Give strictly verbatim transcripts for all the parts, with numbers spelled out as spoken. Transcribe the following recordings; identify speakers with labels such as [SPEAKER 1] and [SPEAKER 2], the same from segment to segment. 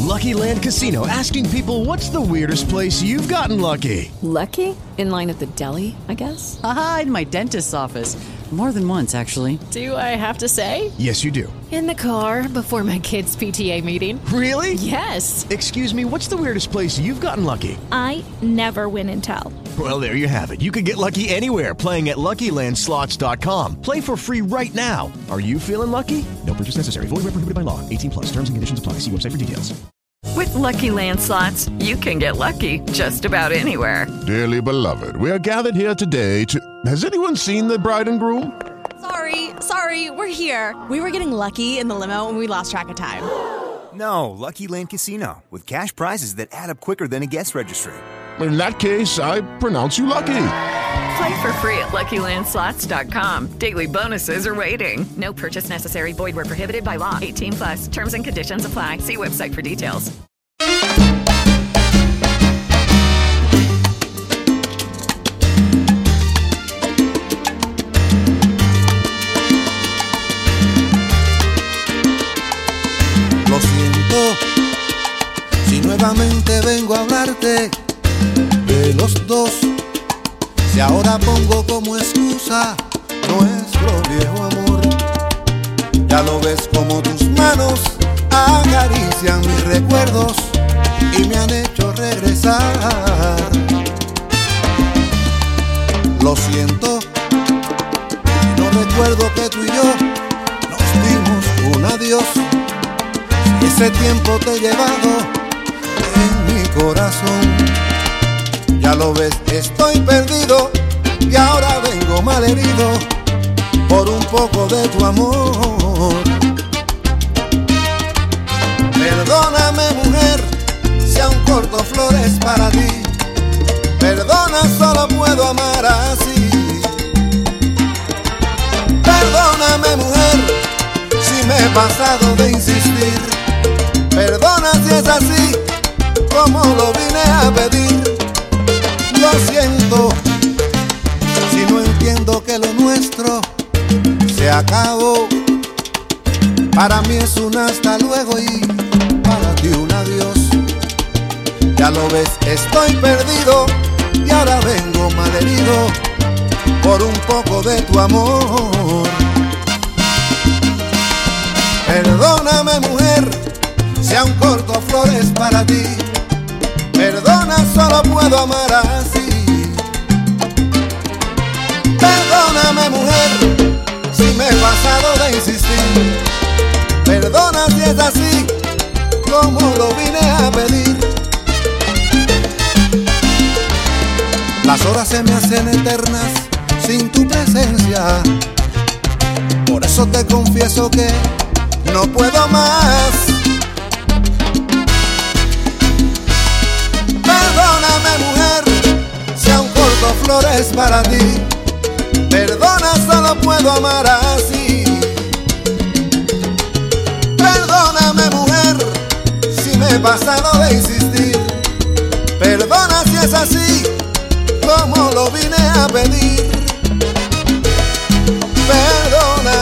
[SPEAKER 1] Lucky Land Casino, asking people, what's the weirdest place you've gotten lucky?
[SPEAKER 2] Lucky? In line at the deli, I guess?
[SPEAKER 3] Aha, in my dentist's office. More than once, actually.
[SPEAKER 2] Do I have to say?
[SPEAKER 1] Yes, you do.
[SPEAKER 2] In the car before my kids' P T A meeting.
[SPEAKER 1] Really?
[SPEAKER 2] Yes.
[SPEAKER 1] Excuse me, what's the weirdest place you've gotten lucky?
[SPEAKER 4] I never win and tell.
[SPEAKER 1] Well, there you have it. You can get lucky anywhere, playing at Lucky Land Slots dot com. Play for free right now. Are you feeling lucky? No purchase necessary. Void where prohibited by law. eighteen plus. Terms and conditions apply. See website for details.
[SPEAKER 5] With Lucky Land Slots, you can get lucky just about anywhere.
[SPEAKER 6] Dearly beloved, we are gathered here today to... Has anyone seen the bride and groom?
[SPEAKER 7] Sorry, sorry, we're here. We were getting lucky in the limo and we lost track of time.
[SPEAKER 8] No, Lucky Land Casino, with cash prizes that add up quicker than a guest registry.
[SPEAKER 6] In that case, I pronounce you lucky.
[SPEAKER 5] Play for free at Lucky Land Slots dot com. Daily bonuses are waiting. No purchase necessary. Void where prohibited by law. eighteen plus. Terms and conditions apply. See website for details.
[SPEAKER 9] Lo siento, si nuevamente vengo a hablarte de los dos. Si ahora pongo como excusa nuestro viejo amor, ya lo ves como tus manos acarician mis recuerdos y me han hecho regresar. Lo siento, no recuerdo que tú y yo nos dimos un adiós. Y ese tiempo te he llevado en mi corazón. Ya lo ves, estoy perdido y ahora vengo malherido por un poco de tu amor. Perdóname, mujer, si aún corto flores para ti. Perdona, solo puedo amar así. Perdóname, mujer, si me he pasado de insistir. Perdona si es así, como lo vine a pedir. Lo siento, si no entiendo que lo nuestro se acabó. Para mí es un hasta luego y para ti un adiós. Ya lo ves, estoy perdido y ahora vengo malherido por un poco de tu amor. Perdóname, mujer, si aún corto flores para ti. Perdona, solo puedo amar así. Perdóname, mujer, si me he pasado de insistir. Perdona si es así, como lo vine a pedir. Las horas se me hacen eternas sin tu presencia. Por eso te confieso que no puedo más. Perdóname, mujer, si aún corto flores para ti. Perdona, solo puedo amar así. Perdóname, mujer, si me he pasado de insistir. Perdona si es así, como lo vine a pedir. Perdona.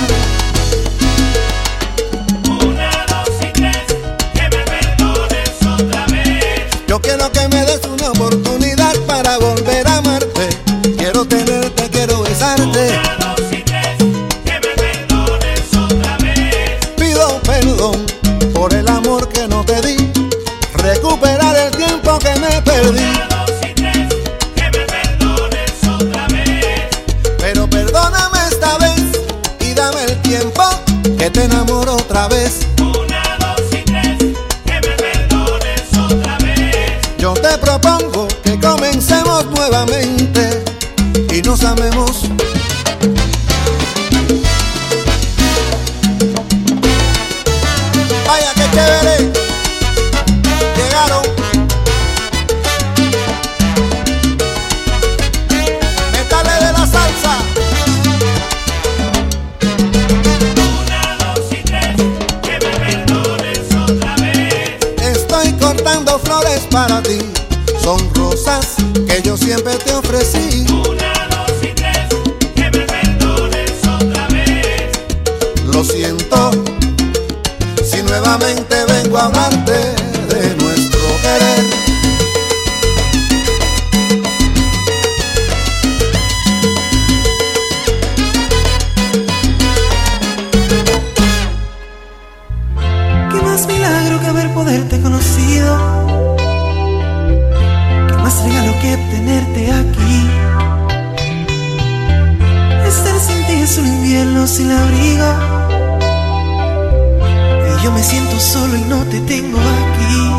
[SPEAKER 9] Yo quiero que me des una oportunidad para volver a amarte. Quiero tenerte, quiero besarte.
[SPEAKER 10] Una, dos y tres, que me perdones otra vez.
[SPEAKER 9] Pido perdón por el amor que no te di. Recuperar el tiempo que me perdí.
[SPEAKER 10] Una, dos y tres, que me perdones otra vez.
[SPEAKER 9] Pero perdóname esta vez y dame el tiempo que te enamoro otra vez. Yo te propongo que comencemos nuevamente y nos amemos. Vaya que chévere, llegaron. Métale de la salsa.
[SPEAKER 10] Una, dos y tres, que me perdones otra vez.
[SPEAKER 9] Estoy cortando flores para ti. Son rosas que yo siempre te ofrecí.
[SPEAKER 10] Una, dos y tres, que me perdones otra vez.
[SPEAKER 9] Lo siento, si nuevamente vengo quiero hablarte de nuestro querer.
[SPEAKER 11] Qué más milagro que haber poderte conocido, qué más regalo que tenerte aquí. Estar sin ti es un invierno sin abrigo, y yo me siento solo y no te tengo aquí.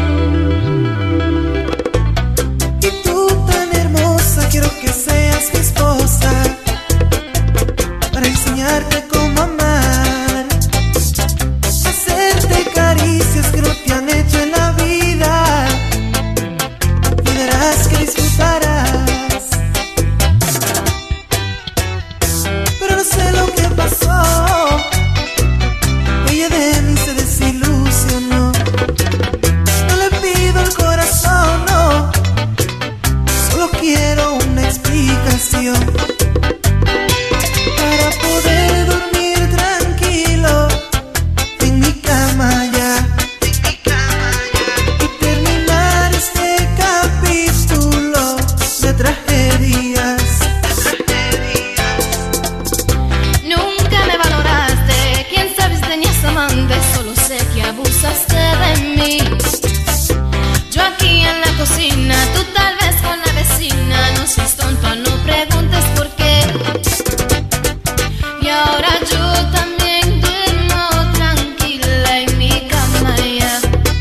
[SPEAKER 11] Y tú tan hermosa, quiero que seas mi esposa, para enseñarte cómo amar, hacerte caricias que no te han hecho en la vida, y verás que disfrutarás. Pero no sé lo que pasó, ella de mí se desilusionó. No le pido el corazón, no, solo quiero una explicación para poder dormir tranquilo en mi cama ya, y terminar este capítulo de tragedias.
[SPEAKER 12] Nunca me valoraste, quién sabe si tenías amante, solo sé que abusaste de mí. Yo aquí en la cocina, tú tal vez con la vecina, no seas tonto, no preguntes por qué. Y ahora yo también duermo tranquila en mi cama ya,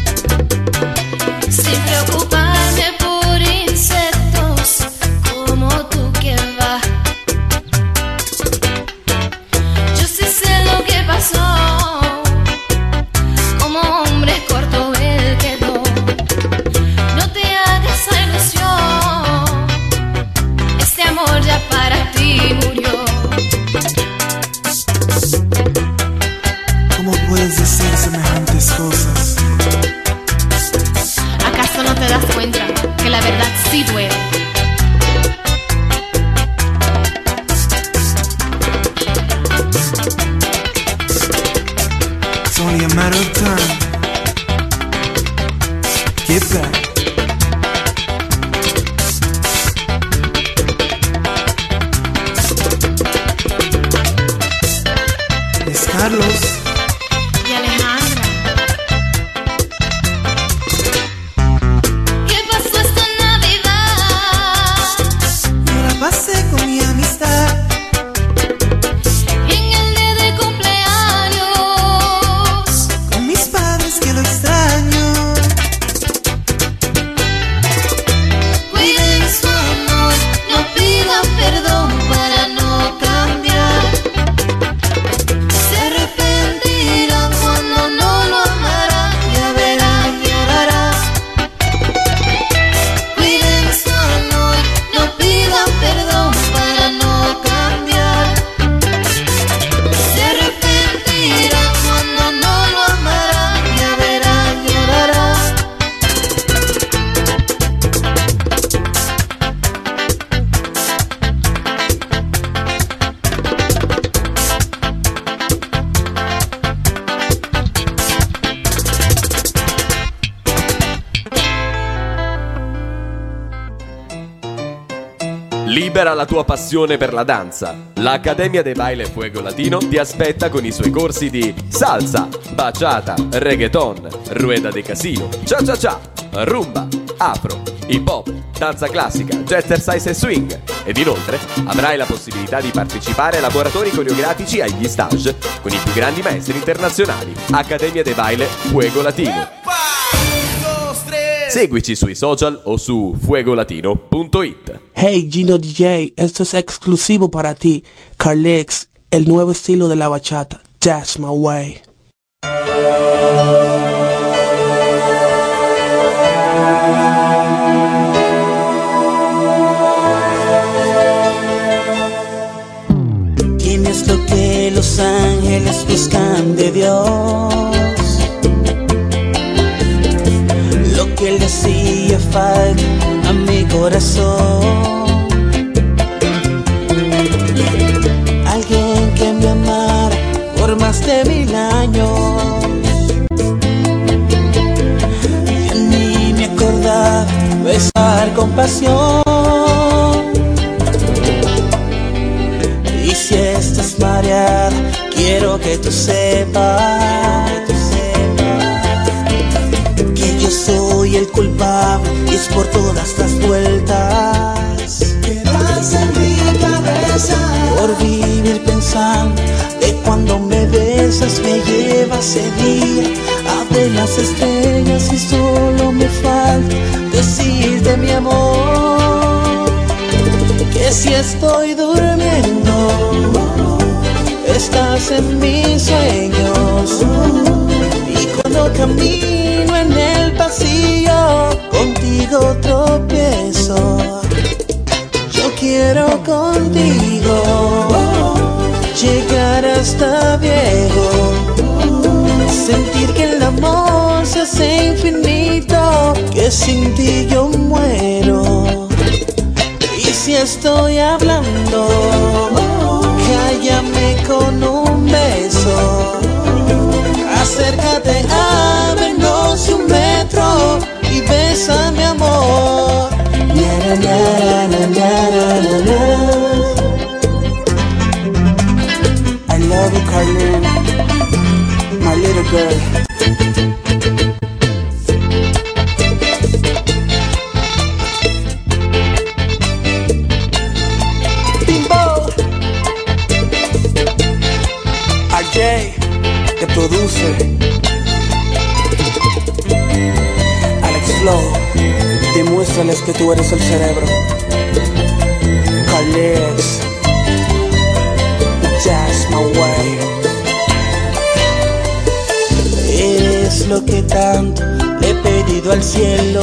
[SPEAKER 12] sin preocuparme por insectos como tú que va. Yo sí sé lo que pasó, como hombre corto él quedó. No te hagas esa ilusión, este amor ya para ti murió.
[SPEAKER 11] ¿Cómo puedes decir semejantes cosas?
[SPEAKER 12] ¿Acaso no te das cuenta que la verdad sí duele?
[SPEAKER 11] It's only a matter of time. Get back. Es Carlos.
[SPEAKER 12] Y Alejandra, ¿qué pasó esta Navidad?
[SPEAKER 11] Yo la pasé con mi amistad.
[SPEAKER 12] Y en el día de cumpleaños,
[SPEAKER 11] Con mis padres que lo extraño.
[SPEAKER 12] cuiden su amor, no pida perdón para no cambiar. Se arrepentirán cuando no lo amarán, ya verán, llorarán. Cuiden su amor, no pidan perdón para no cambiar. Se arrepentirán cuando no lo amarán, ya verán, llorarán.
[SPEAKER 13] Libera la tua passione per la danza. L'Accademia de Baile Fuego Latino ti aspetta con i suoi corsi di salsa, bachata, reggaeton, rueda de casino, cha cha cha, rumba, afro, hip hop, danza classica, jazzercise e swing. Ed inoltre avrai la possibilità di partecipare a laboratori coreografici agli stage con i più grandi maestri internazionali. Accademia de Baile Fuego Latino. Seguici sui social o su fuegolatino punto it.
[SPEAKER 14] Hey Gino D J, esto es exclusivo para ti. Carlex, el nuevo estilo de la bachata. That's my way.
[SPEAKER 15] Tienes lo que los ángeles buscan de Dios, lo que le hacía falta a mi corazón. Alguien que me amara por más de mil años, compasión. Y si estás mareada, quiero que tú sepas, que tú sepas que yo soy el culpable y es por todas las vueltas que das en mi cabeza, por vivir pensando de cuando me besas, me lleva ese día a ver las estrellas y solo me falta decirte, mi amor, que si estoy durmiendo estás en mis sueños, y cuando camino en el pasillo contigo tropiezo. Yo quiero contigo llegar hasta viejo, sentir que el amor se hace infinito, que sin ti yo muero. Y si estoy hablando, cállame con un beso, acércate a menos de un metro y bésame, amor. Na, na, na, na, na, na. I love you, Carlene, my little girl. Bimbo, R J, que produce, Alex Flow, demuéstrales que tú eres el cerebro. Carlex, That's my way. Eres lo que tanto le he pedido al cielo.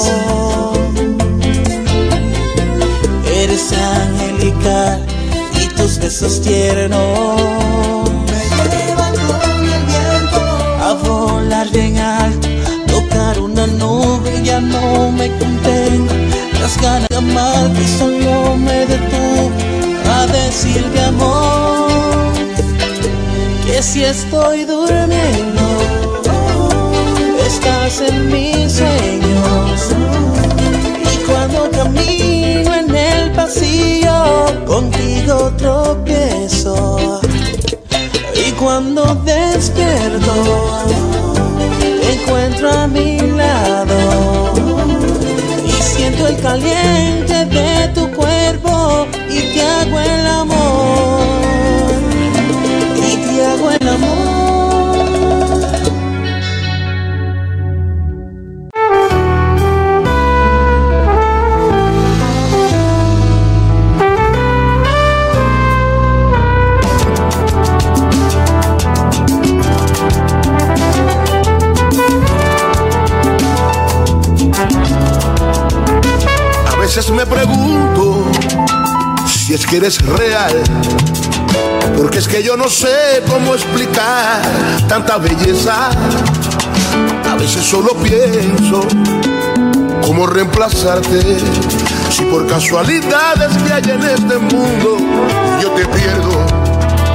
[SPEAKER 15] Eres angelical y tus besos tiernos me llevan con el viento a volar bien alto, tocar una nube y ya no me contengo. Las ganas de amarte solo me detuvo a decirte, amor, que si estoy durmiendo estás en mis sueños, y cuando camino en el pasillo contigo tropiezo, y cuando despierto te encuentro a mi lado y siento el caliente de tu cuerpo y te hago el amor, y te hago el amor.
[SPEAKER 9] A veces me pregunto si es que eres real, porque es que yo no sé cómo explicar tanta belleza. A veces solo pienso cómo reemplazarte, si por casualidades que hay en este mundo yo te pierdo.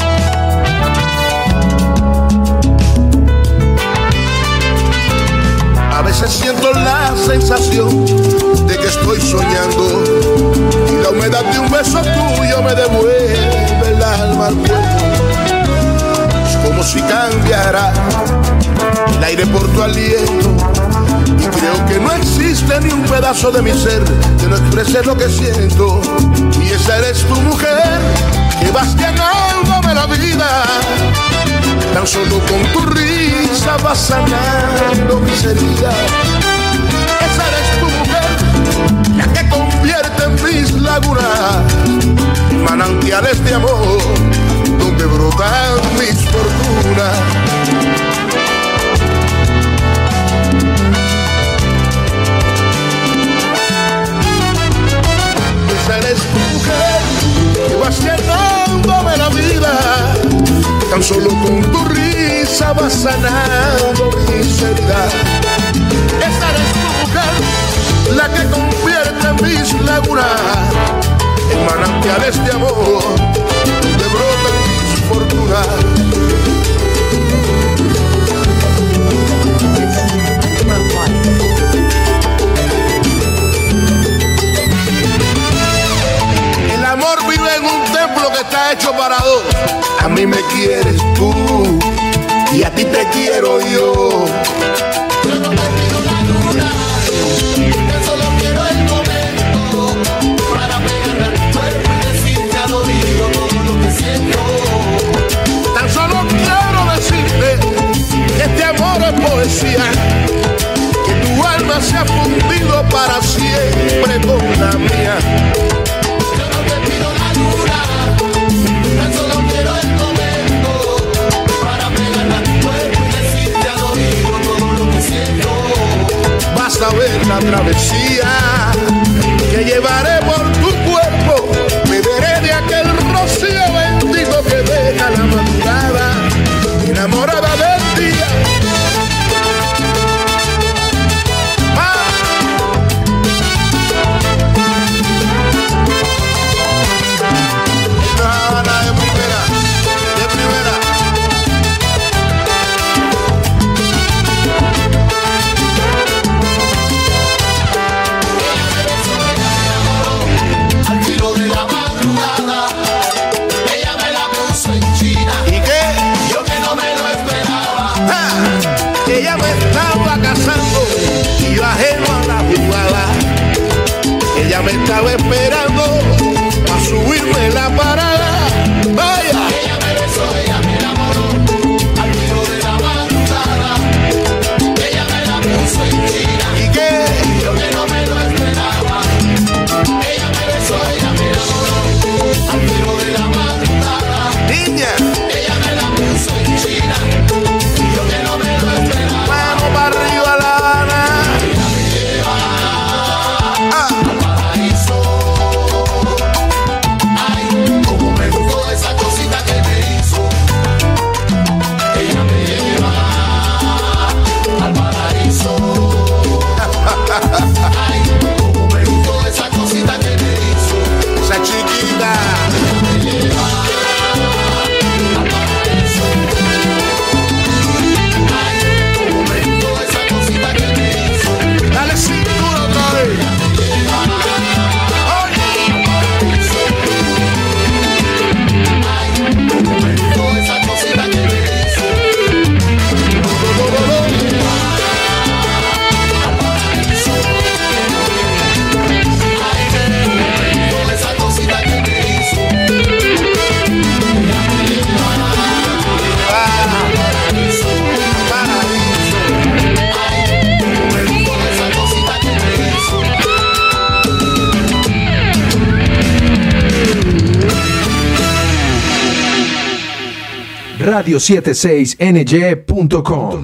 [SPEAKER 9] A veces siento la sensación de que estoy soñando y la humedad de un beso tuyo me devuelve el alma al cuerpo. Es como si cambiara el aire por tu aliento, y creo que no existe ni un pedazo de mi ser que no exprese lo que siento. Y esa eres tu mujer, que vas llenándome la vida. Tan solo con tu risa vas sanando mis heridas. Esa eres tu mujer, la que convierte en mis lagunas manantiales de amor, donde brotan mis fortunas. Esa eres tu mujer, que vas llenándome la vida. Tan solo con tu risa vas sanando mis heridas. Esa eres tu mujer, la que convierte mis lagunas en manantiales de amor, donde brotan mis fortunas. A mí me quieres tú y a ti te quiero yo. Yo no te pido la luna, yo solo quiero el momento para pegarme a tu cuerpo y decirte al oído todo lo que siento. Tan solo quiero decirte que este amor es poesía, que tu alma se ha fundido para siempre con la mía. Yo no te pido la luna, tan solo quiero el momento para pegarme a tu cuerpo y decirte al oído todo lo que siento. Vas a ver la travesía que llevaré por tu cuerpo, beberé de aquel rocío bendito que deja la madrugada enamorada del día. Ella me estaba casando y yo ajeno a la jugada. Ella me estaba esperando a subirme la parada. Vaya. Ella me besó, ella me enamoró al filo de la madrugada. Ella me la puso en China. ¿Y qué? Yo que no me lo esperaba. Ella me besó, ella me enamoró al filo de la madrugada. Niña. Ella me la puso en China. Yo que no me lo esperaba. Mano para arriba La Habana. Ella me lleva ah. al paraíso. Ay, como me gustó esa cosita que me hizo. Ella me lleva al paraíso. Ay, como me gustó esa cosita que me hizo. Esa chiquita. Ella me lleva al paraíso. Dale cintura otra vez. Ay, como me gustó esa cosita que me hizo. Ay, como me gustó esa cosita que me hizo.
[SPEAKER 16] radio setenta y seis N Y punto com.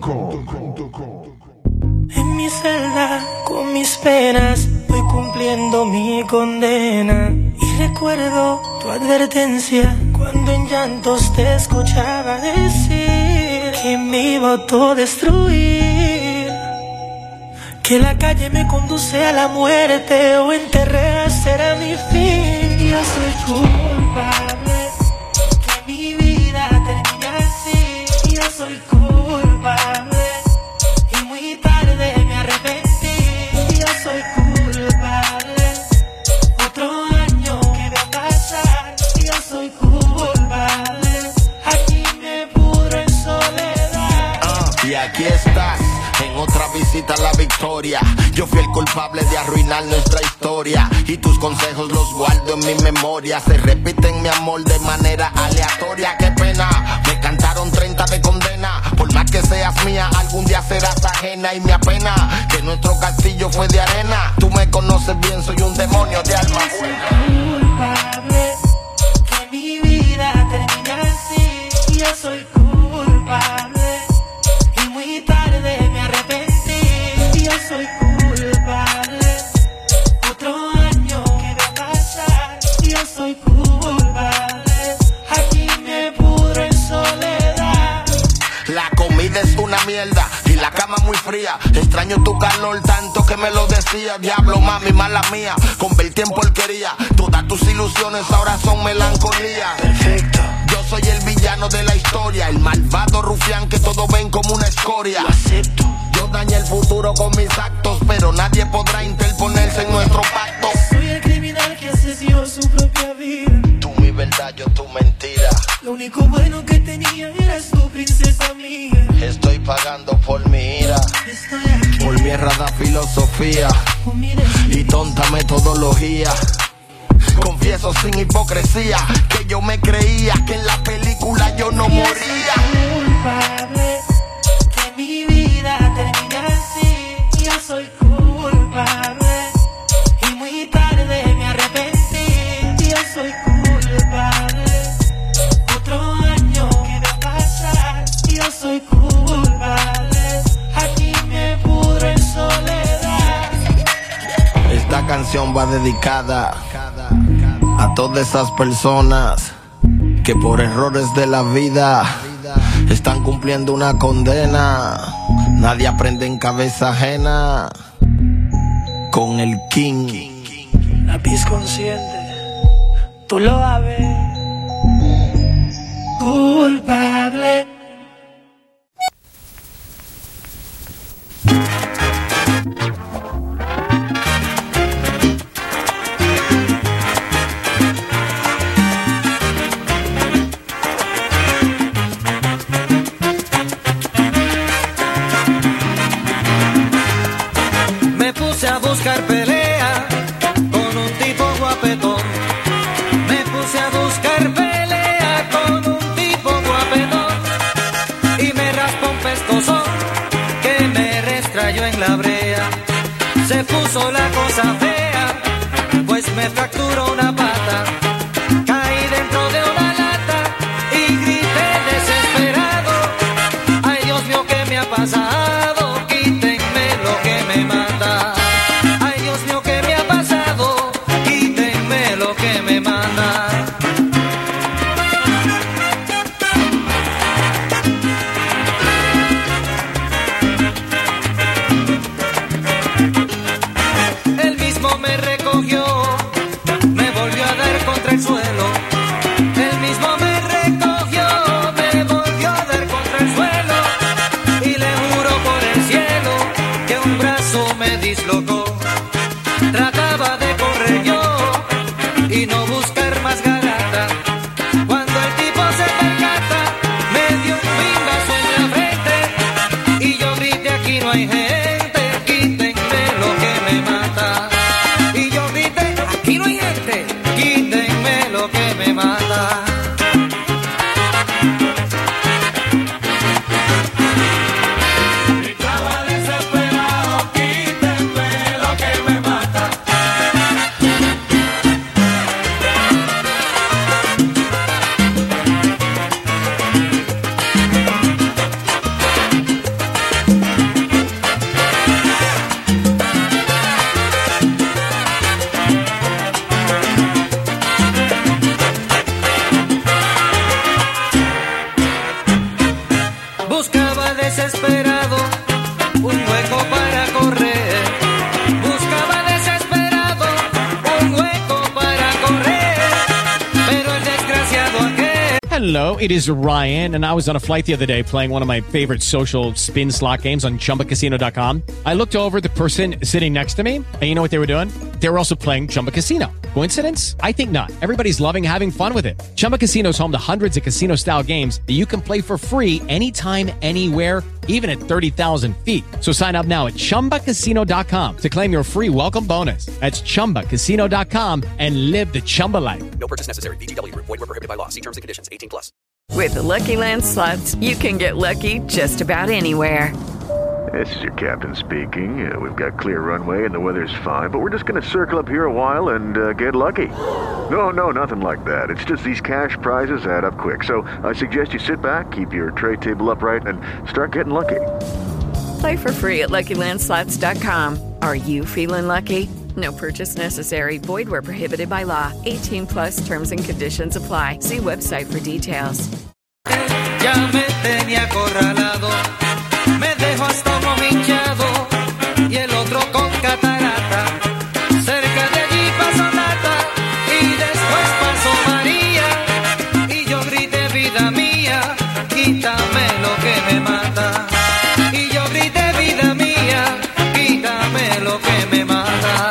[SPEAKER 11] En mi celda, con mis penas, voy cumpliendo mi condena. Y recuerdo tu advertencia cuando en llantos te escuchaba decir que me iba a autodestruir, que la calle me conduce a la muerte o enterrar será mi fin. Yo soy culpable que mi vida termine así. Yo soy culpable y muy tarde me arrepentí. Yo soy culpable, otro año que va a pasar. Yo soy culpable, aquí me pudro en soledad.
[SPEAKER 9] Uh, y aquí estás, en otra visita a la victoria. Yo fui el culpable de arruinar nuestra historia y tus consejos los guardo en mi memoria. Se repiten mi amor de manera aleatoria. Qué pena, me cantaron treinta de condena. Por más que seas mía, algún día serás ajena. Y me apena que nuestro castillo fue de arena. Tú me conoces bien, soy un demonio de alma buena.
[SPEAKER 11] Culpable que mi vida termine así. Yo soy culpable y muy tarde me arrepentí. Yo soy culpable, otro año que va a pasar. Yo soy culpable, aquí me pudro en soledad.
[SPEAKER 9] La comida es una mierda y la cama muy fría. Extraño tu calor tanto que me lo decía. Diablo, mami, mala mía, convertí en porquería. Todas tus ilusiones ahora son melancolía. Perfecto. Yo soy el villano de la historia, el malvado rufián que todos ven como una escoria. Lo acepto. Yo dañé el futuro con mis actos, pero nadie podrá interponerse en nuestro pacto.
[SPEAKER 11] Soy el criminal que asesinó su propia vida.
[SPEAKER 9] Tú mi verdad, yo tu mentira.
[SPEAKER 11] Lo único bueno que tenía eras tu princesa mía.
[SPEAKER 9] Estoy pagando por mi ira, por mi errada filosofía y tonta metodología. Confieso sin hipocresía que yo me creía que en la película yo no moría.
[SPEAKER 11] Culpable que mi vida termina así. Yo soy culpable y muy tarde me arrepentí. Yo soy culpable. Otro año que va a pasar. Yo soy culpable. Aquí me pudro en soledad.
[SPEAKER 9] Esta canción va dedicada a todas esas personas que por errores de la vida están cumpliendo una condena. Nadie aprende en cabeza ajena. Con el King.
[SPEAKER 11] Lápiz consciente, tú lo sabes. Culpable.
[SPEAKER 17] Me puse a buscar pelea con un tipo guapetón. Me puse a buscar pelea con un tipo guapetón. Y me raspó un pescozón que me restrayó en la brea. Se puso la cosa fea, pues me fracturó una pata. Caí dentro de una lata y grité desesperado. Ay, Dios mío, ¿qué me ha pasado? Quítenme lo que me mata. Ay, Dios mío, ¿qué me ha pasado? Quítenme lo que me manda. Él mismo me recogió, me volvió a dar contra el suelo. Él mismo me recogió, me volvió a dar contra el suelo. Y le juro por el cielo que un brazo me dislocó. Trataba de correr yo y no buscar más garata. Cuando el tipo se percata, me dio un pingazo en la frente. Y yo grité, aquí no hay gente, quítenme lo que me mata. Y yo grité, aquí no hay gente, quítenme lo que me mata. Estaba desesperado, quítenme lo que me mata. Buscaba desesperado un hueco para correr. Buscaba desesperado un hueco para correr. Pero el desgraciado aquel.
[SPEAKER 18] Hello, it is Ryan, and I was on a flight the other day playing one of my favorite social spin slot games on Chumba Casino dot com. I looked over at the person sitting next to me, and you know what they were doing? They were also playing Chumba Casino. Coincidence? I think not. Everybody's loving having fun with it. Chumba Casino is home to hundreds of casino-style games that you can play for free anytime, anywhere, even at thirty thousand feet. So sign up now at Chumba Casino dot com to claim your free welcome bonus. That's Chumba Casino dot com and live the Chumba life.
[SPEAKER 19] No purchase necessary. V G W. Void where prohibited by law. See terms and conditions. eighteen plus.
[SPEAKER 5] With the Lucky Land Slots, you can get lucky just about anywhere.
[SPEAKER 20] This is your captain speaking. Uh, we've got clear runway and the weather's fine, but we're just going to circle up here a while and uh, get lucky. No, no, nothing like that. It's just these cash prizes add up quick. So I suggest you sit back, keep your tray table upright, and start getting lucky.
[SPEAKER 5] Play for free at Lucky Land Slots dot com. Are you feeling lucky? No purchase necessary. Void where prohibited by law. eighteen plus terms and conditions apply. See website for details.
[SPEAKER 17] Ya me tenía acorralado, me dejó hasta uno hinchado y el otro con catarata. Cerca de allí pasó Nata y después pasó María. Y yo grité, vida mía, quítame lo que me mata. Y yo grité, vida mía, quítame lo que me mata.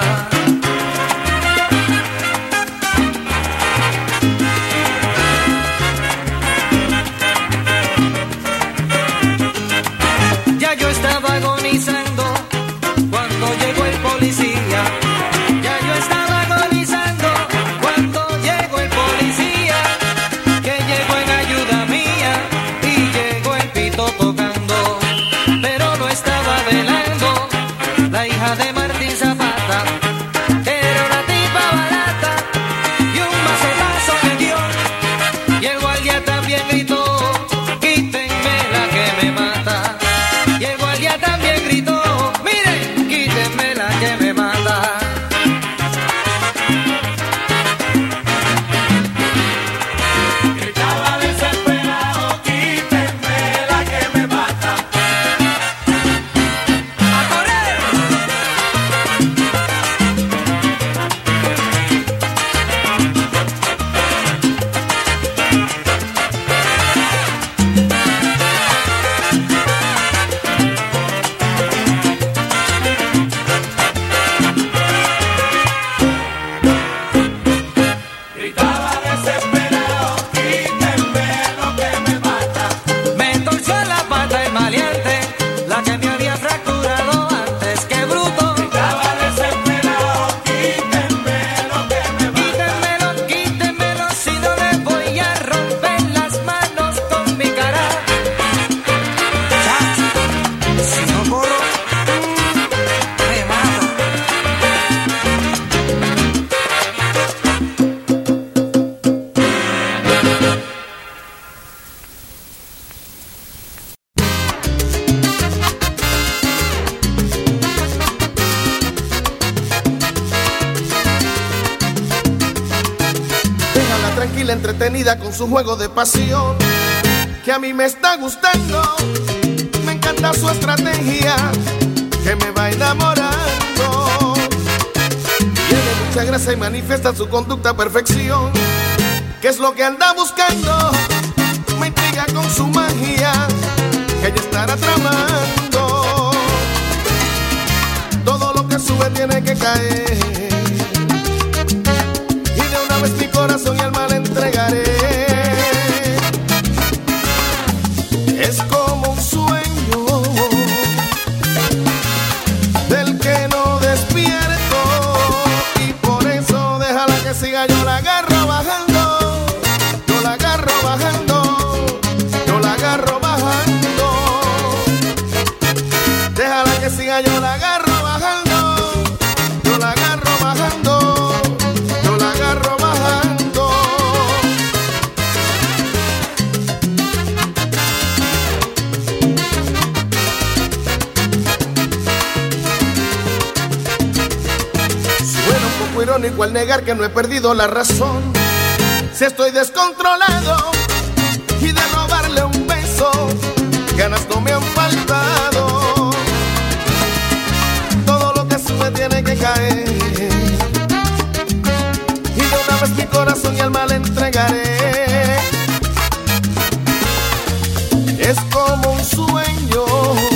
[SPEAKER 21] pila entretenida con su juego de pasión, que a mí me está gustando. Me encanta su estrategia, que me va enamorando. Tiene mucha gracia y manifiesta su conducta a perfección. ¿Qué es lo que anda buscando? Me intriga con su magia, que ella estará tramando. Todo lo que sube tiene que caer, y de una vez mi corazón y alma le entregaré. Es como un sueño del que no despierto, y por eso déjala que siga, yo la agarro bajando, yo la agarro bajando, yo la agarro bajando. Déjala que siga, yo la agarro bajando, yo la agarro bajando, yo la agarro bajando. Suena un poco irónico al negar que no he perdido la razón. Si estoy descontrolado y de robarle un beso, ganas no me han faltado. Todo lo que sube tiene que caer, y de una vez mi corazón y alma le entregaré. Es como un sueño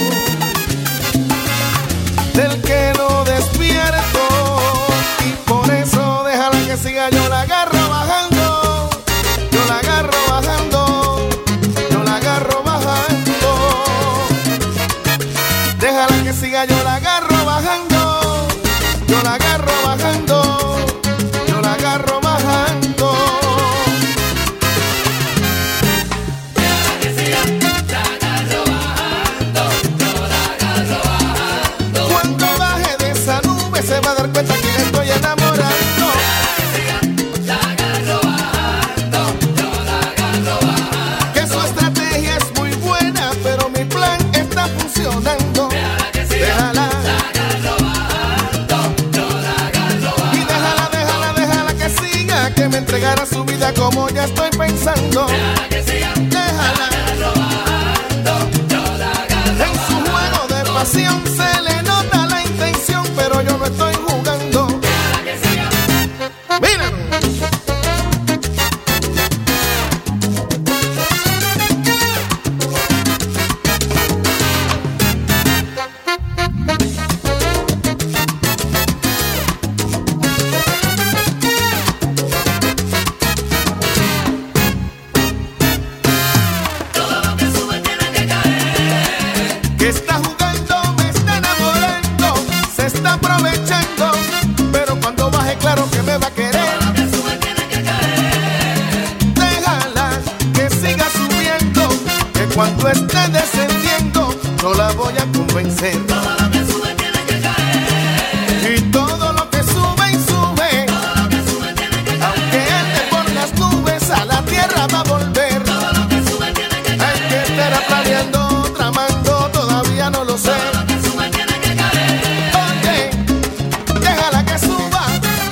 [SPEAKER 21] del que no despierto, y por eso déjala que siga, yo la agarro bajando, yo la agarro bajando, yo la agarro bajando. Déjala que siga, yo la agarro bajando, yo la agarro bajando, yo la agarro bajando. Déjala que siga, la agarro bajando, yo la agarro bajando. Cuando baje de esa nube se va a dar cuenta que le estoy enamorando. Déjala que siga, la agarro bajando, yo la agarro bajando. Que su estrategia es muy buena, pero mi plan está funcionando. Déjala que siga, déjala, la agarro bajando, yo la agarro bajando. Y déjala, déjala, déjala que siga, que me entregará su vida como ya estoy pensando. Déjala que siga, déjala, la agarro bajando, yo la agarro. En su juego de pasión se le nota la intención, pero yo no estoy jugando. Déjala que siga. Mira. Todo lo que sube tiene que caer. Que está jugando, me está enamorando, se está aprovechando, pero cuando baje claro que me va a querer. Todo lo que sube tiene que caer. Déjala que siga subiendo, que cuando esté descendiendo no la voy a convencer. Todo lo que sube tiene que caer. Y todo lo que sube y sube, todo lo que sube tiene que caer. Aunque ande por las nubes, a la tierra va a volver. Todo lo que sube tiene que caer. Hay que estar planeando, tramando, todavía no lo sé. Todo lo que sube tiene que caer. Oye, déjala que suba.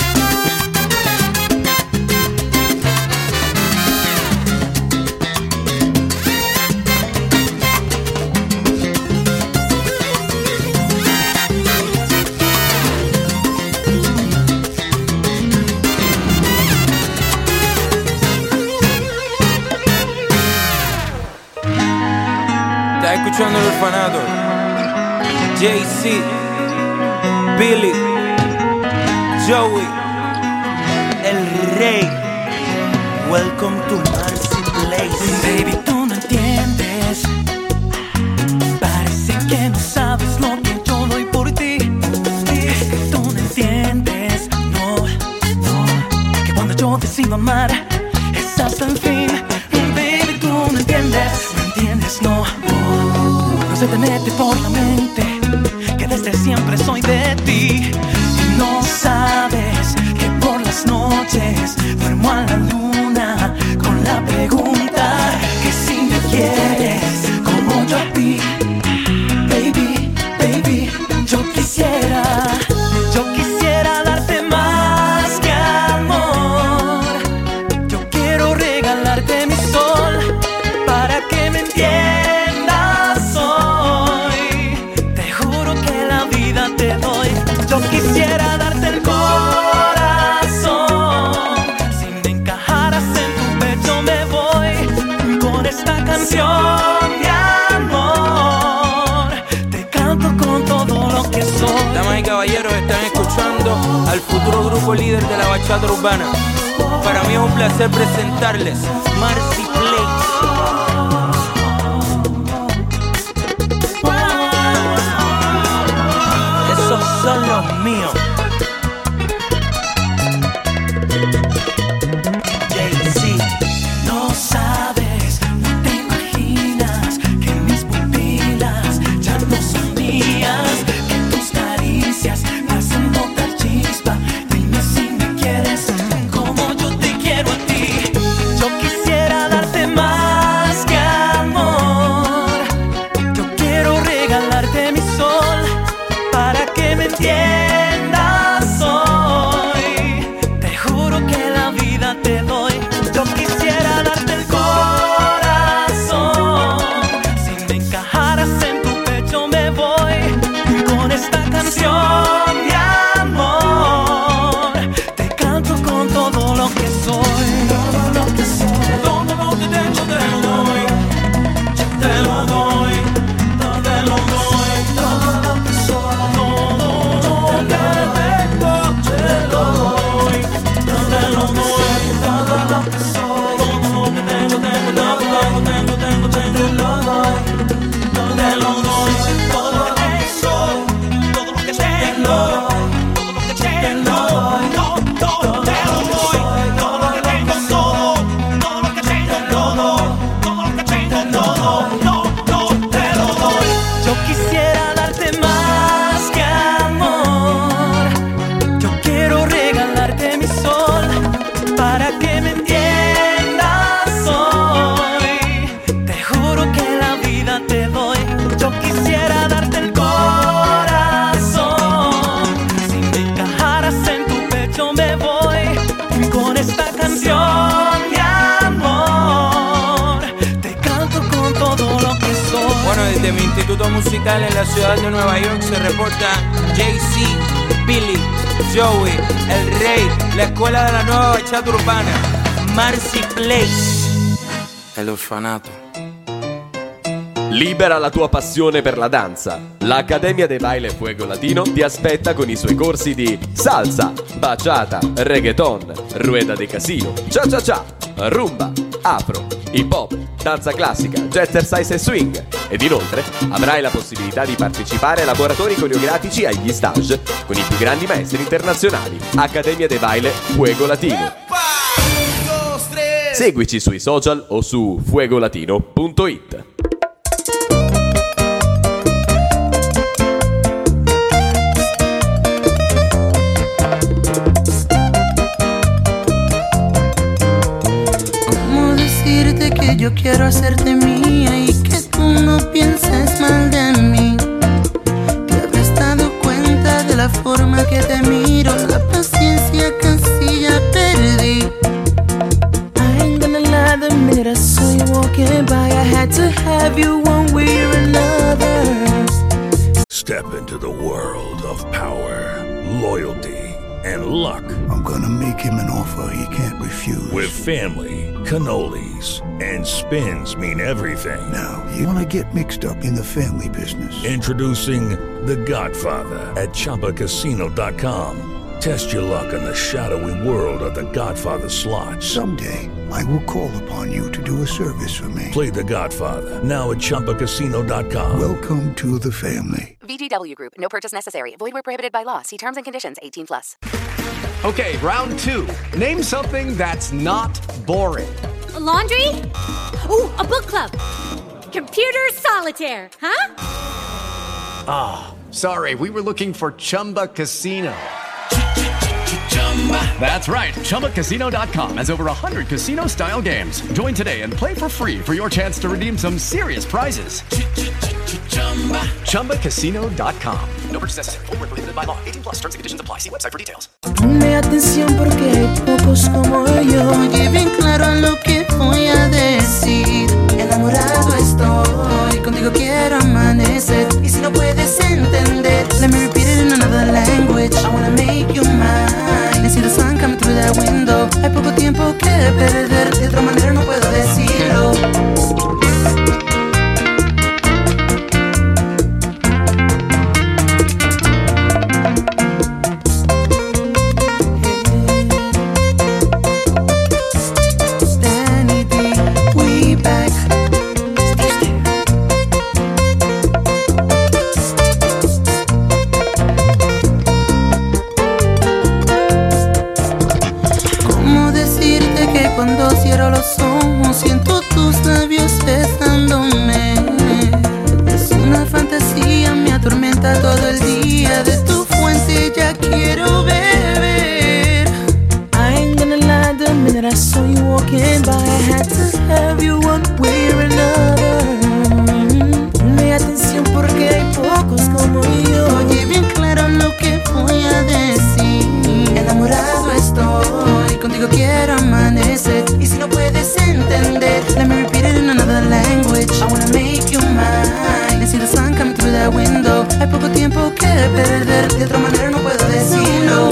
[SPEAKER 22] Estás escuchando El Orfanato. Jay-Z, Billy, Joey, El Rey. Welcome to Marcy Place.
[SPEAKER 11] Baby, tú no entiendes. Parece que no sabes lo que yo doy por ti. Es que tú no entiendes, no, no. Que cuando yo decido amar es hasta el fin. Baby, tú no entiendes, no entiendes, no. No se te mete por la mente que desde siempre soy de ti. Y no sabes que por las noches duermo a la luna con la pregunta que si me quieres como yo a ti. Baby, baby, yo quisiera, yo quisiera darte más que amor. Yo quiero
[SPEAKER 22] Damas y caballeros, están escuchando al futuro grupo líder de la bachata urbana. Para mí es un placer presentarles Marcy Place. Esos son los míos. Jay-Z.
[SPEAKER 10] No sabes, no te imaginas que mis pupilas ya no son mías, que tus caricias me hacen botar chispa. Dime si me quieres como yo te quiero a ti. Yo quisiera darte más que amor. Yo quiero regalarte mi sol para que me entiendas hoy. Te juro que la vida te doy. Yo quisiera darte el corazón. Si me encajaras en tu pecho me voy. Y con esta canción de amor te canto con todo lo que soy. Todo lo que soy. Todo lo que tengo te lo doy. Yo te lo doy. Todo te lo doy. Todo lo que soy. Todo lo que tengo te lo doy. Yo te lo doy. Todo lo que soy. Yo quisiera darte más que amor. Yo quiero regalarte mi sol para que me entiendas hoy. Te juro que la vida te doy. Yo quisiera darte el corazón. Si me encajaras en tu pecho me voy. Y con esta canción de amor te canto con todo lo que soy.
[SPEAKER 22] Bueno, desde mi instituto musical en la ciudad de Nueva York se reporta Jay-Z, Billy, Joey, El Rey, la escuela de la nueva bachata urbana, Marcy Place, el orfanato.
[SPEAKER 13] Libera la tua passione per la danza. L'Accademia de Baile Fuego Latino ti aspetta con i suoi corsi di salsa, bachata, reggaeton, rueda de casino, cha-cha-cha, rumba, afro, hip hop, danza classica, jazzercise e swing. Ed inoltre avrai la possibilità di partecipare ai laboratori coreografici e agli stage con i più grandi maestri internazionali. Accademia de Baile Fuego Latino. Seguici sui social o su fuegolatino punto it.
[SPEAKER 15] Que yo quiero hacerte mía y que tú no pienses mal de mí. Te habrás dado cuenta de la forma que te miro, la paciencia casi ya perdí. I ain't gonna lie, the minute I saw you walking by, I had to have you one way or another.
[SPEAKER 2] Step into the world of power, loyalty, and luck.
[SPEAKER 3] I'm gonna make him an offer he can't refuse.
[SPEAKER 2] With family, cannolis, and spins mean everything.
[SPEAKER 3] Now, you wanna get mixed up in the family business.
[SPEAKER 2] Introducing The Godfather at Chumba Casino dot com. Test your luck in the shadowy world of The Godfather slot.
[SPEAKER 3] Someday, I will call upon you to do a service for me.
[SPEAKER 2] Play The Godfather, now at Chumba Casino dot com.
[SPEAKER 3] Welcome to the family.
[SPEAKER 23] V G W Group, no purchase necessary. Void where prohibited by law. See terms and conditions, eighteen plus.
[SPEAKER 24] Okay, round two. Name something that's not boring.
[SPEAKER 25] A laundry? Ooh, a book club. Computer solitaire, huh?
[SPEAKER 24] Ah, oh, sorry, we were looking for Chumba Casino. That's right, Chumba Casino dot com has over one hundred casino-style games. Join today and play for free for your chance to redeem some serious prizes. Chumba Casino dot com. No purchase necessary. Void where prohibited by law. eighteen plus terms and conditions apply. See website for details.
[SPEAKER 15] Ponme atención porque hay pocos como yo. Y bien claro lo que voy a decir. Enamorado estoy, contigo quiero amanecer. Y si no puedes entender, let me repeat it in another language. I wanna make you mine. And see the sun coming through that window. Hay poco tiempo que perder, de otra manera no puedo decirlo. abro los ojos, siento tus labios besándome. Es una fantasía, me atormenta todo el día. De tu fuente ya quiero beber. I ain't gonna lie, the minute I saw you walking by, I had to have you one way or another. Ponme atención porque hay pocos como yo. Oye bien claro lo que voy a decir. Enamorado estoy, contigo quiero amanecer. Y si no puedes entender, let me repeat it in another language. I wanna make you mine and see the sun coming through that window. Hay poco tiempo que perder, de otra manera no puedo decirlo.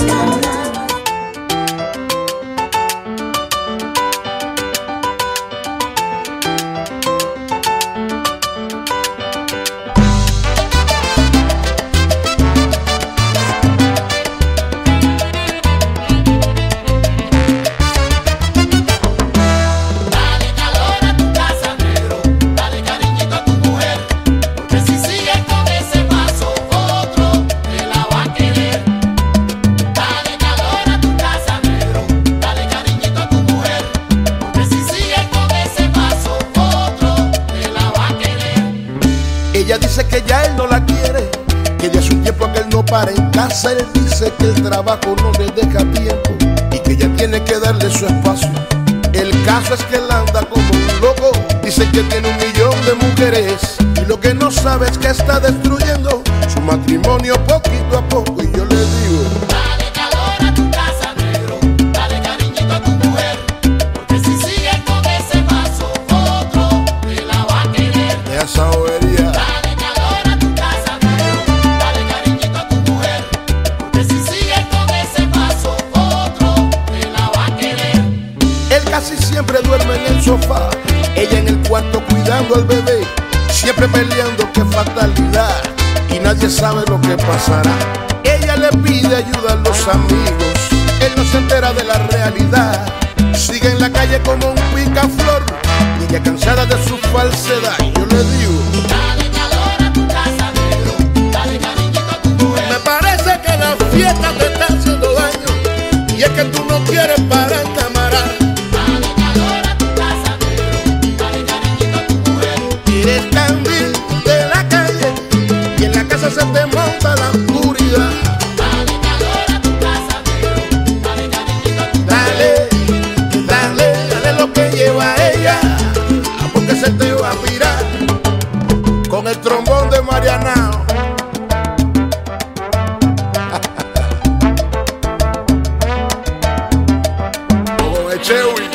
[SPEAKER 21] Ella dice que ya él no la quiere, que ya hace un tiempo que él no para en casa. Él dice que el trabajo no le deja tiempo y que ella tiene que darle su espacio. El caso es que él anda como un loco, dice que tiene un millón de mujeres y lo que no sabe es que está destruyendo su matrimonio poquito a poco. Y yo le digo:
[SPEAKER 10] dale calor a tu casa, negro, dale cariñito a tu mujer, porque si sigues con ese paso, otro te la va a querer.
[SPEAKER 21] De esa bobería.
[SPEAKER 10] Dale calor a tu casa, negro, dale cariñito a tu mujer, porque si sigues con ese paso, otro te la va a querer.
[SPEAKER 21] Él casi siempre duerme en el sofá, ella en el cuarto cuidando al bebé, siempre peleando, qué fatalidad, y nadie sabe lo que pasará. Ella le pide ayuda a los amigos, él no se entera de la realidad, sigue en la calle como un picaflor, y ella cansada de su falsedad. Yo le digo:
[SPEAKER 10] dale calor a tu casa, negro, dale cariñito a tu mujer.
[SPEAKER 21] me parece que la fiesta te está haciendo daño, y es que tú no quieres parar, camarada.
[SPEAKER 10] Dale calor a tu casa, negro, dale cariñito a tu mujer.
[SPEAKER 21] Eres candil de la calle y en la casa se te monta la oscuridad.
[SPEAKER 10] Dale calor a tu casa, negro, dale cariñito a tu mujer.
[SPEAKER 21] Dale, dale, dale lo que lleva ella, porque se te va a virar con el trombón de Marianao. Como de Chewy.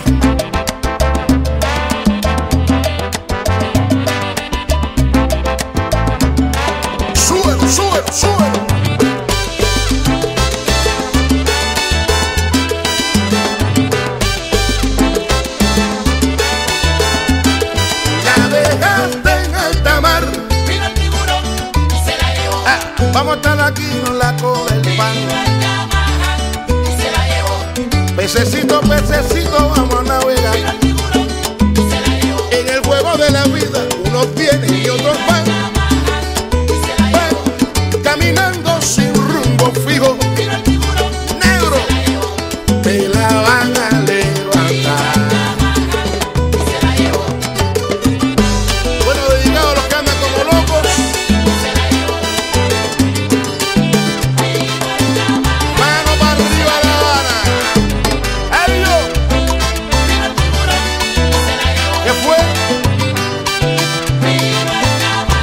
[SPEAKER 21] Súbelo, súbelo, súbelo. La dejaste en alta mar.
[SPEAKER 10] Vino el tiburón y se la llevó.
[SPEAKER 21] Ah, vamos a estar aquí en la cola del pan.
[SPEAKER 10] Vino el Yamaha y se la llevó.
[SPEAKER 21] Pececito, pececito, vamos a navegar.
[SPEAKER 10] Vino el tiburón y se la llevó.
[SPEAKER 21] En el juego de la vida, unos tienen y otros van.
[SPEAKER 10] Y se la llevó.
[SPEAKER 21] Van caminando sin rumbo fijo.
[SPEAKER 10] Vino el tiburón
[SPEAKER 21] Negro,
[SPEAKER 10] y se la llevó.
[SPEAKER 21] te la van a levantar.
[SPEAKER 10] Y se la llevó.
[SPEAKER 21] Bueno, dedicado a los que andan como locos.
[SPEAKER 10] Se la llevó.
[SPEAKER 21] Mano para arriba, La Habana. ¡Ay, yo!
[SPEAKER 10] Vino el tiburón y se la llevó.
[SPEAKER 21] ¿Qué fue?
[SPEAKER 10] Vino el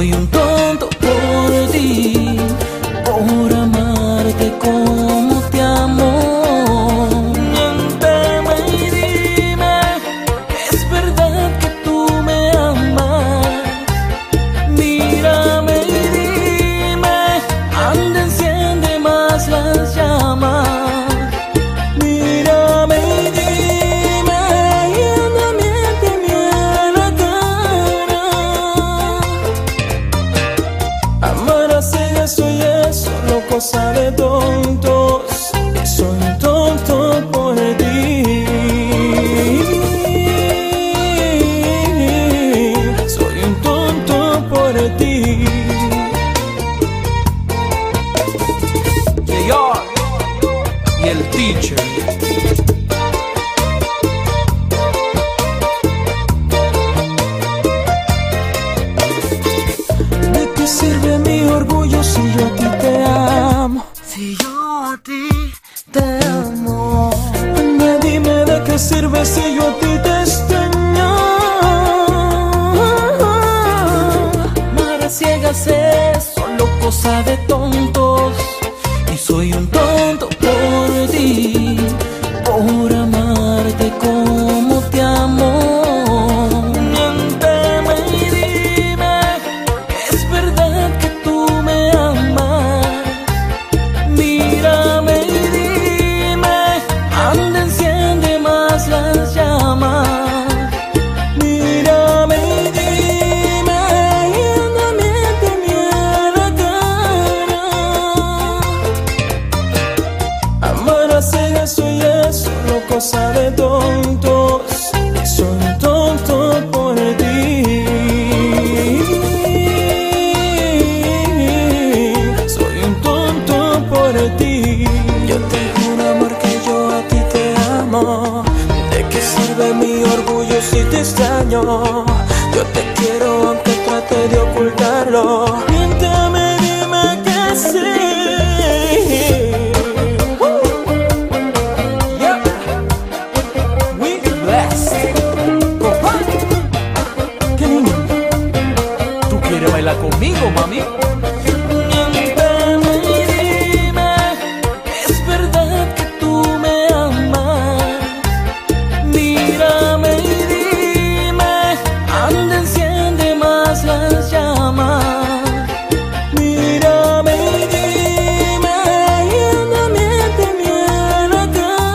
[SPEAKER 10] soy un tonto por ti, por amarte como te amo. Miénteme y dime, ¿es verdad que tú me amas? Mírame y dime, anda, enciende más las llamas. Mírame y dime, y anda, miénteme a la cara. Amar a ciegas soy eso, no cosa de tontos. Soy un tonto por ti. Soy un tonto por ti.
[SPEAKER 22] J R y el teacher.
[SPEAKER 10] ¿De qué sirve mi orgullo si yo a ti te amo? Si yo a ti te amo. Anda, dime, ¿de qué sirve si yo a ti te extraño? Amar a ciegas es solo cosa de tontos. Y soy un tonto por ti, por amarte como te amo. Miénteme y dime, ¿es verdad que tú me amas? Mírame y dime, anda, enciende más las llamas. Mírame y dime, y anda, miénteme a la cara. Amar a ciegas soy eso, no cosa de tontos. Soy un tonto por ti. Soy un tonto por ti. Yo te juro, amor, que yo a ti te amo. ¿De qué sirve mi orgullo si te extraño? Yo te quiero aunque trate de ocultarlo. Miénteme, dime que sí. Yeah. We blessed. Opa. Qué lindo. ¿Tú quieres bailar conmigo, mami? Miénteme y dime, ¿es verdad que tú me amas? Mírame y dime, anda, enciende más las llamas. Mírame y dime, y anda, miénteme a la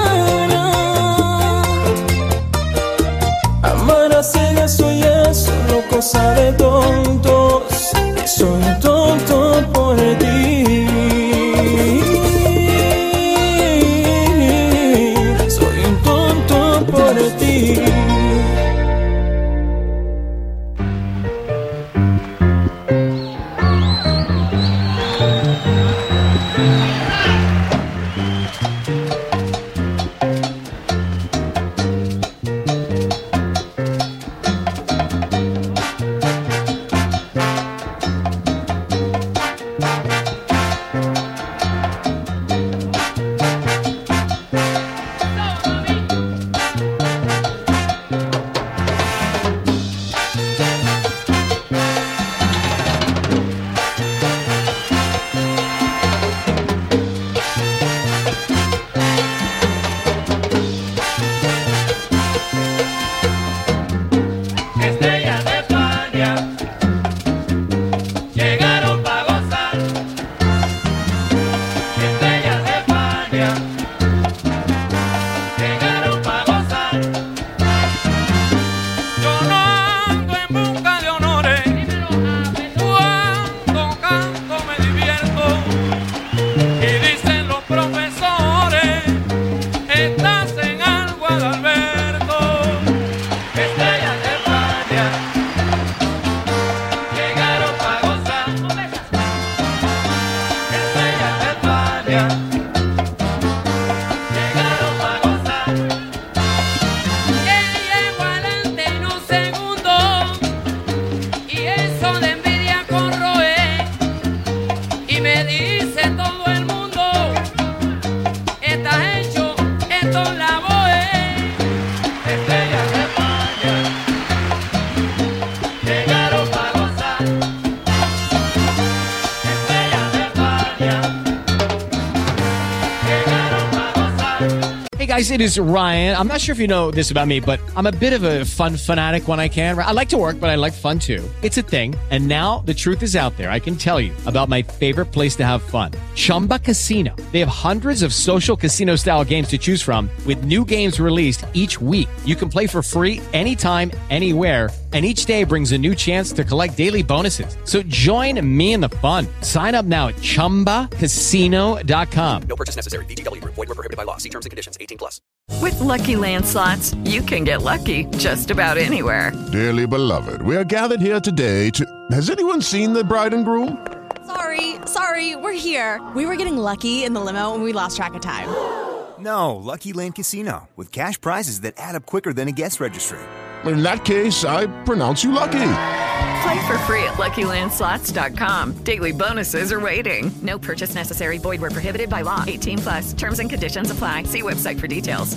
[SPEAKER 10] cara. Amar a ciegas soy eso, no cosa de tontos. Soy un tonto
[SPEAKER 18] guys, it is Ryan. I'm not sure if you know this about me, but I'm a bit of a fun fanatic when I can. I like to work, but I like fun too. It's a thing. And now the truth is out there. I can tell you about my favorite place to have fun. Chumba Casino. They have hundreds of social casino style games to choose from with new games released each week. You can play for free anytime, anywhere. And each day brings a new chance to collect daily bonuses. So join me in the fun. Sign up now at chumba casino dot com.
[SPEAKER 19] No purchase necessary. V G W. Void where prohibited by law. See terms and conditions. eighteen plus.
[SPEAKER 5] With Lucky Land Slots, you can get lucky just about anywhere.
[SPEAKER 1] Dearly beloved, we are gathered here today to... Has anyone seen the bride and groom?
[SPEAKER 4] Sorry, sorry, we're here. We were getting lucky in the limo and we lost track of time.
[SPEAKER 6] No, Lucky Land Casino, with cash prizes that add up quicker than a guest registry.
[SPEAKER 1] In that case, I pronounce you lucky.
[SPEAKER 5] Play for free at lucky land slots dot com. Daily bonuses are waiting. No purchase necessary. Void where prohibited by law. eighteen plus. Terms and conditions apply. See website for details.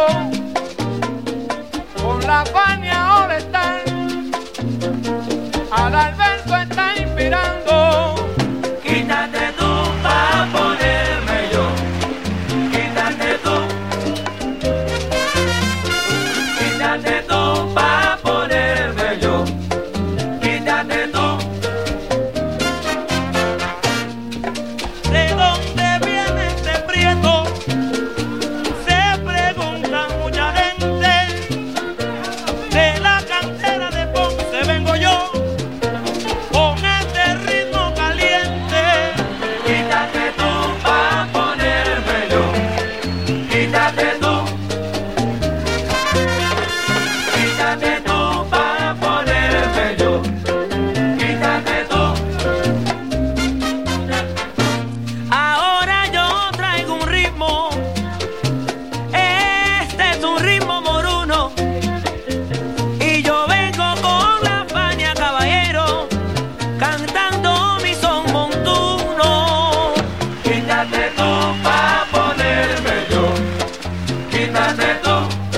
[SPEAKER 7] con la Fania All Star. Al Alberto está inspirando.
[SPEAKER 10] Quítate tú pa' ponerme yo. Quítate tú. Quítate tú pa' ponerme yo. Quítate tú.
[SPEAKER 11] ¿De dónde viene este prieto? Se pregunta mucha gente. De la cantera de Ponce vengo yo, con este ritmo caliente.
[SPEAKER 10] Quítate tú pa' ponerme yo. Quítate tú. Quítate tú pa' ponerme yo. Quítate tú.
[SPEAKER 11] Ahora yo traigo un ritmo. Este es un ritmo moruno. Y yo vengo con la Fania Caballero, cantando mi son montuno.
[SPEAKER 10] Quítate tú pa' ponerme yo. Quítate tú.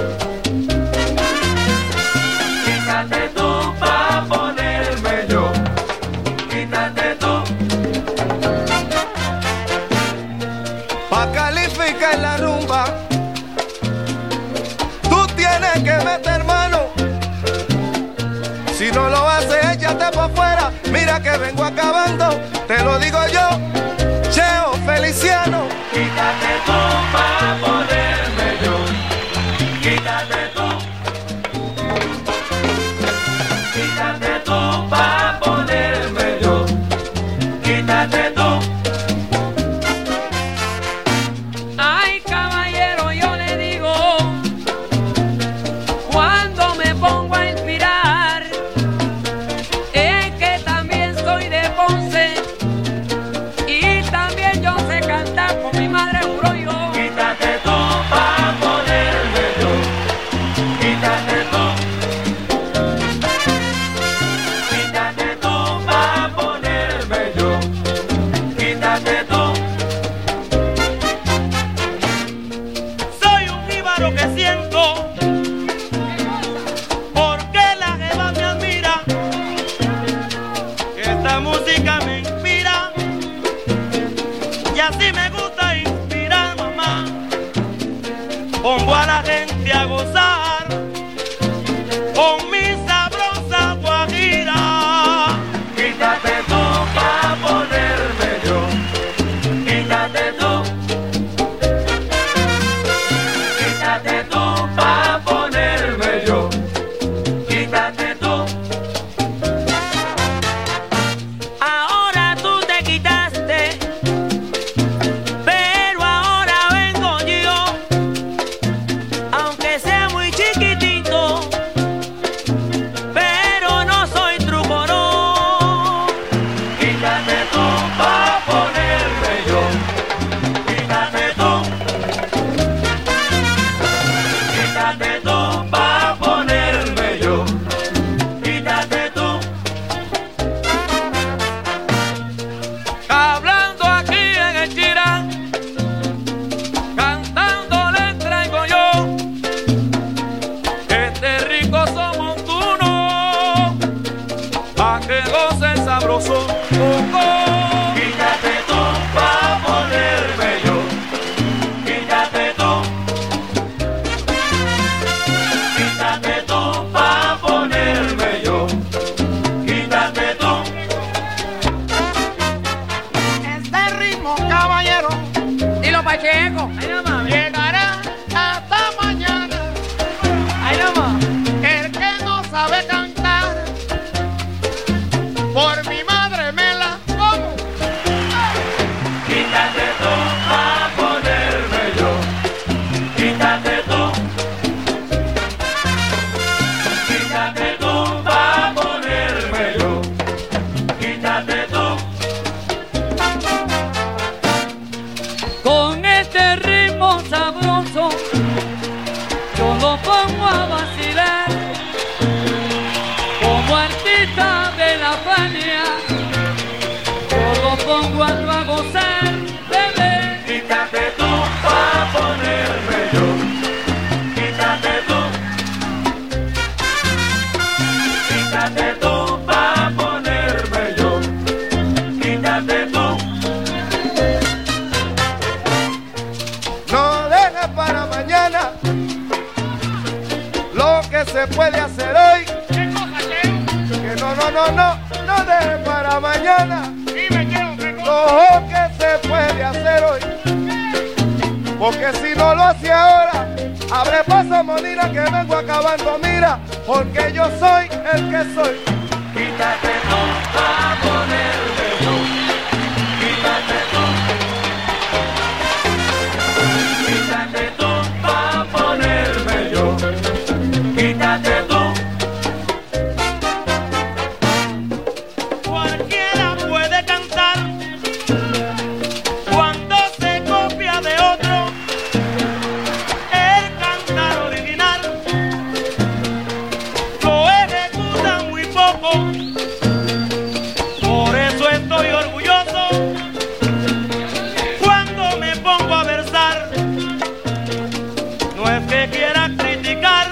[SPEAKER 10] Quítate tú pa' ponerme yo. Quítate tú.
[SPEAKER 9] Pa' calificar la rumba, tú tienes que meter mano. Si no lo haces, échate por fuera. Mira que vengo acabando, te lo digo yo, Cheo Feliciano.
[SPEAKER 10] Quítate tú pa' ponerme yo. Quítate tú. Quítate tú pa' ponerme yo. Quítate tú.
[SPEAKER 7] Ay, caballero, yo le digo, cuando me pongo a inspirar, es que también soy de Ponce y también yo sé cantar, con mi madre juro yo.
[SPEAKER 10] Quítate tú pa' ponerme yo. Quítate tú. Quítate tú pa' ponerme yo. Quítate tú.
[SPEAKER 11] Soy un jíbaro que siento, porque la jeva me admira. Esta música me inspira, y así me gusta inspirar, mamá. Pongo a la gente a gozar con mi sabrosa guajira.
[SPEAKER 10] Quítate tú pa' ponerme yo. Quítate tú. Quítate tú pa' ponerme yo. Quítate tú.
[SPEAKER 11] Ahora tú te quitaste, pero ahora vengo yo, aunque sea muy chiquitito, pero no soy trucorón.
[SPEAKER 10] Quítate tú pa' ponerme yo. Quítate tú. Quítate tú pa' ponerme yo. Quítate tú.
[SPEAKER 7] Hablando aquí en el Chirán, cantando le traigo yo este rico son montuno, pa' que goce sabroso. Oh, oh.
[SPEAKER 10] Quítate tú pa' ponerme yo. Quítate tú. Quítate tú pa' ponerme yo. Quítate tú.
[SPEAKER 7] Este ritmo, caballero, y los pachecos llegará hasta mañana. Ay, nada más. El que no sabe cantar, por mi madre me la como.
[SPEAKER 10] Quítate tú pa' ponerme yo. Quítate tú. Quítate tú pa' ponerme yo. Quítate tú.
[SPEAKER 7] Con este ritmo sabroso, yo lo pongo a vacilar. Como artista de la Fania, yo lo pongo a gozar, bebé.
[SPEAKER 10] Quítate tú pa' ponerme yo.
[SPEAKER 7] que se puede hacer hoy. ¿Qué cosa, Cheo? Que no, no, no, no, no deje para mañana. Dime, Cheo, ¿qué cosa? Lo que se puede hacer hoy. Porque si no lo hace ahora, abre paso, Monina, que vengo acabando, mira, porque yo soy el que soy. Quítate tú pa' ponerme yo. Quítate tú. Quítate tú pa' ponerme yo. Quítate tú.
[SPEAKER 11] Cualquiera puede cantar cuando se copia de otro. El cantar original lo ejecuta muy poco. Por eso estoy orgulloso cuando me pongo a versar. No es que quiera criticar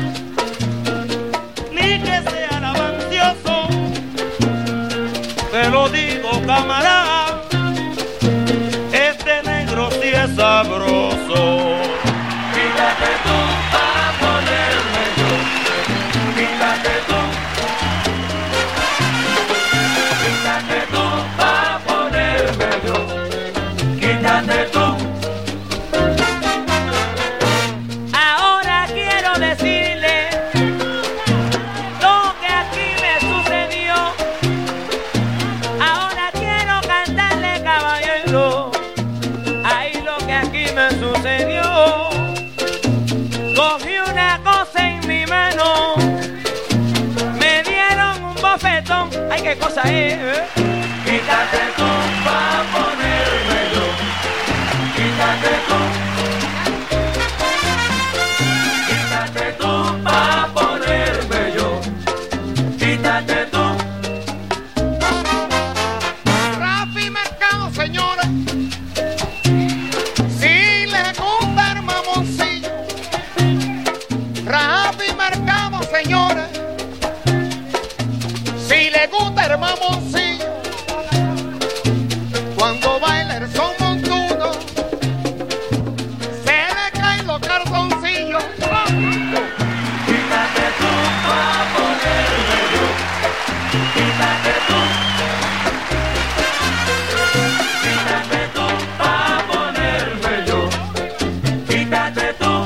[SPEAKER 11] ni que sea lavancioso. Te lo digo, camarada, este negro sí es sabroso. Quítate tú para ponerme yo. Quítate tú. Quítate tú para ponerme yo. Quítate tú. Ahora quiero decirle lo que aquí me sucedió. Ahora quiero cantarle, caballero, ahí lo que aquí me sucedió. Cogí una cosa en mi mano, me dieron un bofetón. Ay, qué cosa es, ¿eh? Quítate tú pa' ponerme yo. Quítate tú. Quítate tú pa' ponerme yo. Quítate tú. Rafi Mercado, señores. Si le gusta el mamoncillo. Rafi Mercado, señores. Si le gusta el mamoncillo. Cuando baila el son montuno, se le caen los calzoncillos. Quítate tú pa' ponerme yo. Quítate tú. Quítate tú pa' ponerme yo. Quítate tú.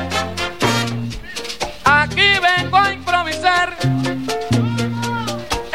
[SPEAKER 11] Aquí vengo a improvisar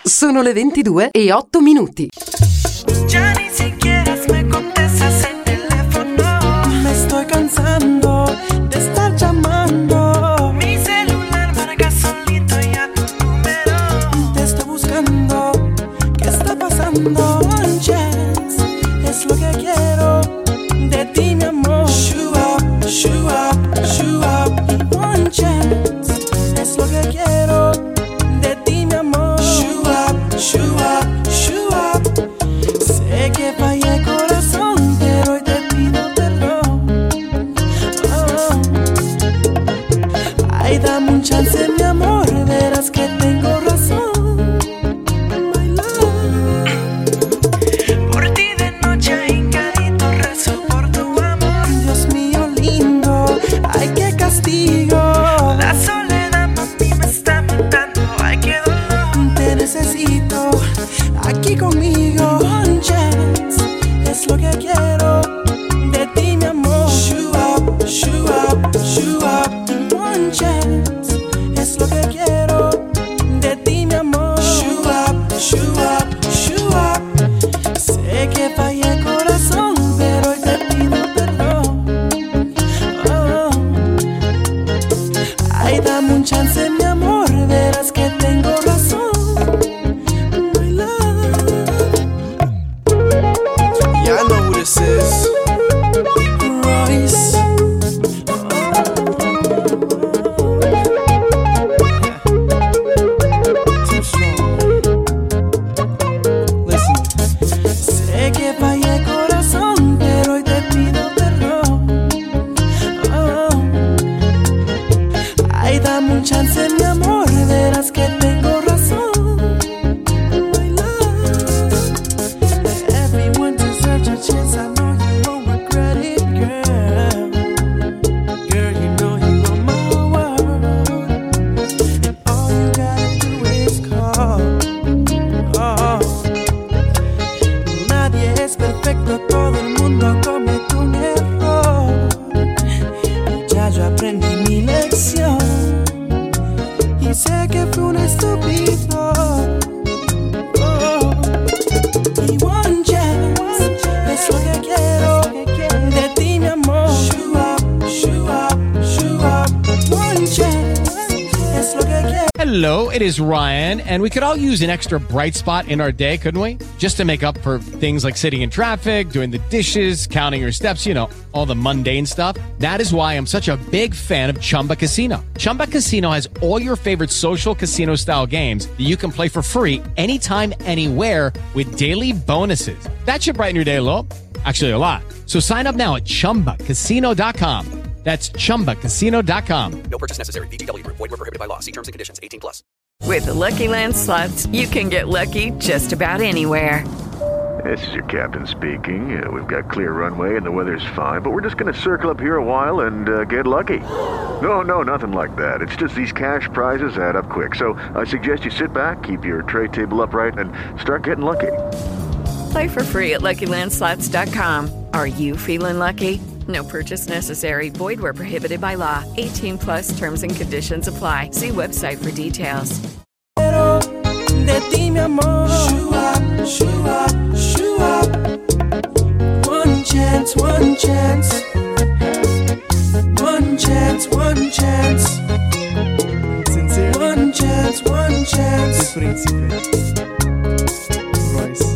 [SPEAKER 8] Sono le ventidue e otto minuti.
[SPEAKER 11] Ya ni siquiera me contestas el teléfono. Me estoy cansando de estar llamando. Mi celular marca solito ya tu número. Te estoy buscando. ¿Qué está pasando? One chance es lo que quiero de ti, mi amor. Show up, show up, show up. One chance es lo que quiero de ti, mi amor. Show up, show up, show up. Sé que fallé el corazón, pero hoy te pido perdón. Oh. Ay, dame un chance, mi amor, verás que tengo razón. My love. Por ti de noche hincadito rezo por tu amor. Dios mío lindo, ay, qué castigo. La soledad papi me está matando, ay, qué dolor. Te necesito aquí conmigo. One chance es lo que quiero de ti, mi amor. Show up, show up, show up. One chance es lo que quiero de ti, mi amor. Show up, show up, show up. Sé que fallé el corazón, pero hoy te pido perdón. Oh. Ay, dame un chance, mi amor, verás que tengo razón. My love.
[SPEAKER 12] Y'all know who this is.
[SPEAKER 11] Royce.
[SPEAKER 12] Too strong. Listen.
[SPEAKER 11] Sé que fallé el corazón, pero hoy te pido perdón. Oh. Ay, dame un chance, mi amor, verás que tengo razón. My love. Everyone deserves a chance, I know you won't regret it, girl. Girl, you know you are my world, and all you gotta do is call. Oh. Nadie es perfecto, todo el mundo comete un error. Ya yo aprendí mi lección y sé que fue un estúpido. Oh. Y one chance es lo que quiero de ti, mi amor. Show up, show up, show up. One chance es lo que quiero.
[SPEAKER 18] Hello, it is Ryan, and we could all use an extra bright spot in our day, couldn't we? Just to make up for things like sitting in traffic, doing the dishes, counting your steps, you know, all the mundane stuff. That is why I'm such a big fan of Chumba Casino. Chumba Casino has all your favorite social casino style games that you can play for free anytime, anywhere with daily bonuses. That should brighten your day a little. Actually, a lot. So sign up now at chumba casino dot com. That's chumba casino dot com.
[SPEAKER 19] No purchase necessary. V G W. Void where prohibited by law. See terms and conditions. eighteen plus.
[SPEAKER 5] With the Lucky Land Slots, you can get lucky just about anywhere.
[SPEAKER 14] This is your captain speaking. Uh, we've got clear runway and the weather's fine, but we're just going to circle up here a while and uh, get lucky. No, no, nothing like that. It's just these cash prizes add up quick. So I suggest you sit back, keep your tray table upright, and start getting lucky.
[SPEAKER 5] Play for free at lucky land slots dot com. Are you feeling lucky? No purchase necessary. Void where prohibited by law. eighteen plus terms and conditions apply. See website for details.
[SPEAKER 11] De ti, mi amor. Show up, show up, show up. One chance, one chance. One chance, one chance.
[SPEAKER 12] Sincerely.
[SPEAKER 11] One chance, one chance.
[SPEAKER 12] El príncipe. Royce.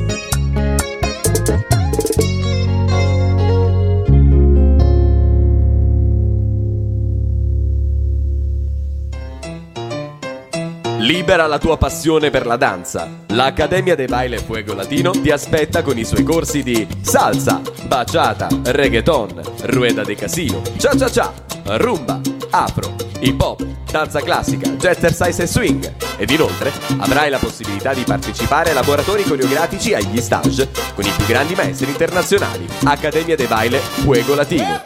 [SPEAKER 13] Libera la tua passione per la danza. L'Accademia de Baile Fuego Latino ti aspetta con i suoi corsi di salsa, bachata, reggaeton, rueda de casino, cha-cha-cha, rumba, afro, hip hop, danza classica, jazzercise e swing. Ed inoltre avrai la possibilità di partecipare a laboratori coreografici agli stage con i più grandi maestri internazionali. Accademia de Baile Fuego Latino.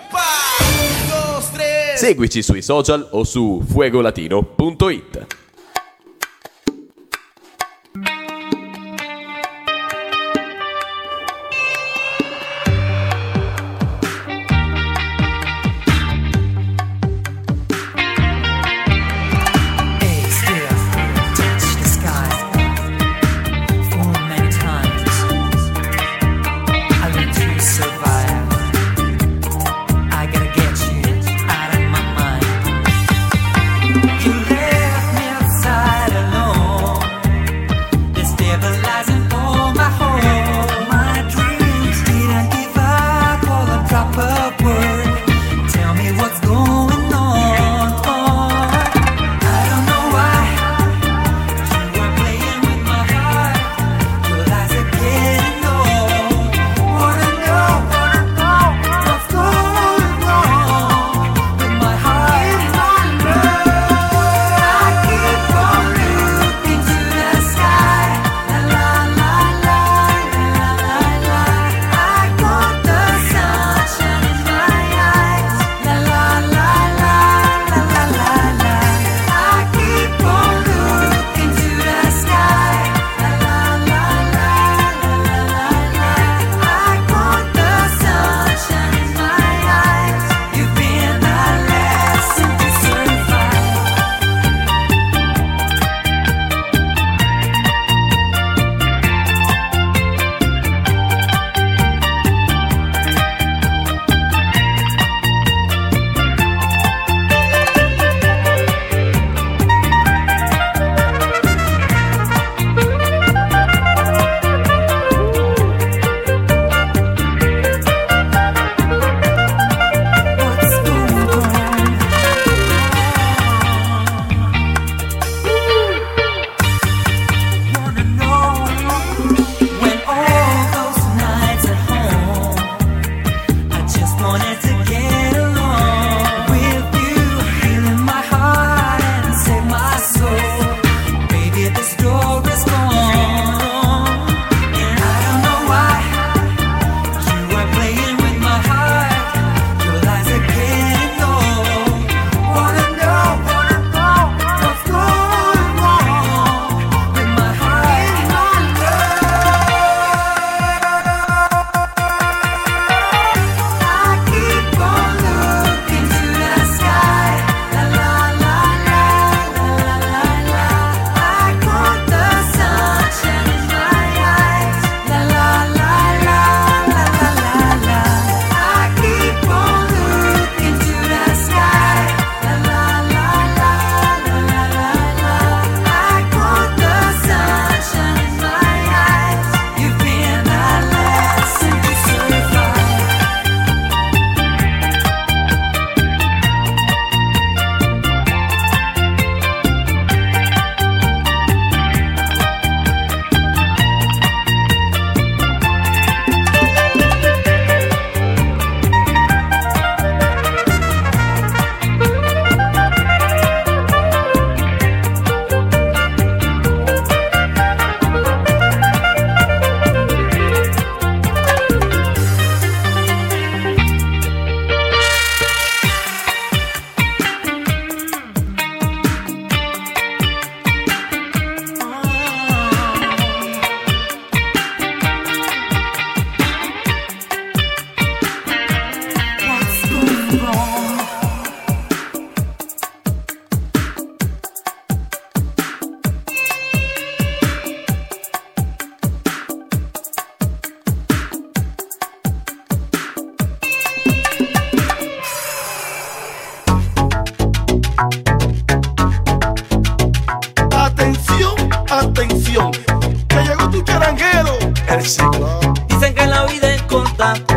[SPEAKER 13] Seguici sui social o su fuegolatino punto it.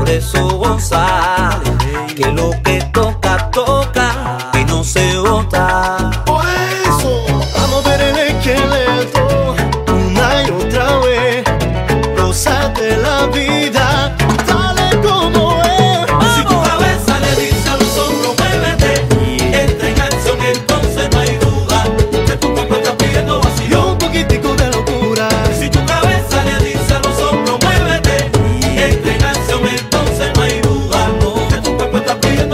[SPEAKER 2] Por eso González, que lo que toca, toca y no se bota.
[SPEAKER 21] Por eso, vamos a ver el esqueleto una y otra vez. Gózate la vida, dale como es.
[SPEAKER 2] Si tu cabeza le dice a los hombros, muévete, entra en acción, entonces no hay duda que tu cuerpo está pidiendo vacío.
[SPEAKER 21] Y un poquitico de locura.
[SPEAKER 2] Si tu cabeza le dice a los hombros, muévete, entra en acción, entonces no hay duda que tu cuerpo está pidiendo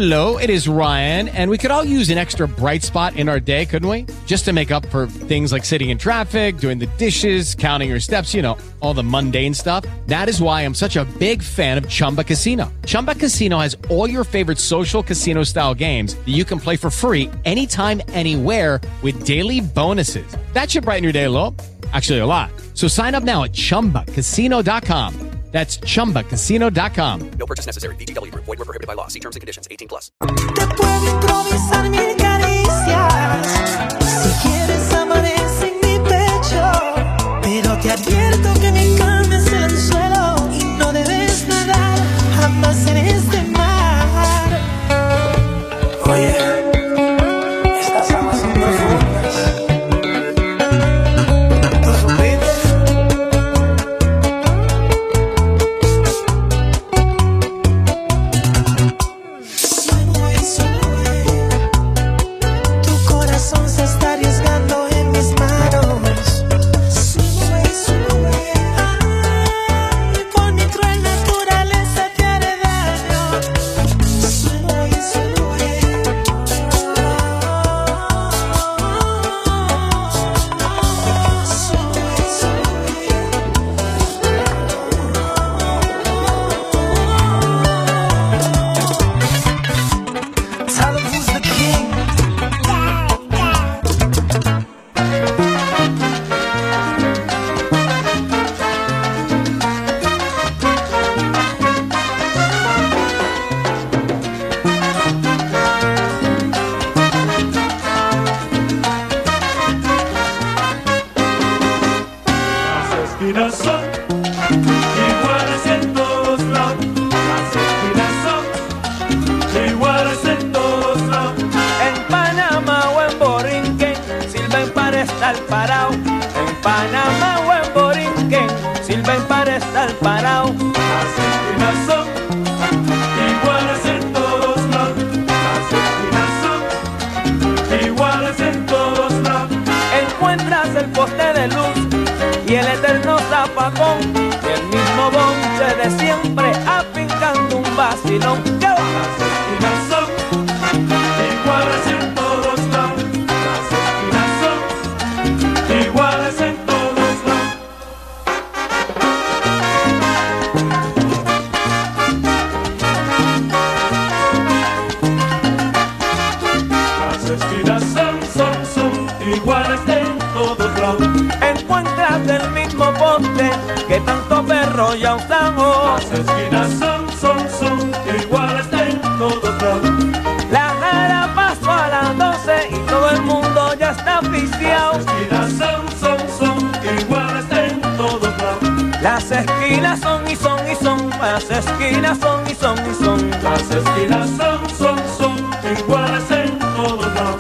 [SPEAKER 18] Hello, it is Ryan, and we could all use an extra bright spot in our day, couldn't we? Just to make up for things like sitting in traffic, doing the dishes, counting your steps, you know, all the mundane stuff. That is why I'm such a big fan of Chumba Casino. Chumba Casino has all your favorite social casino-style games that you can play for free anytime, anywhere with daily bonuses. That should brighten your day a little. Actually, a lot. So sign up now at chumba casino dot com. That's chumba casino dot com.
[SPEAKER 19] No purchase necessary. V G W Group. Void where prohibited by law. See terms and conditions. eighteen plus.
[SPEAKER 10] Te puedo improvisar mil caricias si quieres amanece en mi pecho, pero te advierto que mi cama es el suelo y no debes nadar jamás en este mar. Oye, estas aguas son profundas. ¿Tú supiste? Sube, sube. Tu corazón se está arriesgando en mis manos. Sube, sube. Ay, por mi cruel naturaleza te haré daño. Sube, sube. Tell them who's the king.
[SPEAKER 2] Las esquinas son iguales en todos lados. Las esquinas son iguales en todos lados.
[SPEAKER 22] En Panamá o en Borinquen sirven para estar parado. En Panamá o en Borinquen sirven para estar parado.
[SPEAKER 2] Las esquinas son iguales en todos lados. Las esquinas son iguales en todos lados.
[SPEAKER 22] Encuentras el poste de luz y el eterno zapacón y el mismo bonche de siempre afincando un vacilón. ¿Qué va?
[SPEAKER 2] Las esquinas son iguales en todos lados. Las esquinas son iguales en todos lados. Las esquinas son, son, son iguales en todos lados.
[SPEAKER 22] Encuentras el mismo poste que tanto perro ya usamos.
[SPEAKER 2] Las esquinas son, son, son iguales en todos lados.
[SPEAKER 22] La jara pasó a las doce y todo el mundo ya está oficiado.
[SPEAKER 2] Las esquinas son, son, son iguales en todos lados.
[SPEAKER 22] Las esquinas son y son y son, las esquinas son y son y son.
[SPEAKER 2] Las esquinas son, son, son iguales en todos lados.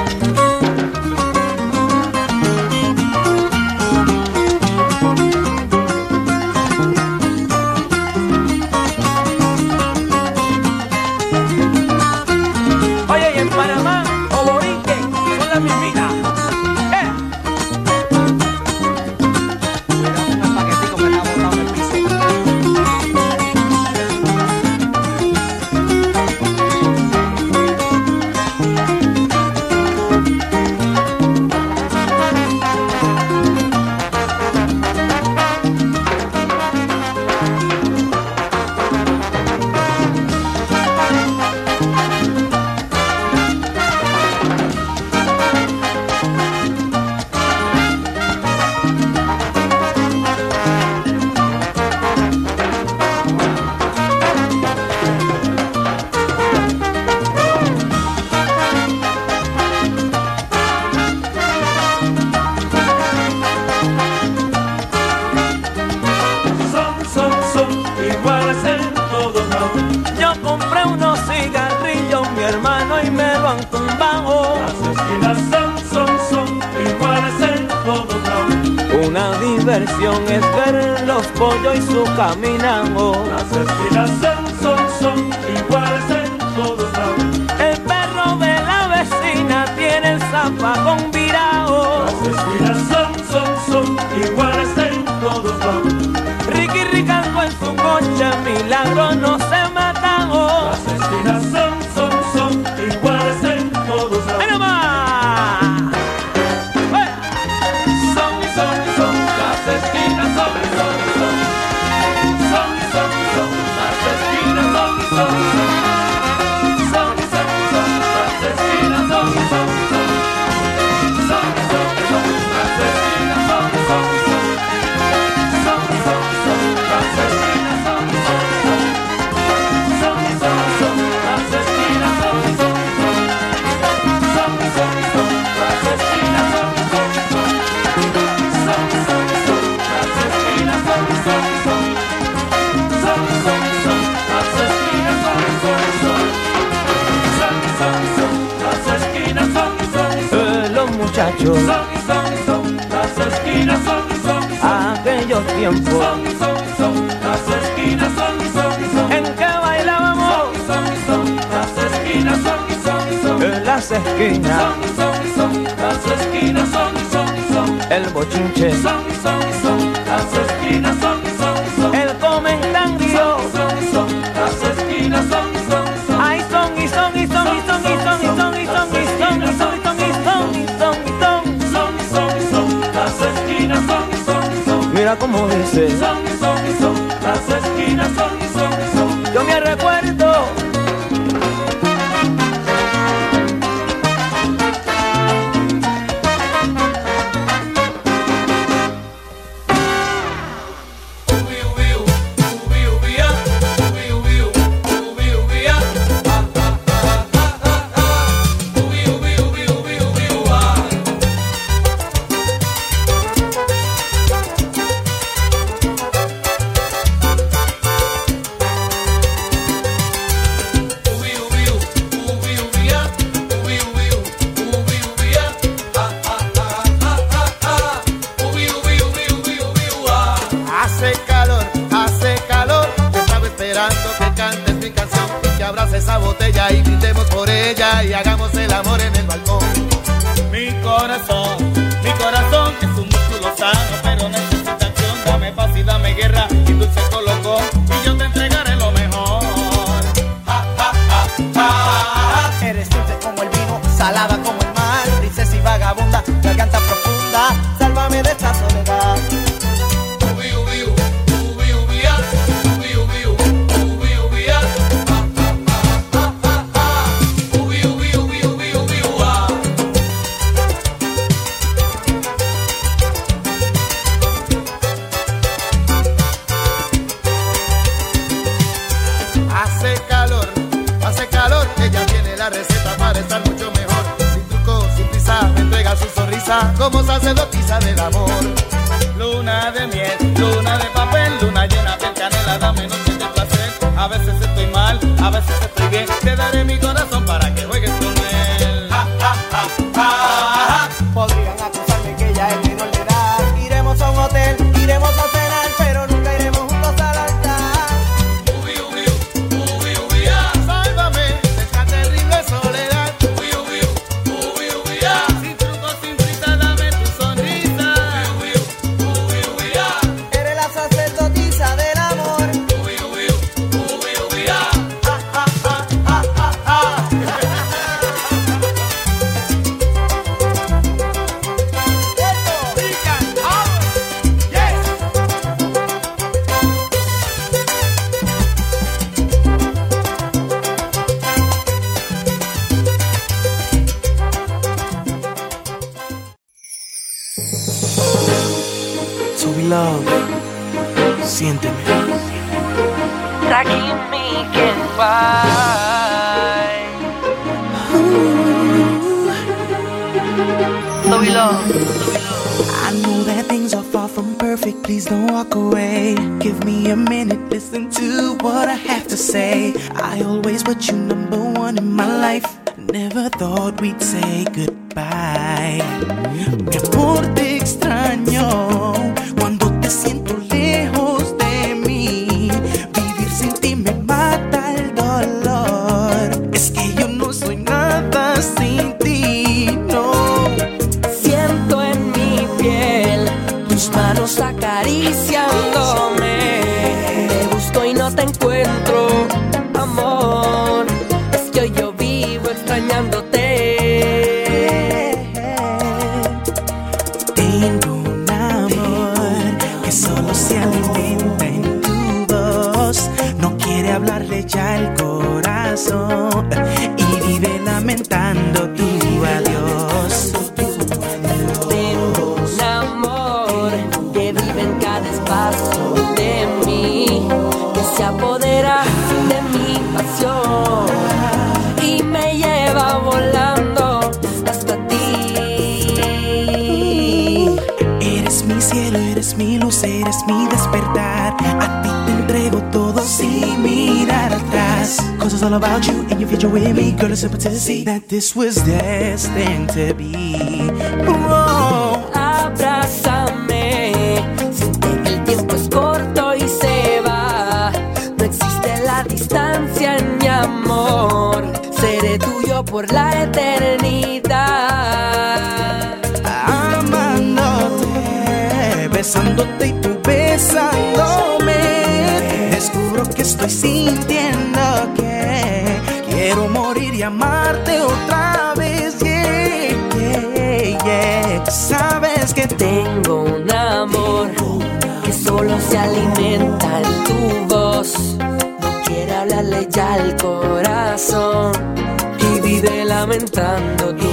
[SPEAKER 22] Oye, y en Panamá o Borinquen son las mismitas. ¡Eh! Mira, un paquetico que está botado en el piso. Son, son, son iguales en todos lados. Yo compré unos cigarrillos, mi hermano, y me lo han tumbado. Las esquinas son, son, son iguales en todos lados. Una diversión es ver los pollos y su caminado. Las esquinas son, son, son iguales en todos lados. El perro de la vecina tiene el zapacón virado. Las esquinas son, son, son iguales en todos lados. Ricky Ricardo en su coche, milagro no se matan. Las esquinas son, son, mucho.
[SPEAKER 2] Son y son y son las esquinas, son y son y son
[SPEAKER 22] aquellos tiempos.
[SPEAKER 2] Son y son y son las esquinas, son y son y son
[SPEAKER 22] en que bailábamos.
[SPEAKER 2] Son y son y son las esquinas, son y son y son
[SPEAKER 22] en las esquinas.
[SPEAKER 2] Son y son y son las esquinas, son y son y son
[SPEAKER 22] el bochinche.
[SPEAKER 2] Son y son y son las esquinas, son y son y son
[SPEAKER 22] el comentario.
[SPEAKER 2] Son y son y son las esquinas, son y son y son
[SPEAKER 22] ay, son y son y son y son y son y son y son y son y son y son y son y son y son y son
[SPEAKER 2] son y son y son las esquinas, son y son y son
[SPEAKER 22] mira como dice.
[SPEAKER 2] Son y son y son las esquinas, son y son y son
[SPEAKER 22] yo me recuerdo.
[SPEAKER 21] Esa botella y brindemos por ella y hagamos el amor en el balcón.
[SPEAKER 3] Mi corazón, mi corazón es un músculo sano, pero necesita acción. Dame paz y dame guerra y dulce colocó y yo te entregaré lo mejor.
[SPEAKER 21] Ja, ja, ja, ja, ja. Eres dulce como el vino, salada como el mar, princesa y vagabunda, garganta profunda, sálvame de esta soledad. Como sacerdotisa del amor.
[SPEAKER 3] Luna de miel, luna de papel, luna llena de canela, dame noche de placer. A veces estoy mal, a veces estoy bien. Te daré mi corazón para que juegues con él.
[SPEAKER 21] Ja, ja, ja, ja, ja. Podrían acusarme que ya es menor de edad. Iremos a un hotel, iremos a cenar, pero nunca iremos juntos al altar.
[SPEAKER 2] Ubi, ubi, ubi, ubi, ah.
[SPEAKER 21] Sálvame de esta terrible soledad.
[SPEAKER 2] Ubi, ubi, ubi, ubi, ah.
[SPEAKER 21] Sin trucos, sin prisa, dame tu sonrisa.
[SPEAKER 2] Ubi, ubi, ubi, ubi, ah.
[SPEAKER 21] Eres la sacerdotisa del amor.
[SPEAKER 2] Ubi, ubi, ubi, ubi, ah.
[SPEAKER 21] Ja, ja, ja, ja, ja, ja.
[SPEAKER 11] So we love, siénteme.
[SPEAKER 15] So we love. I know that things are far from perfect. Please don't walk away. Give me a minute, listen to what I have to say. I always put you number one in my life. Never thought we'd say goodbye. Mi amor, te extraño cuando te siento lejos de mí. Vivir sin ti me mata el dolor. Es que yo no soy nada sin ti, no.
[SPEAKER 10] Siento en mi piel tus manos acariciándome. Te busco y no te encuentro, amor. Es que hoy yo vivo extrañándote.
[SPEAKER 15] Tengo un amor que solo se alimenta en tu voz. No quiere hablarle ya el corazón y vive lamentando tu adiós.
[SPEAKER 10] Tengo un amor que vive en cada espacio de mí, que se apodera de mi pasión y me lleva volando hasta ti.
[SPEAKER 15] Eres mi cielo, eres mi luz, eres mi despertar. A ti te entrego todo sin mirar atrás. Cause it's all about you and your future with me. Girl, it's simple to see that this was destined to be. Oh,
[SPEAKER 16] por la eternidad.
[SPEAKER 10] Amándote, besándote y tú besándome, descubro que estoy sintiendo que quiero morir y amarte otra vez. Yeah, yeah, yeah. Sabes que
[SPEAKER 16] tengo un amor que solo se alimenta en tu voz. No quiere hablarle ya al corazón y vive lamentando tu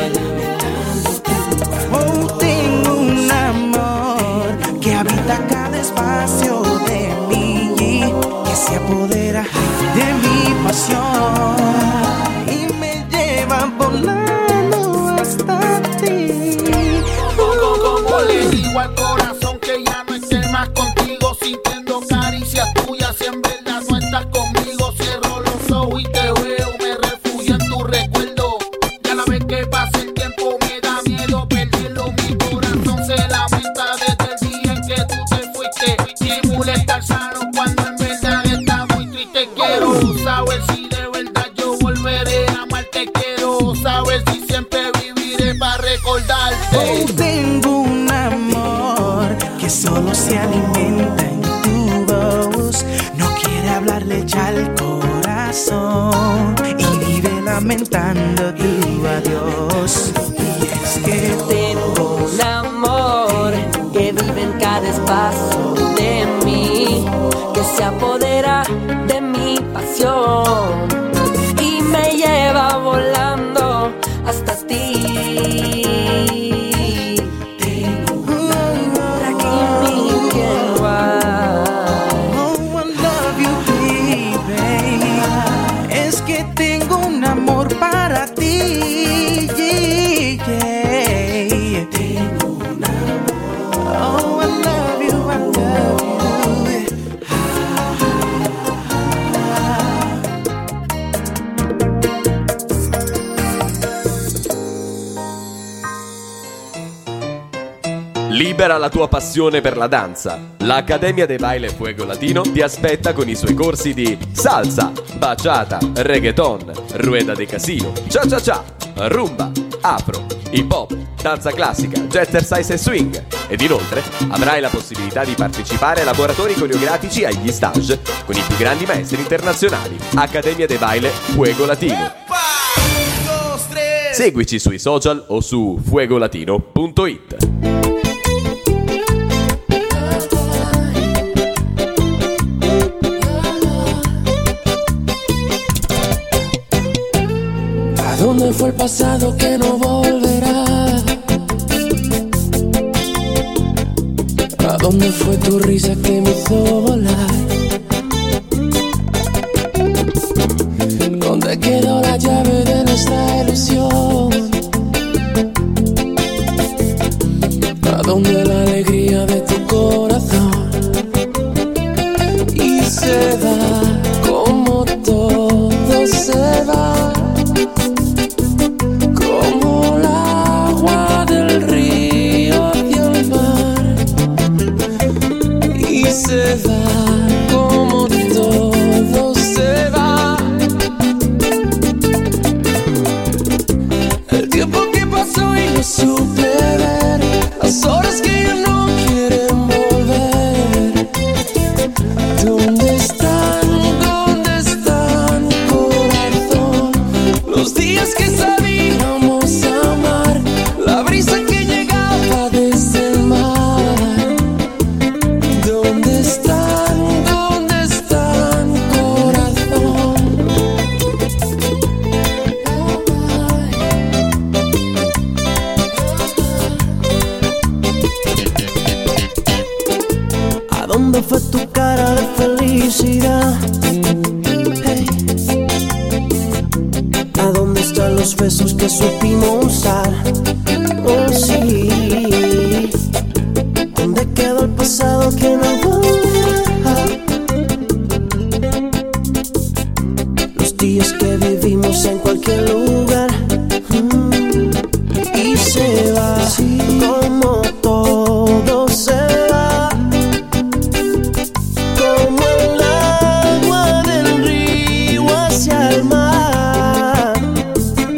[SPEAKER 10] Oh, tengo un amor que habita cada espacio de mí, que se apodera de mi pasión y me lleva volando hasta ti.
[SPEAKER 7] Como le digo al corazón que ya no esté más contigo, sintiendo caricias tuyas, si en verdad no estás conmigo. Cierro los ojos y te veo, me refugio en tu recuerdo. Ya la vez que pasa el tiempo me da miedo perderlo. Mi corazón se lamenta desde el día en que tú te fuiste. Simula estar sano cuando en verdad está muy triste. Quiero saber si de verdad yo volveré a amarte. Quiero saber si siempre viviré para recordarte.
[SPEAKER 10] Oh, tengo un amor que solo se alimenta en tu voz. No quiere hablarle ya al corazón y vive lamentando tu adiós. Y es que
[SPEAKER 16] tengo un amor que vive en cada espacio de mí, que se apodera de mi pasión y me lleva volando hasta ti.
[SPEAKER 10] Tengo un amor para ti, yeah, yeah. Tengo un amor. Oh, I love you, I love
[SPEAKER 13] you. Libera la tua passione per la danza. L'Accademia de Baile Fuego Latino ti aspetta con i suoi corsi di salsa, bachata, reggaeton, rueda de casino, cha-cha-cha, rumba, afro, hip hop, danza classica, jazzercise e swing. Ed inoltre avrai la possibilità di partecipare ai laboratori coreografici agli stage con i più grandi maestri internazionali. Accademia de Baile Fuego Latino. Seguici sui social o su fuegolatino punto it.
[SPEAKER 16] ¿Dónde fue el pasado que no volverá? ¿A dónde fue tu risa que me hizo volar? ¿Dónde quedó la llave de nuestra ilusión? ¿A dónde la alegría de tu corazón? Y se va como todo se va, como el agua del río hacia el mar, y se va como todo se va. El tiempo que pasó y no supe ver, las horas que ya no quieren volver. ¿Dónde están? ¿Dónde están, corazón? Los días que sabíamos amar, la brisa que llegaba desde el mar. ¿Dónde están? ¿Dónde están, corazón? ¿A dónde fue tu cara de felicidad? Hey. ¿A dónde están los besos que supimos dar? Oh, sí. ¿Dónde quedó el pasado que no volverá? Los días que vivimos en cualquier lugar, mm. y se va, sí, como todo se va, como el agua del río hacia el mar.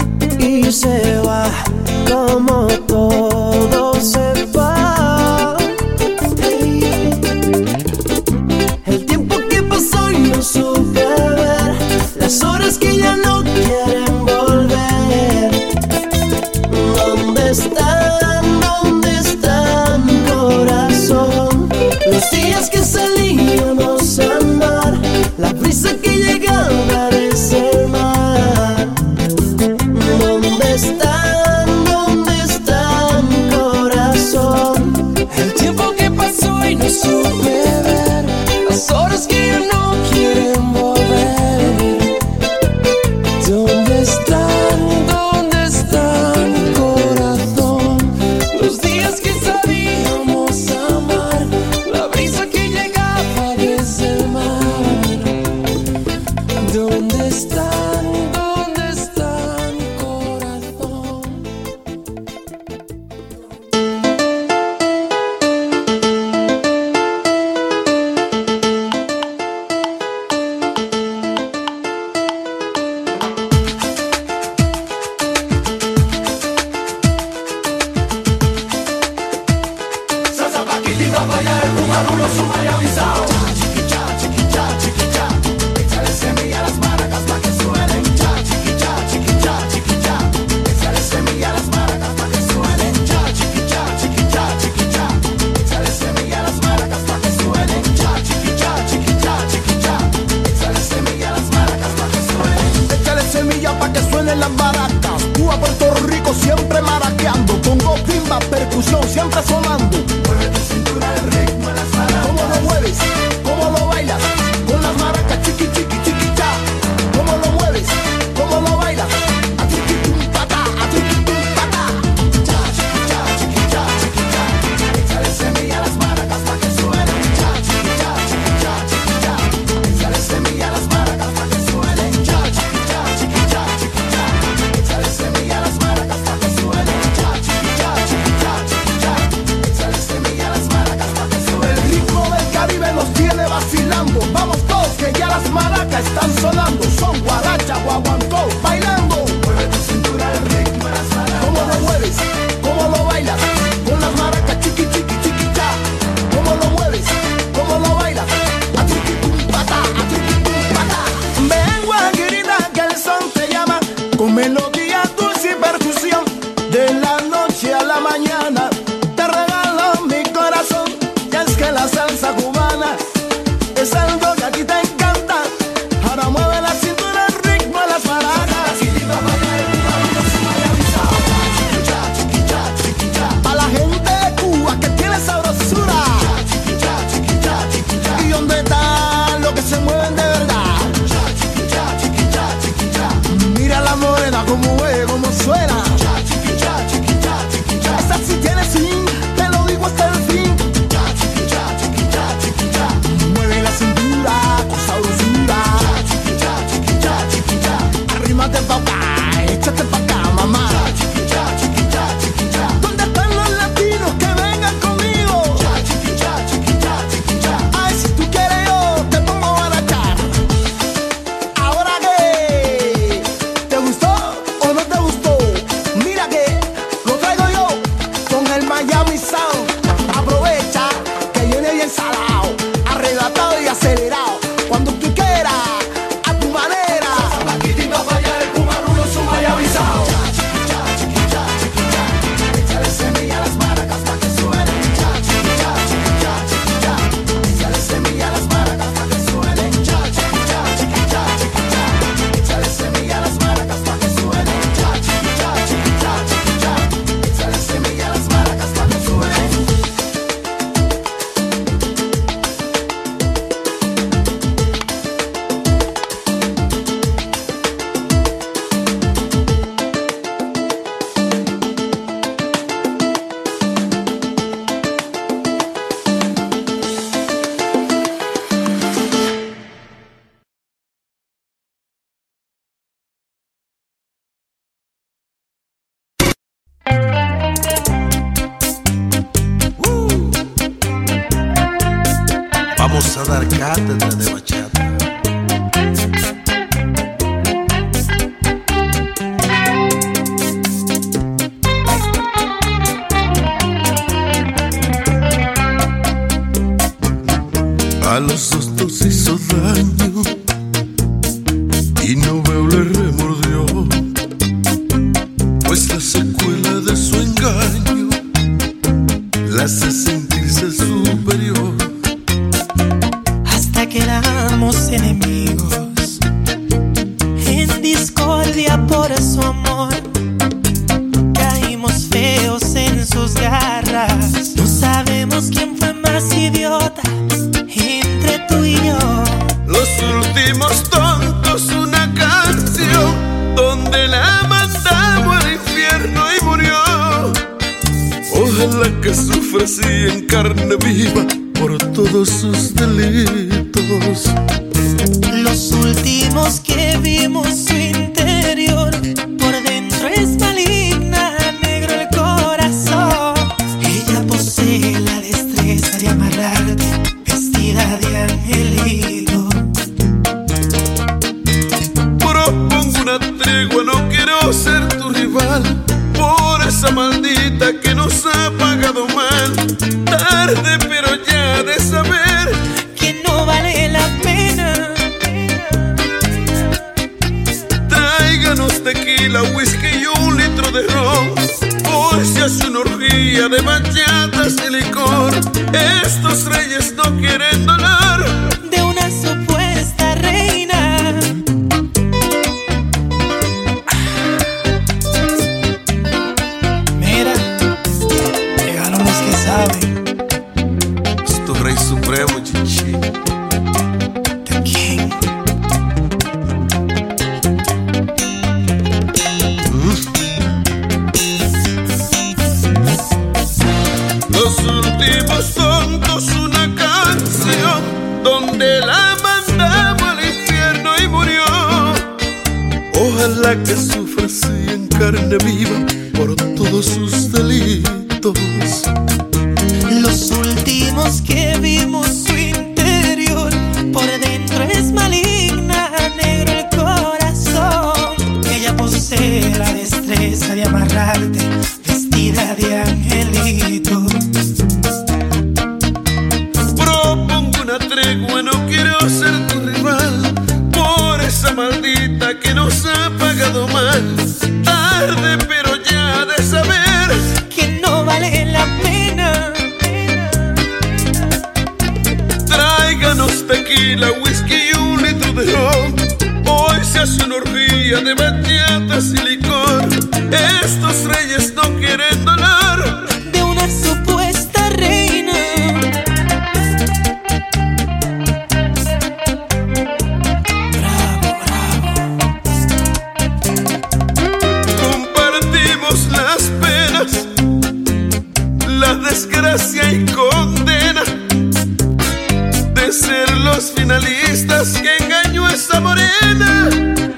[SPEAKER 21] mueven las maracas. Cuba, Puerto Rico, siempre maraqueando. Pongo timba, percusión, siempre sonando. Mueve tu cintura, el ritmo de las maracas. ¿Cómo lo mueves? ¿Cómo lo bailas? Con las maracas, chiqui, chiqui, chiqui, cha. ¿Cómo lo mueves? ¿Cómo lo bailas? A triqui, tum, patá, a triqui, tum, patá. Cha, chiqui, cha, chiqui, cha, chiqui, cha. Échale semilla a las maracas pa' que suenen. Cha, chiqui, cha, chiqui, cha, chiqui, cha. Échale semilla a las maracas pa' que suenen. Cha, chiqui, cha, chiqui, cha, chiqui, cha. Échale semilla a las maracas pa' que suenen. Cha, chiqui, cha, chiqui, cha, chiqui, cha. Échale semilla a las maracas pa' que suenen. El ritmo del Caribe nos tiene vacilando. Vamos todos que ya las maracas están sonando. Son guaracha, guaguancó, bailando. Mueve tu cintura, el ritmo de las maracas. ¿Cómo lo mueves? ¿Cómo lo bailas? Con las maracas, chiqui, chiqui, chiqui, cha. ¿Cómo lo mueves? ¿Cómo lo bailas? A triqui, tum, patá, a triqui, tum, patá. Ven, guajirita, que el son te llama. Con melodía, dulce y percusión. De la noche a la mañana te regalo mi corazón. Y es que la salsa cubana es algo que a ti te encanta. Ahora mueve la cintura, el ritmo de las maracas. A la gente de Cuba que tiene sabrosura. Y donde está lo que se mueven de verdad. Mira la morena como ve, como suena. Esta sí tiene fin, te lo digo hasta el fin. Mueve la cintura con sabrosura. Arrímate pa' acá, échate pa' acá, mamá. ¿Dónde están los latinos que vengan conmigo? Ay, si tú quieres yo te pongo a barachar. Ahora que ¿te gustó o no te gustó? Mira que lo traigo yo con el Miami Sound. Aprovecha que viene bien salado, arrebatado y acelerado. Cuando tú quieras, a tu manera. Paquitito para allá, el cubarulo es un Miami Sound. Échale semilla a las maracas pa' que suenen. Échale semilla a las maracas pa' que suenen. Échale semilla a las maracas pa' que suenen. Échale semilla a las maracas pa' que suenen.
[SPEAKER 17] Vamos a dar cátedra de bachata. A los dos nos hizo daño y no veo le remordió, pues la secuela de su engaño la hace sentirse superior.
[SPEAKER 11] Hasta que éramos enemigos, en discordia por su amor, caímos feos en sus garras. No sabemos quién fue más idiota entre tú y yo.
[SPEAKER 17] Los últimos tontos, una canción donde la mandamos al infierno y murió. Ojalá que sufra así en carne viva por todos sus delitos.
[SPEAKER 11] Los últimos que vimos su interior, por dentro es maligna, negro el corazón. Ella posee la destreza de amarrarte, vestida de angelito.
[SPEAKER 17] Propongo una tregua, no quiero ser tu rival, por esa maldita que nos ha pagado mal. Tarde pero ya de saber
[SPEAKER 11] que no vale la pena.
[SPEAKER 17] Tráiganos tequila, whisky y un litro de ron. Hoy se hace una orgía de bachatas y licor. Estos reyes no quieren dolor
[SPEAKER 11] de una supuesta reina.
[SPEAKER 17] la que sufre así en carne viva por todos sus delitos.
[SPEAKER 11] Los últimos que vimos su interior, por dentro es maligna, negro el corazón. Ella posee la destreza de amarrarte, vestida de angelito.
[SPEAKER 17] Propongo una tregua, no quiero ser tu rival, por esa maldita que nos ha pagado mal. Tarde pero ya de saber
[SPEAKER 11] que no vale la pena.
[SPEAKER 17] Tráiganos tequila, whisky y un litro de ron. Hoy se hace una orgía de bachatas y licor. Estos reyes no quieren dolor
[SPEAKER 11] de una supuesta reina. Bravo, bravo.
[SPEAKER 17] Compartimos las penas, la desgracia y condena de ser los finalistas que engañó a esa morena.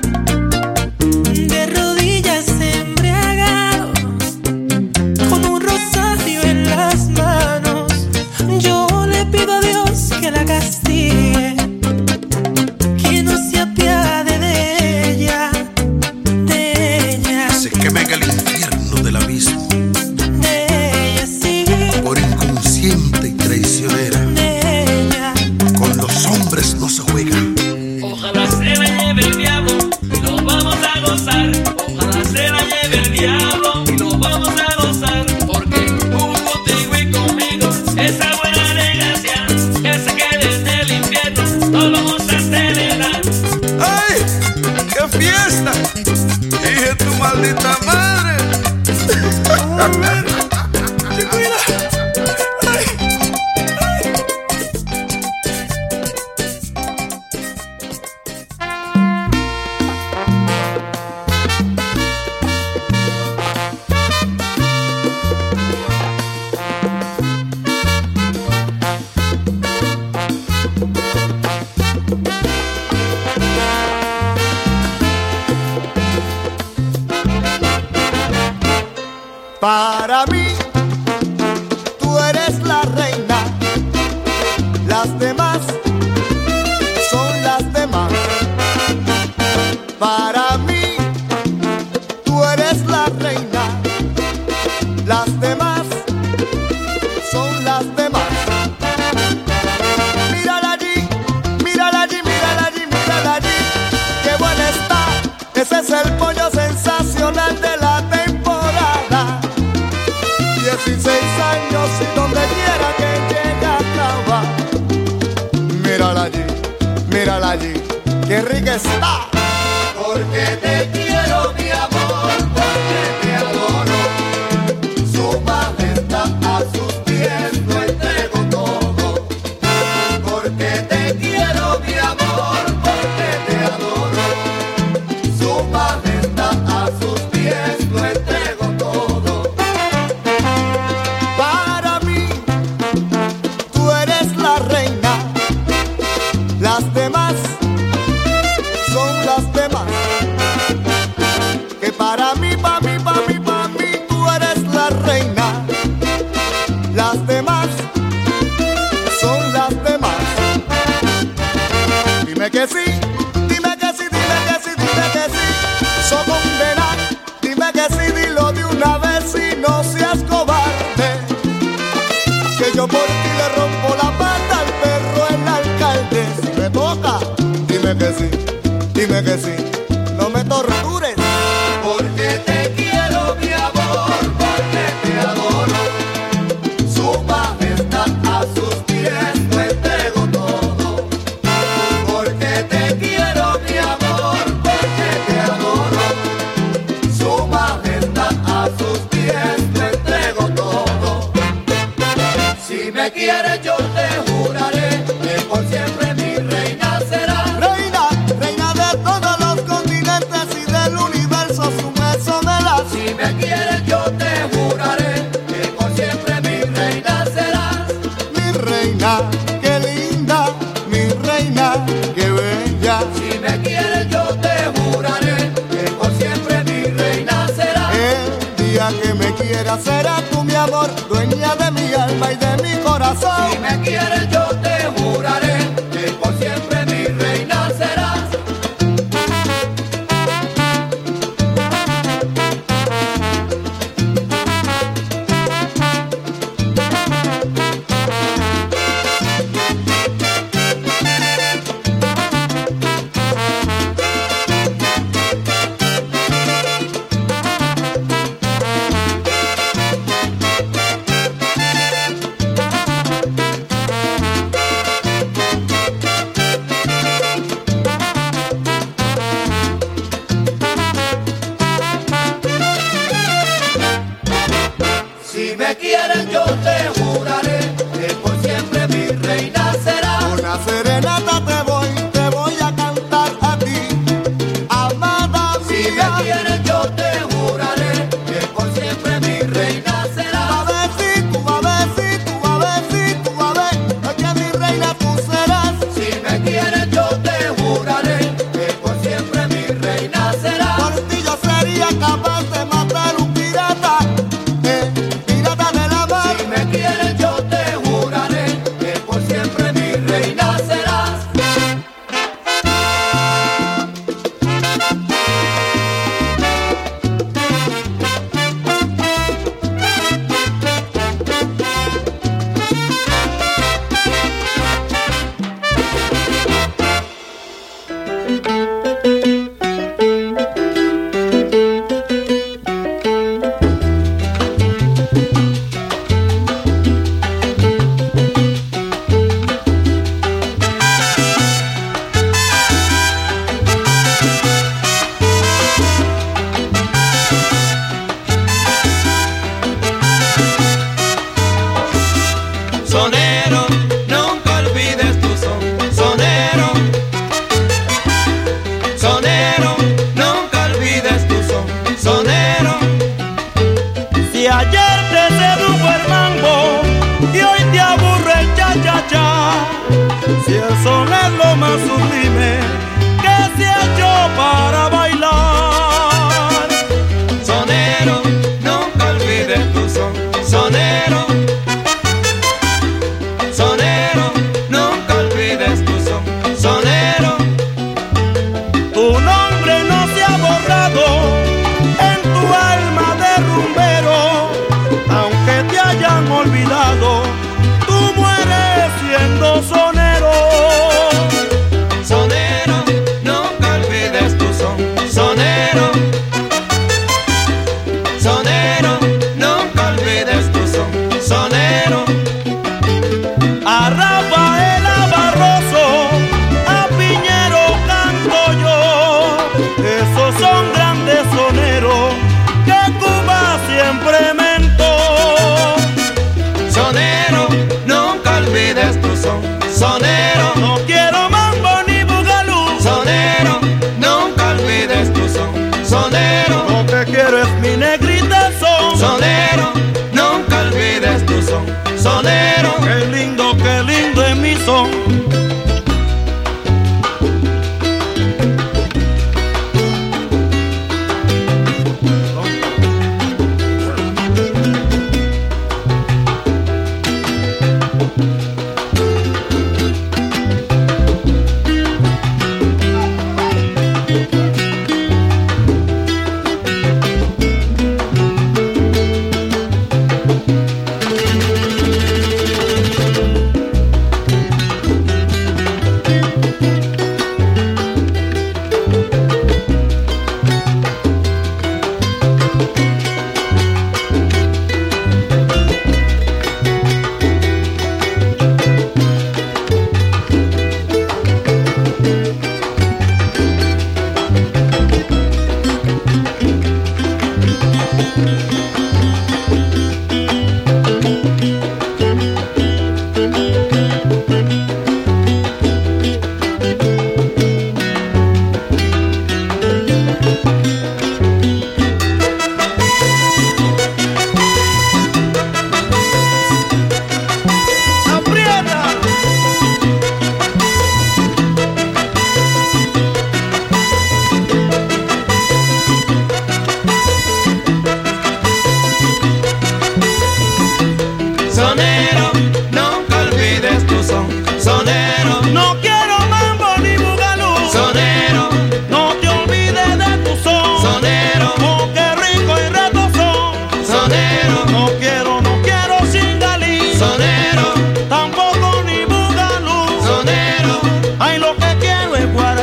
[SPEAKER 11] De rodillas embriagado, con un rosario en las manos, yo le pido a Dios que la castigue, que no se apiade de ella, de ella.
[SPEAKER 17] Se queme en el infierno del abismo,
[SPEAKER 11] de ella sí,
[SPEAKER 17] por inconsciente y traicionera.
[SPEAKER 11] De ella.
[SPEAKER 17] Con los hombres no se juega.
[SPEAKER 10] Ojalá se la lleve el diablo y lo vamos a gozar. Ojalá se la lleve el diablo y lo vamos a gozar. Porque hubo contigo y conmigo esa buena desgracia que se quede en el infierno. Lo vamos a celebrar.
[SPEAKER 17] ¡Ay! ¡Qué fiesta! ¡Dije tu maldita madre! A ver, chiquila. ¡Ay! ¡Ay!
[SPEAKER 9] Para mí, tú eres la reina, las demás son las demás. Para mí, tú eres la reina, las demás son las demás. Mírala allí, mírala allí, mírala allí, mírala allí, qué buena está, ese es el pollo sensacional de la temporada. dieciséis años y donde quiera que llegue acaba. Mírala allí, mírala allí, qué rica está. Porque te quiero, mi amor, porque te adoro. Su majestad a sus pies lo entrego todo. Porque te quiero, mi amor, porque te adoro. Su majestad a sus pies lo entrego todo. Para mí, tú eres la reina, las demás son las demás. Que para mí, para mí, para mí, para mí, tú eres la reina, las demás son las demás. Dime que sí, dime que sí, dime que sí, dime que sí, so condena. Dime que sí, dilo de una vez y no seas cobarde. Que yo por ti le rompo la pata al perro el alcalde. Si me toca, dime que sí, dime que sí, no me tortures. Porque te quiero, mi amor, porque te adoro. Su majestad a sus pies lo entrego todo. Porque te quiero, mi amor, porque te adoro. Su majestad a sus pies lo entrego todo. Si me quieres yo te juraré que por siempre mi reina será. Reina, reina de todos los continentes y del universo, su beso me da. Si me quieres yo te juraré que por siempre mi reina serás. Mi reina, qué linda, mi reina, qué bella. Si me quieres yo te juraré que por Reina serás tú mi amor, dueña de mi alma y de mi corazón.
[SPEAKER 21] Si me quieres yo te juraré que por siempre mi reina serás. Si me quieren yo te juraré que por siempre mi reina será.
[SPEAKER 9] Una serenata te voy, te voy a cantar a ti, amada mía.
[SPEAKER 21] Si me quieren yo te juraré que por siempre mi reina será.
[SPEAKER 9] Babecito, babecito, babecito, babe, que mi reina tú serás.
[SPEAKER 21] Si me quieren yo te juraré que por siempre mi reina será.
[SPEAKER 9] Por ti yo sería capaz de matar un pirata, eh, pirata de la mar.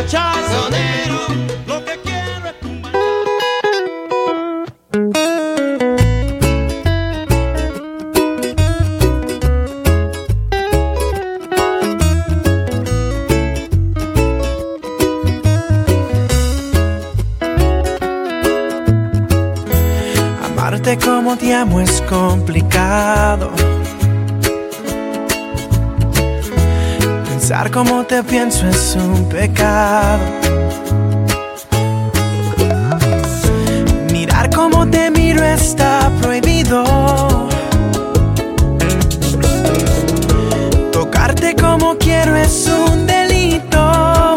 [SPEAKER 2] Sonero, lo que quiero es tu
[SPEAKER 11] Amarte como te amo es complicado. Pensar como te pienso es un pecado. Mirar como te miro está prohibido. Tocarte como quiero es un delito.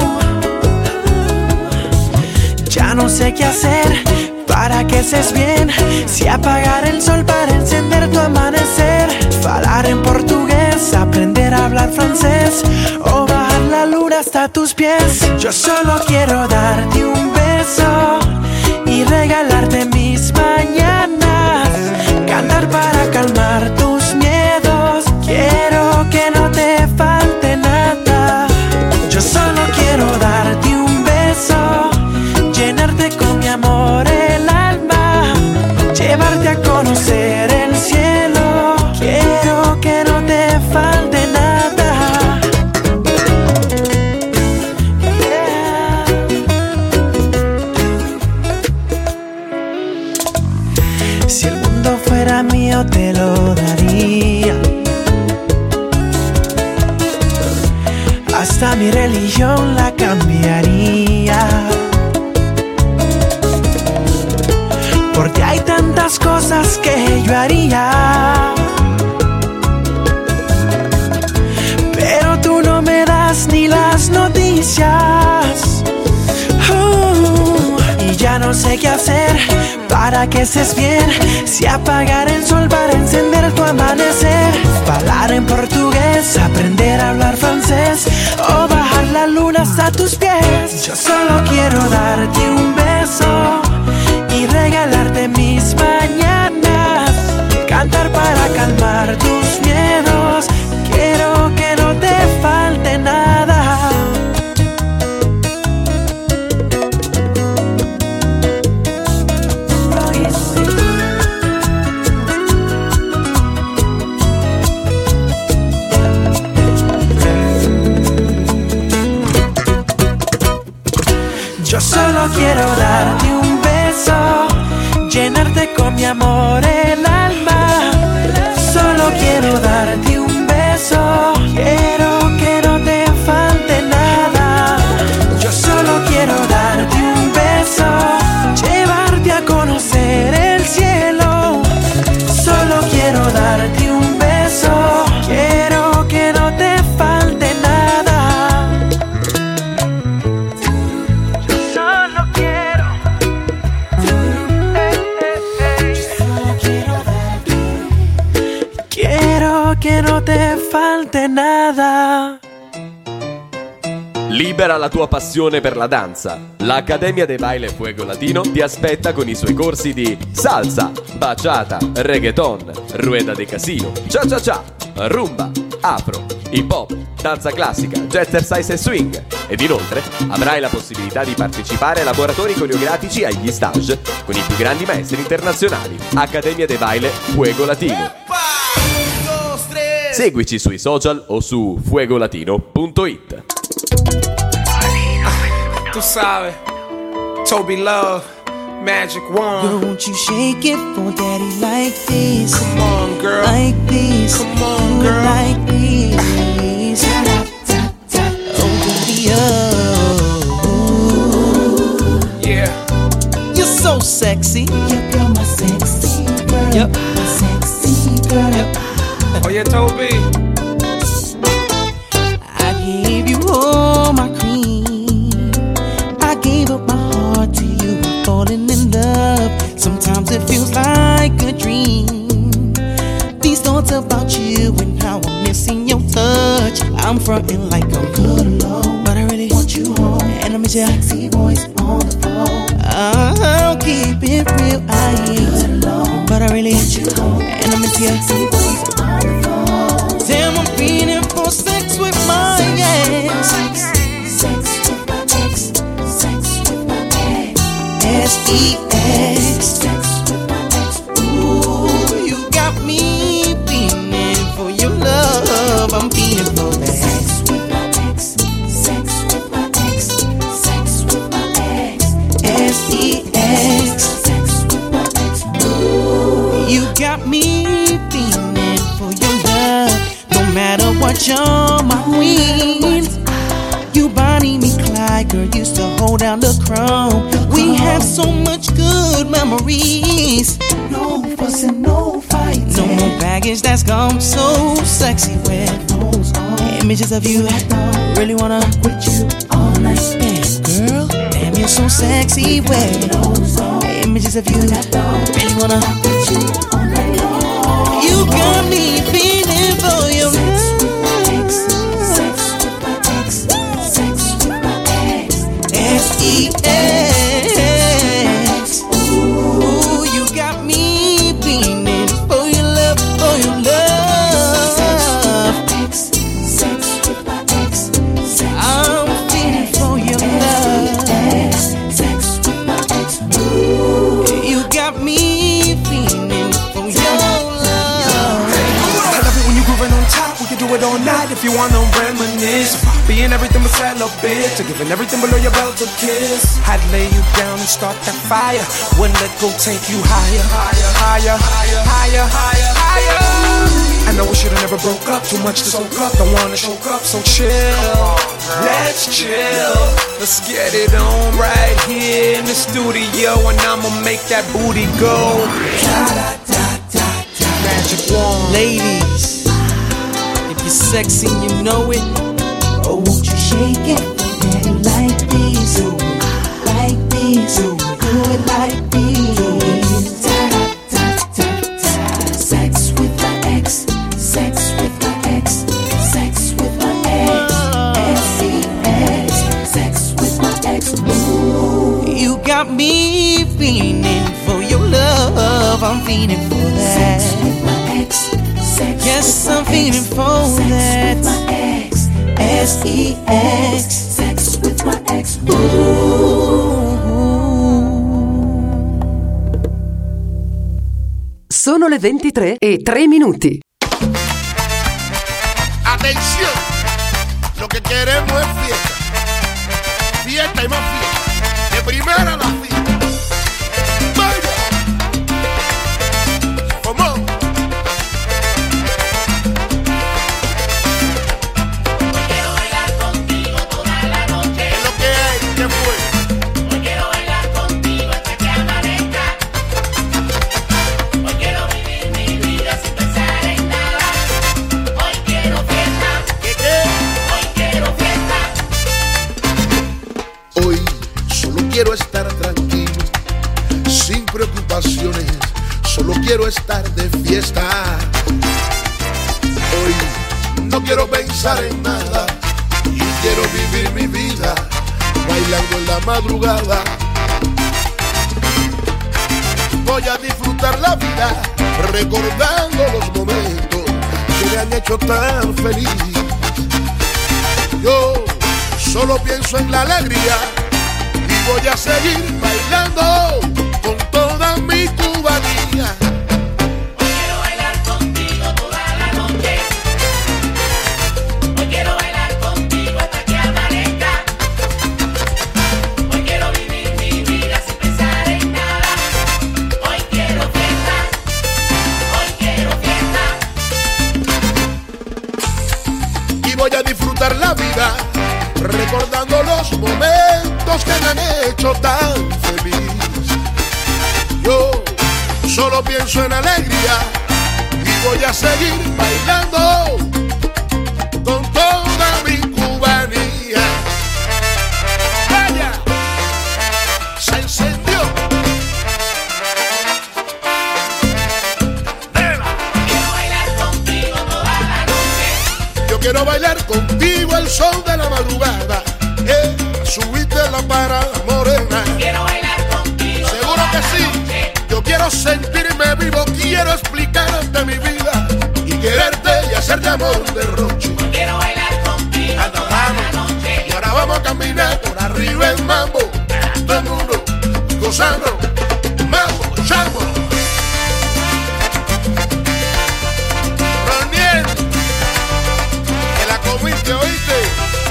[SPEAKER 11] Ya no sé qué hacer para que estés bien. Si apagar el sol para encender tu amanecer. Falar en portugués, aprender a hablar francés. O bajar la luna hasta tus pies. Yo solo quiero darte un beso y regalarte mis mañanas. Cantar para calmar tus miedos. Quiero que no te falte nada. Yo solo quiero darte un beso, llenarte con mi amor el alma, llevarte a conocer el cielo. Quiero que no te falte nada. Yeah. Si el mundo fuera mío te lo daría. Hasta mi religión la cambiaría. Porque hay tantas cosas que yo haría, pero tú no me das ni las noticias. uh, Y ya no sé qué hacer para que estés bien. Si apagar el sol para encender tu amanecer. Hablar en portugués, aprender a hablar francés. O bajar la luna hasta tus pies. Yo solo quiero darte un beso y regalarte mis mañanas. Cantar para calmar tus miedos. Quiero que no te falte nada. Yo solo quiero darte un beso, llenarte con mi amor el alma. Solo quiero darte un beso. Quiero que no te falte nada. Yo solo quiero darte un beso, llevarte a conocer el cielo. Solo quiero darte un beso. Quiero que no te falte nada. Yo solo quiero. Quiero que no te falte nada.
[SPEAKER 13] Libera la tua passione per la danza. L'Accademia de Baile Fuego Latino ti aspetta con i suoi corsi di salsa, bachata, reggaeton, rueda de casino, cha cha cha, rumba, afro, hip hop, danza classica, jazzercise e swing. Ed inoltre avrai la possibilità di partecipare a laboratori coreografici agli stage con i più grandi maestri internazionali. Accademia de Baile Fuego Latino. Seguici sui social o su fuegolatino punto it.
[SPEAKER 4] Tu sabes, Toby Love, Magic Wand.
[SPEAKER 10] Girl, won't you shake it for daddy like this?
[SPEAKER 4] Come on, girl.
[SPEAKER 10] Like this.
[SPEAKER 4] Come on, girl.
[SPEAKER 10] Like this. Tap, tap, tap. Oh, baby, oh.
[SPEAKER 4] Yeah.
[SPEAKER 10] You're so sexy. Yep, you're my sexy girl. Yep. My sexy girl. Yep.
[SPEAKER 4] Oh, yeah, Toby.
[SPEAKER 10] I gave you all my cream. I gave up my heart to you. I'm falling in love. Sometimes it feels like a dream. These thoughts about you and how I'm missing your touch. I'm fronting like I'm good alone, but I really want you home. And I miss your sexy voice on the phone. I'll keep it real, I ain't good alone, but I really want you home. And I miss your sexy voice on the phone. Damn, I'm feeling for sex with my ex. Sex, sex with my ex.
[SPEAKER 15] S E X. Ooh, you got me feeling for your love. I'm feeling for that. Sex with my ex, sex with my ex, sex with my ex. S E X. Sex with my ex. Ooh, you got me feeling for your love. No matter what, you're my queen. You Bonnie, me Clyde, girl, used to hold down the crown. We have so much good memories. No fussing, no fighting. No more baggage that's gone so sexy with images of you. Really wanna with you all night. Yeah, girl, damn, you're so sexy with images of you. Really wanna with you all night long. You got me feeling for your love. S E X. Ooh, you got me feeling for your love, for your love. Sex, sex with my ex. I'm feeling for your love. Sex with my ex. Ooh, you got me feeling for your love.
[SPEAKER 4] I love it when you grooving on top. We can do it all night if you wanna reminisce. Being everything but celibate, to giving everything below your belt a kiss. I'd lay you down and start that fire. Wouldn't let go, take you higher, higher, higher, higher, higher, higher, higher. I know we should've never broke up. Too much to soak up. Don't wanna choke up, so chill. Let's chill. Let's get it on right here in the studio, and I'ma make that booty go. Magic wand,
[SPEAKER 15] ladies. If you're sexy, you know it. Oh, won't you shake it for daddy like this? Do it like this. Do it like this. Ta ta ta ta. Sex with my ex. Sex with my ex. Sex with my ex. S E X. Sex with my ex. Ooh, you got me feeling for your love. I'm feeling for that. Sex with my ex. Sex yes, I'm feeling for sex that. With my ex. S E X. Sex with my ex. Ooh.
[SPEAKER 8] Sono le ventitré e tre minuti.
[SPEAKER 21] Atención, lo que queremos es fiesta. Fiesta y más fiesta. De primera a la fiesta. Vaya. ¿Cómo? Quiero estar tranquilo, sin preocupaciones, solo quiero estar de fiesta. Hoy no quiero pensar en nada y quiero vivir mi vida bailando en la madrugada. Voy a disfrutar la vida recordando los momentos que me han hecho tan feliz. Yo solo pienso en la alegría. Voy a seguir bailando con toda mi cubanía.
[SPEAKER 10] Hoy quiero bailar contigo toda la noche. Hoy quiero bailar contigo hasta que amanezca. Hoy quiero vivir mi vida sin pensar en nada. Hoy quiero fiesta. Hoy quiero fiesta.
[SPEAKER 21] Y voy a disfrutar la vida recordando los momentos que me han hecho tan feliz. Yo solo pienso en alegría y voy a seguir bailando con toda mi cubanía. ¡Vaya! Se encendió.
[SPEAKER 10] Quiero bailar contigo toda la noche.
[SPEAKER 21] Yo quiero bailar contigo el sol de la madrugada. Eh, subiste la para morena.
[SPEAKER 10] Quiero bailar contigo.
[SPEAKER 21] Seguro que sí. Yo quiero sentirme vivo, quiero explicarte mi vida y quererte y hacerte amor de roche.
[SPEAKER 10] Quiero bailar contigo toda la noche.
[SPEAKER 21] Y ahora vamos a caminar por arriba en mambo. Todo el mundo gozando. Vamos, chamo. Roniel, que la comiste, ¿oíste?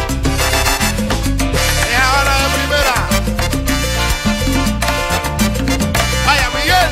[SPEAKER 21] Es ahora de primera. Vaya, Miguel.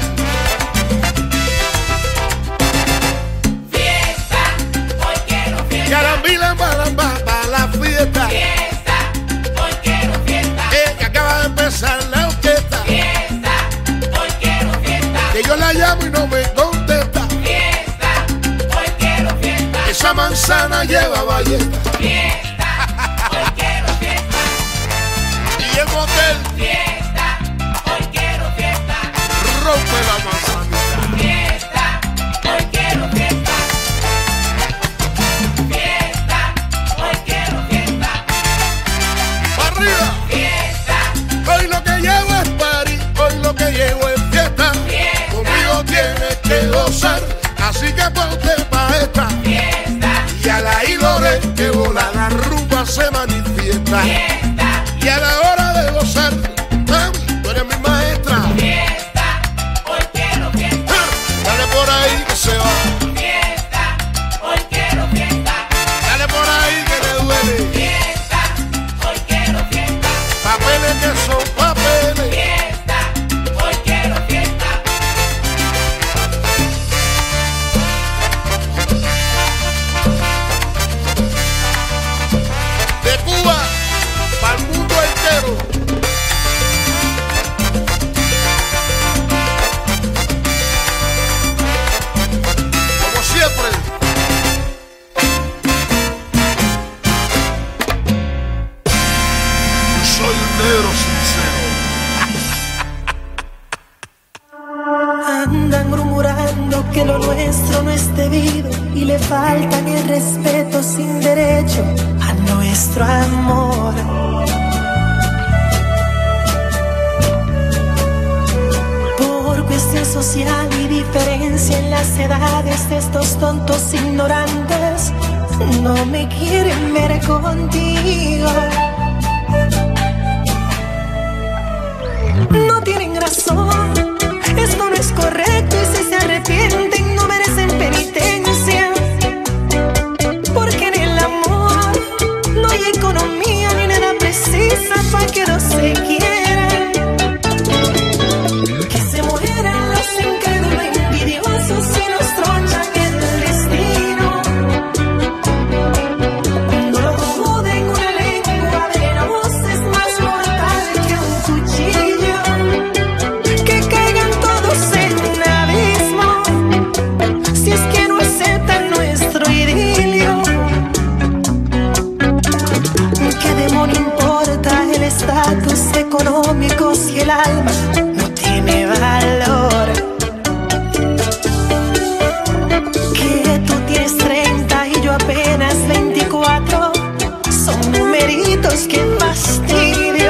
[SPEAKER 10] Fiesta, hoy quiero fiesta.
[SPEAKER 21] Carambila, balamba, para la fiesta.
[SPEAKER 10] Fiesta, hoy quiero fiesta.
[SPEAKER 21] Eh, que acaba de empezar la orquesta.
[SPEAKER 10] Fiesta, hoy quiero fiesta.
[SPEAKER 21] Que yo la llamo y no me contesta.
[SPEAKER 10] Fiesta, hoy quiero fiesta.
[SPEAKER 21] Esa manzana lleva ballesta.
[SPEAKER 10] Fiesta, hoy quiero fiesta.
[SPEAKER 21] Y el motel
[SPEAKER 10] Fiesta, hoy quiero fiesta.
[SPEAKER 21] rompe la manzanita.
[SPEAKER 10] Fiesta, hoy quiero fiesta. Fiesta, hoy quiero fiesta.
[SPEAKER 21] ¡Pa' arriba!
[SPEAKER 10] Fiesta,
[SPEAKER 21] Hoy lo que llevo es party, hoy lo que llevo es fiesta.
[SPEAKER 10] Fiesta.
[SPEAKER 21] Conmigo tienes que gozar, así que ponte pa' esta.
[SPEAKER 10] fiesta,
[SPEAKER 21] Y a la Ilore que vola la rumba se manifiesta.
[SPEAKER 10] fiesta,
[SPEAKER 21] Y a la hora de gozar, mami, tú eres mi maestra.
[SPEAKER 10] fiesta, hoy quiero fiesta.
[SPEAKER 21] Ah, Dale por ahí que se va,
[SPEAKER 10] Fiesta, hoy quiero fiesta.
[SPEAKER 21] dale por ahí que le duele.
[SPEAKER 10] Fiesta, hoy quiero fiesta.
[SPEAKER 21] Papeles que son papeles.
[SPEAKER 10] Fiesta, hoy quiero fiesta.
[SPEAKER 21] De Cuba para el mundo entero. Como siempre. Soy un negro sincero.
[SPEAKER 11] Andan murmurando que lo nuestro no es debido y le faltan el respeto sin derecho a nuestro amor. Por cuestión social y diferencia en las edades de estos tontos ignorantes, no me quieren ver contigo. No tienen razón, esto no es correcto y si se arrepienten no merecen penitencia. Porque en el amor no hay economía ni nada precisa para que no se quieran. Que se mueran los incrédulos envidiosos y nos tronchan el destino. No lo duden, una lengua venenosa es más mortal que un cuchillo. Que caigan todos en un abismo si es que no aceptan nuestro idilio. ¿Qué demonio importa el estatus económico si el alma no tiene valor? Que tú tienes treinta y yo apenas veinticuatro, son numeritos que fastidio.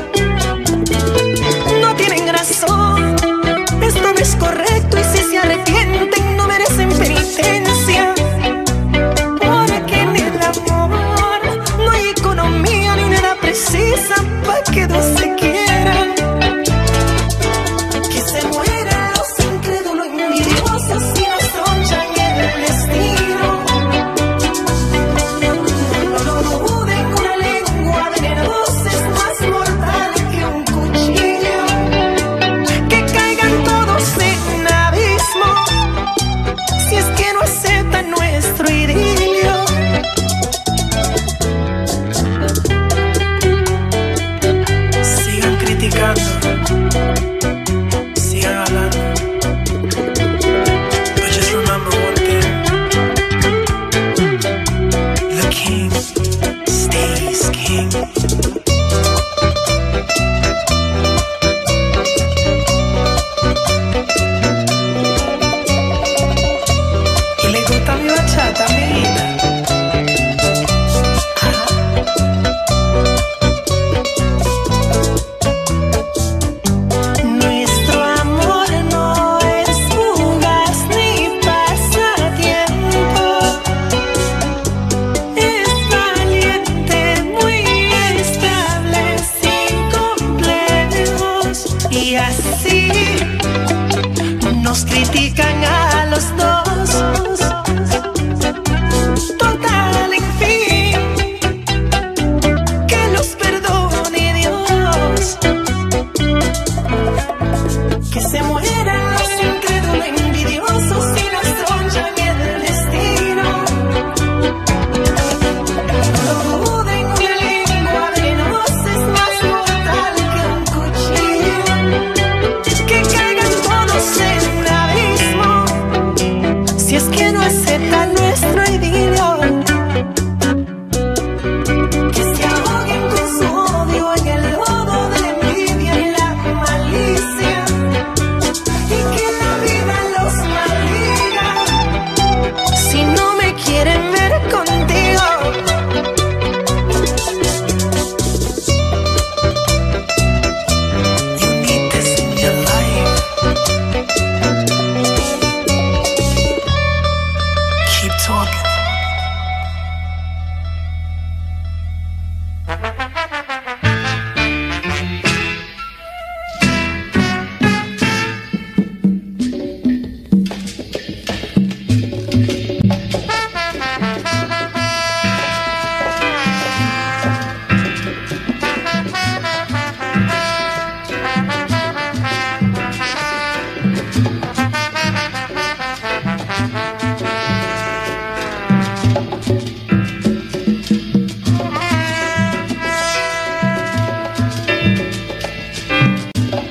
[SPEAKER 11] No tienen razón, esto no es correcto y si se arrepienten no merecen penitencia. Porque en el amor no hay economía ni nada precisa para que dos se quieran. Que se mueran los incrédulos envidiosos y nos tronchan el destino. No lo duden, una lengua de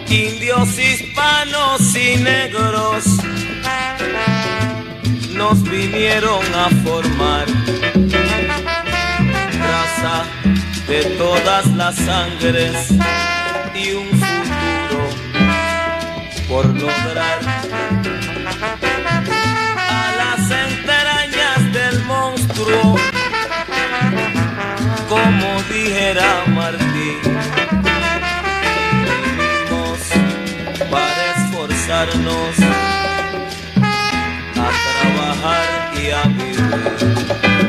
[SPEAKER 3] indios, hispanos y negros nos vinieron a formar, raza de todas las sangres y un futuro por lograr. A las entrañas del monstruo, como dijera Martín, vinimos para esforzarnos a trabajar y a vivir.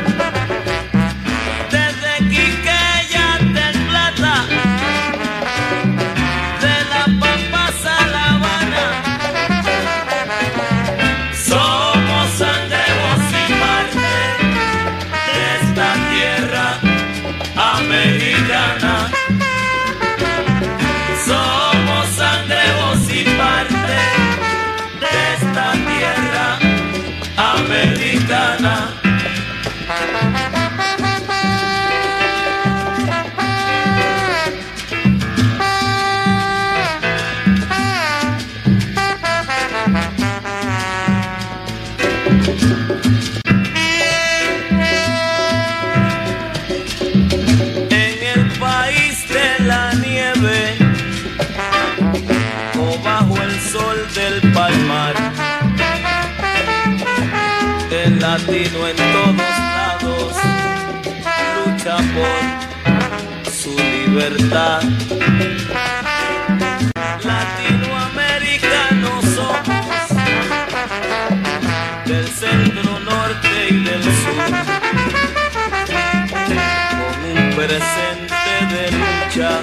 [SPEAKER 3] Desde Quiqueya del Plata, de La Pampa a La Habana, somos sangre, voz y parte de esta tierra americana. Somos sangre, voz y parte de esta tierra americana. En el país de la nieve o bajo el sol del palmar, el latino en todos lados lucha por su libertad. Latinoamericanos somos, del centro, norte y del sur, con un presente de lucha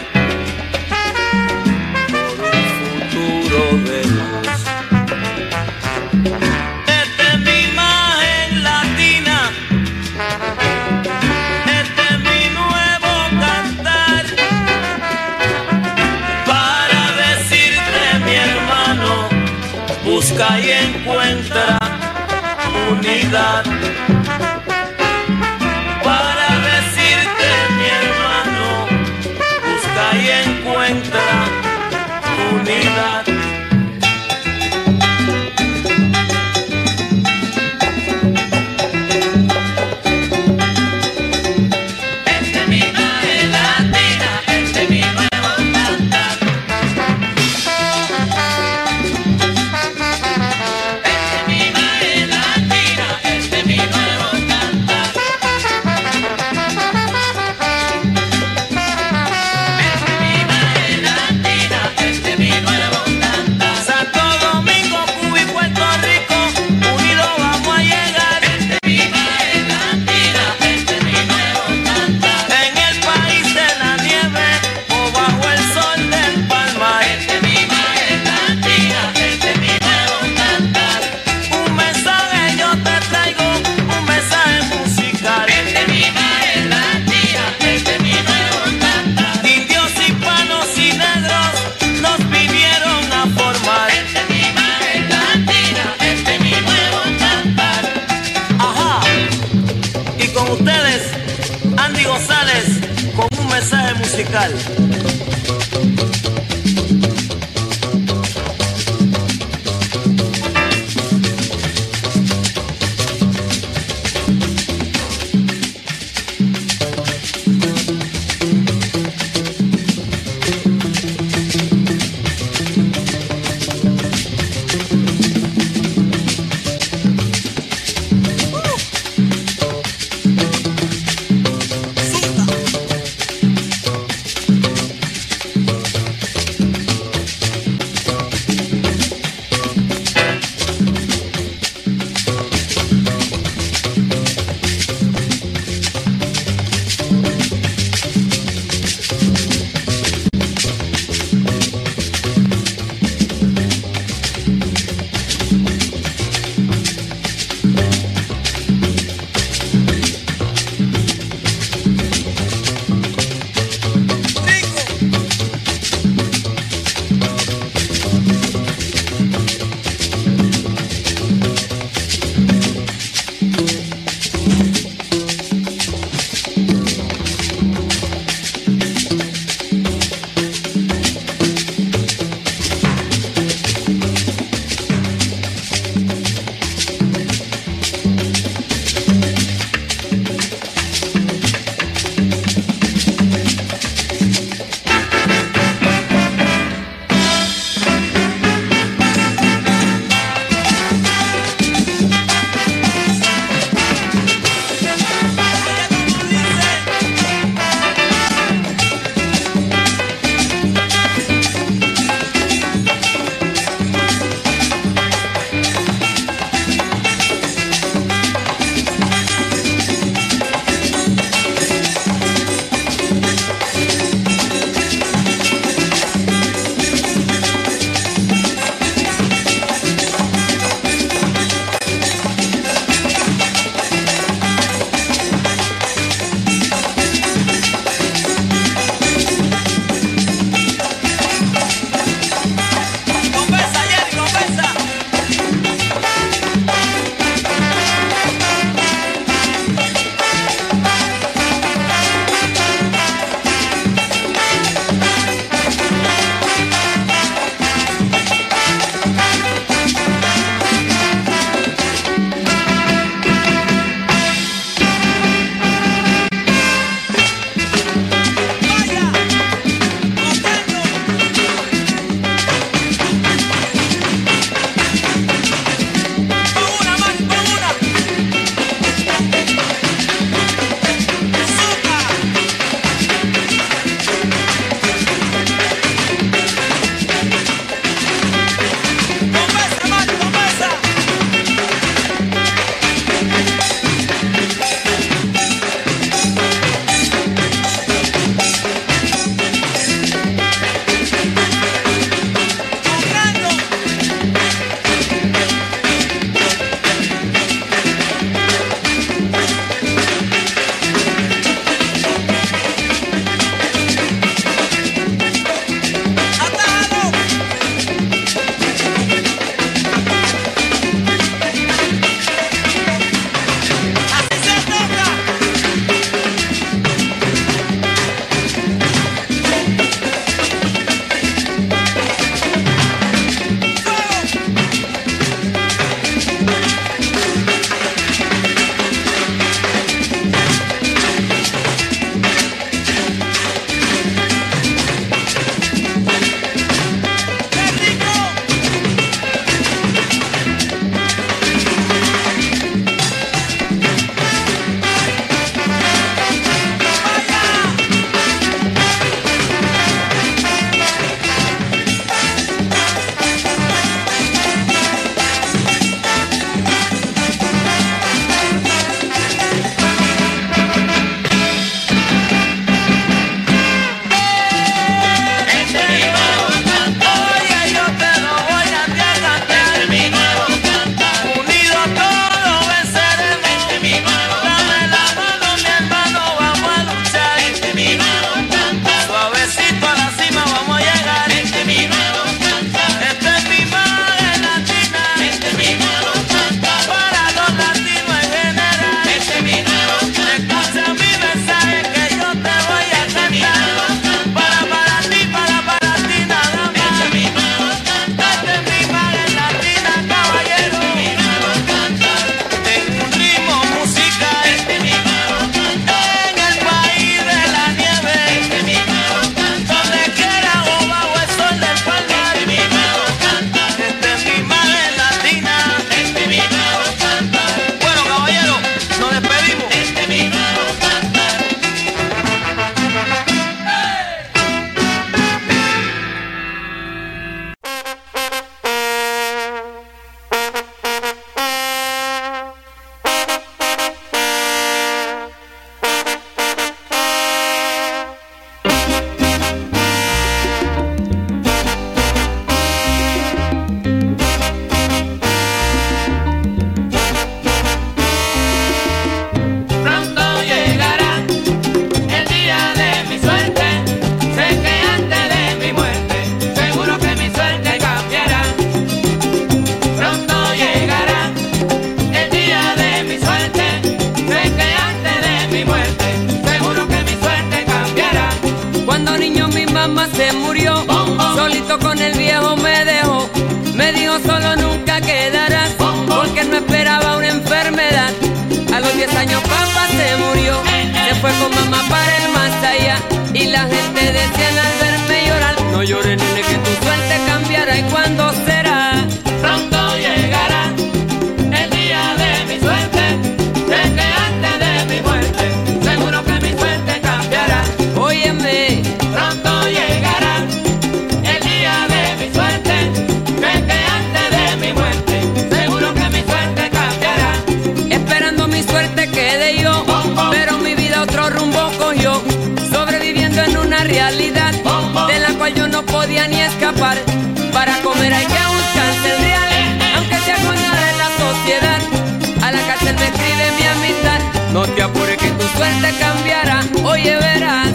[SPEAKER 3] por un futuro de luz. Esta es mi imagen latina, este es mi nuevo cantar, para decirte, mi hermano, busca y encuentra unidad. Para decirte, mi hermano, busca y encuentra unidad. Esta es mi imagen latina, este es mi nuevo cantar. Esta es mi imagen latina, este es mi nuevo cantar. Esta es mi imagen latina, este es mi nuevo cantar. Santo Domingo, Cuba y Puerto Rico, unidos vamos a llegar. Esta es mi imagen latina, este es mi nuevo cantar. En el país de la nieve o bajo el sol del palmar. Esta es mi imagen latina, este es mi nuevo cantar. Un mensaje yo te traigo, un mensaje musical. Esta es mi imagen latina, este es mi nuevo cantar. Indios, hispanos y negros nos vinieron a formar. Esta es mi imagen latina, este es mi nuevo cantar. Ajá. Y con ustedes, Andy González, con un mensaje musical.
[SPEAKER 6] solito con el viejo me dejó. Me dijo solo nunca quedarás, porque no esperaba una enfermedad. A los diez años papá se murió, se fue con mamá para el más allá. Y la gente decía al verme llorar, no llores nene que tu suerte cambiará. ¿Y cuándo será?
[SPEAKER 2] Pronto llegará el día de mi suerte, de que antes de mi muerte, seguro que mi suerte cambiará.
[SPEAKER 6] Óyeme,
[SPEAKER 2] pronto llegará el día de mi suerte, de que antes de mi muerte, seguro que mi suerte cambiará.
[SPEAKER 6] Esperando mi suerte quedé yo, pero mi vida otro rumbo cogió, sobreviviendo en una realidad de la cual yo no podía ni escapar. Para comer hay que buscarse el real, aunque sea con nada de la sociedad. A la cárcel me escribe mi amistad, no te apures que tu suerte cambiará. Oye, verás.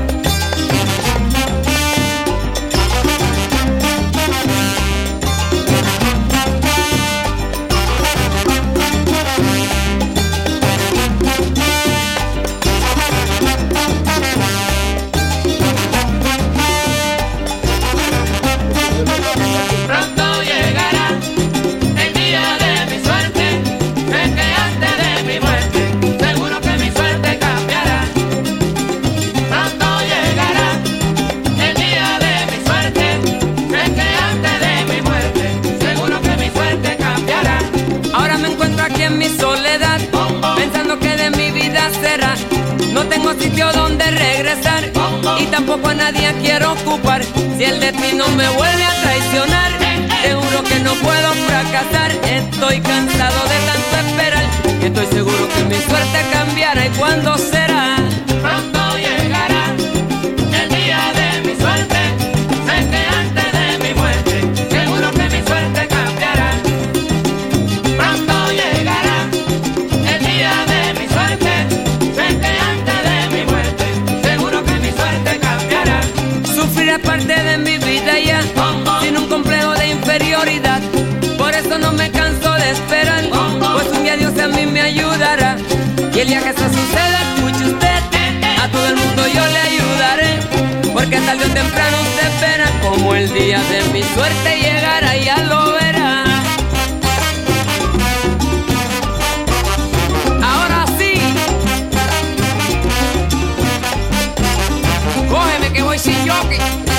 [SPEAKER 2] Pronto llegará el día de mi suerte, de que antes de mi muerte, seguro que mi suerte cambiará. Pronto llegará el día de mi suerte, de que antes de mi muerte, seguro que mi suerte cambiará.
[SPEAKER 6] Ahora me encuentro aquí en mi soledad, pensando que de mi vida será. No tengo sitio donde regresar y tampoco a nadie quiero ocupar. Si el destino me vuelve a traicionar, te juro que no puedo fracasar. Estoy cansado de tanto esperar y estoy seguro que mi suerte cambiará. ¿Y cuándo será?
[SPEAKER 2] Pronto llegará el día de mi suerte, sé que antes de mi muerte, seguro que mi suerte cambiará. Pronto llegará el día de mi suerte, sé que antes de mi muerte, seguro que mi suerte cambiará.
[SPEAKER 6] Sufriré parte de mi vida ya, sin un complejo de inferioridad. Por eso no me canso de esperar, pues un día Dios a mí me ayudará. Y el día que eso suceda, escuche usted, a todo el mundo yo le ayudaré, porque tarde o temprano usted verá como el día de mi suerte llegará, ya lo verá. Ahora sí, cógeme que voy sin jockey.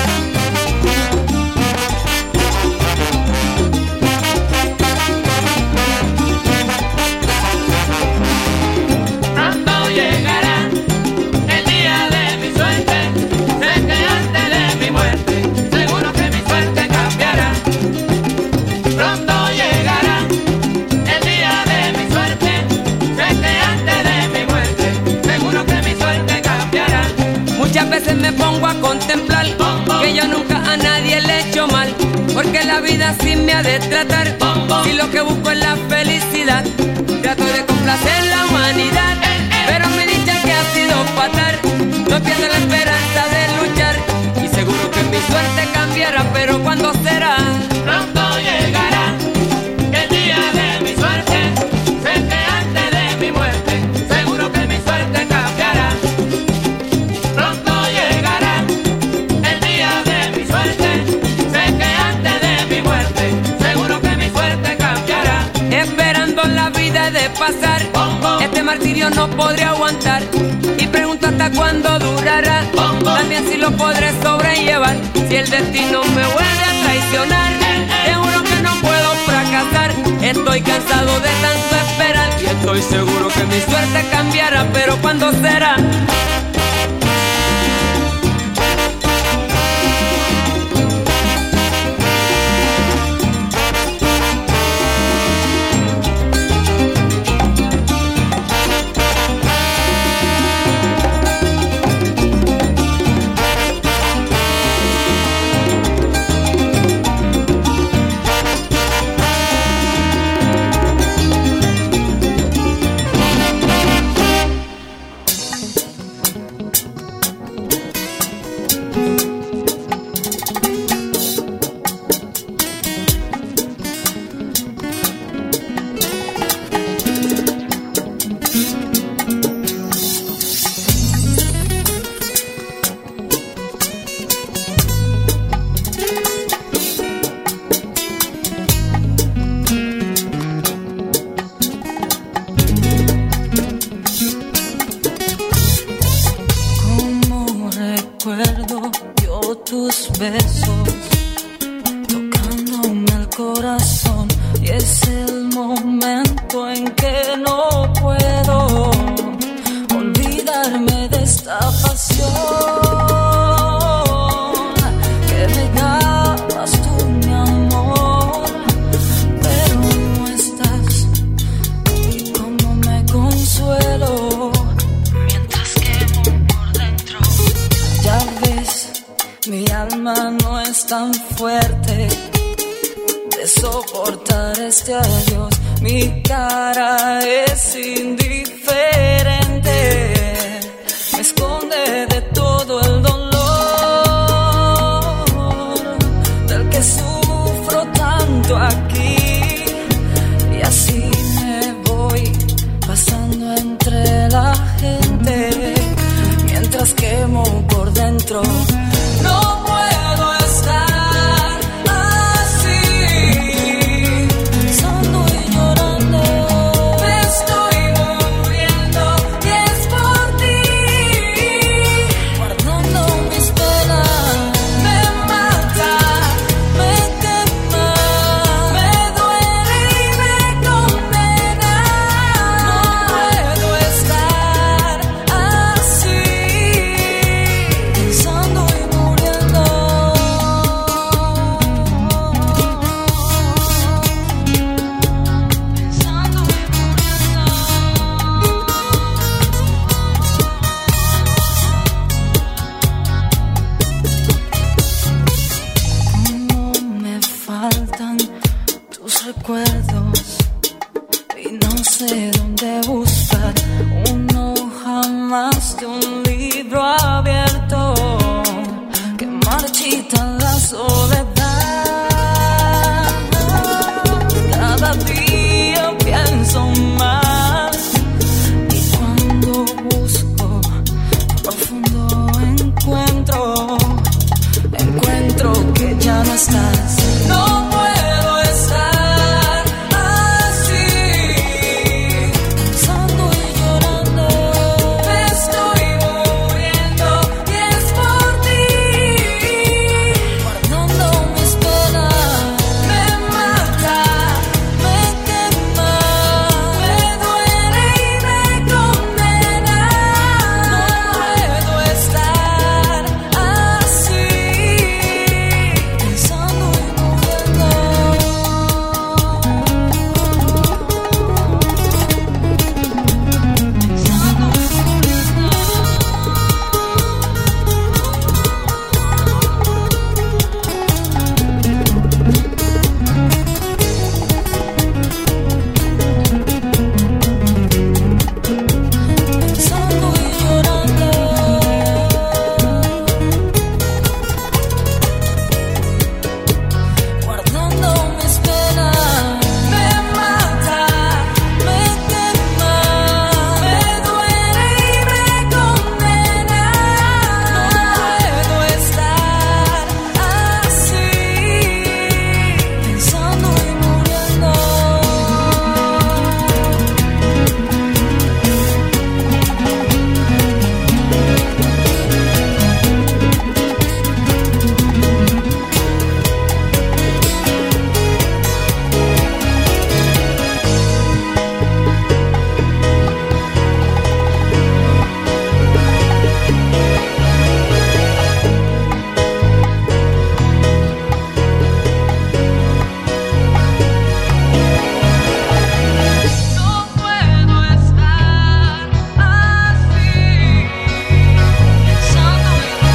[SPEAKER 2] Pronto llegará el día de mi suerte, sé que antes de mi muerte, seguro que mi suerte cambiará. Pronto llegará el día de mi suerte, sé que antes de mi muerte, seguro que mi suerte cambiará.
[SPEAKER 6] Muchas veces me pongo a contemplar que yo nunca a nadie le he hecho mal, porque la vida así me ha de tratar. Y lo que busco es la felicidad, trato de complacer la humanidad, pero mi dicha que ha sido fatal, no pierdo la esperanza de luchar. Y seguro que mi suerte cambiará, pero ¿cuándo será?
[SPEAKER 2] Pronto llegará el día de mi suerte, sé que antes de mi muerte, seguro que mi suerte cambiará. Pronto llegará el día de mi suerte, sé que antes de mi muerte, seguro que mi suerte cambiará.
[SPEAKER 6] Esperando la vida de pasar, este martirio no podré aguantar, y pregunto hasta cuándo durará, también si lo podré sobrellevar. Si el destino me vuelve a traicionar, te juro que no puedo fracasar. Estoy cansado de tanto esperar y estoy seguro que mi suerte cambiará, pero ¿cuándo será?
[SPEAKER 1] corazón y es el momento en que no puedo olvidarme de esta pasión que me dabas tú, mi amor, pero no estás y cómo me consuelo mientras quemo por dentro. Ya ves, mi alma no es tan fuerte de soportar este adiós. Mi cara es indiferente, me esconde de todo el dolor del que sufro tanto aquí. Y así me voy pasando entre la gente mientras quemo por dentro. No puedo estar así, pensando y llorando. Me estoy muriendo y es por ti, guardando mis penas. Me mata, me quema, me duele y me condena. No puedo estar así, pensando y muriendo. Cómo me faltan tus recuerdos y no sé dónde buscar uno jamás de un libro abierto que marchita la soledad. Cada día pienso más y cuando busco profundo encuentro, encuentro que ya no estás. No puedo estar así, pensando y llorando. Me estoy muriendo y es por ti, guardando mis penas. Me mata, me quema, me duele y me condena. No puedo estar así, pensando y muriendo. Pensando y llorando. Guardando mis penas. Me mata, me quema, me duele y me condena. No puedo estar así, pensando y muriendo. No puedo estar así, pensando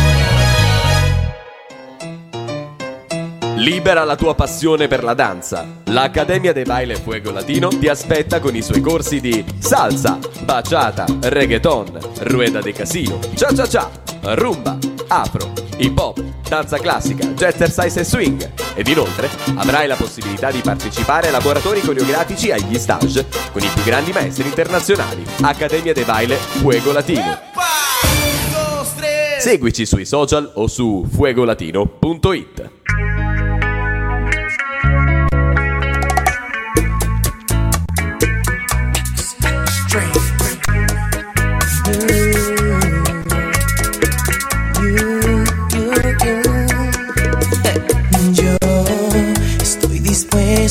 [SPEAKER 1] y
[SPEAKER 13] Libera la tua passione per la danza. L'Accademia de Baile Fuego Latino ti aspetta con i suoi corsi di salsa, bachata, reggaeton, rueda de casino, cha cha cha, rumba, afro, hip hop, danza classica, jazzercise e swing. Ed inoltre avrai la possibilità di partecipare a laboratori coreografici agli stage con i più grandi maestri internazionali. Accademia de Baile Fuego Latino. Seguici sui social o su fuegolatino punto it.
[SPEAKER 11] Yo estoy dispuesto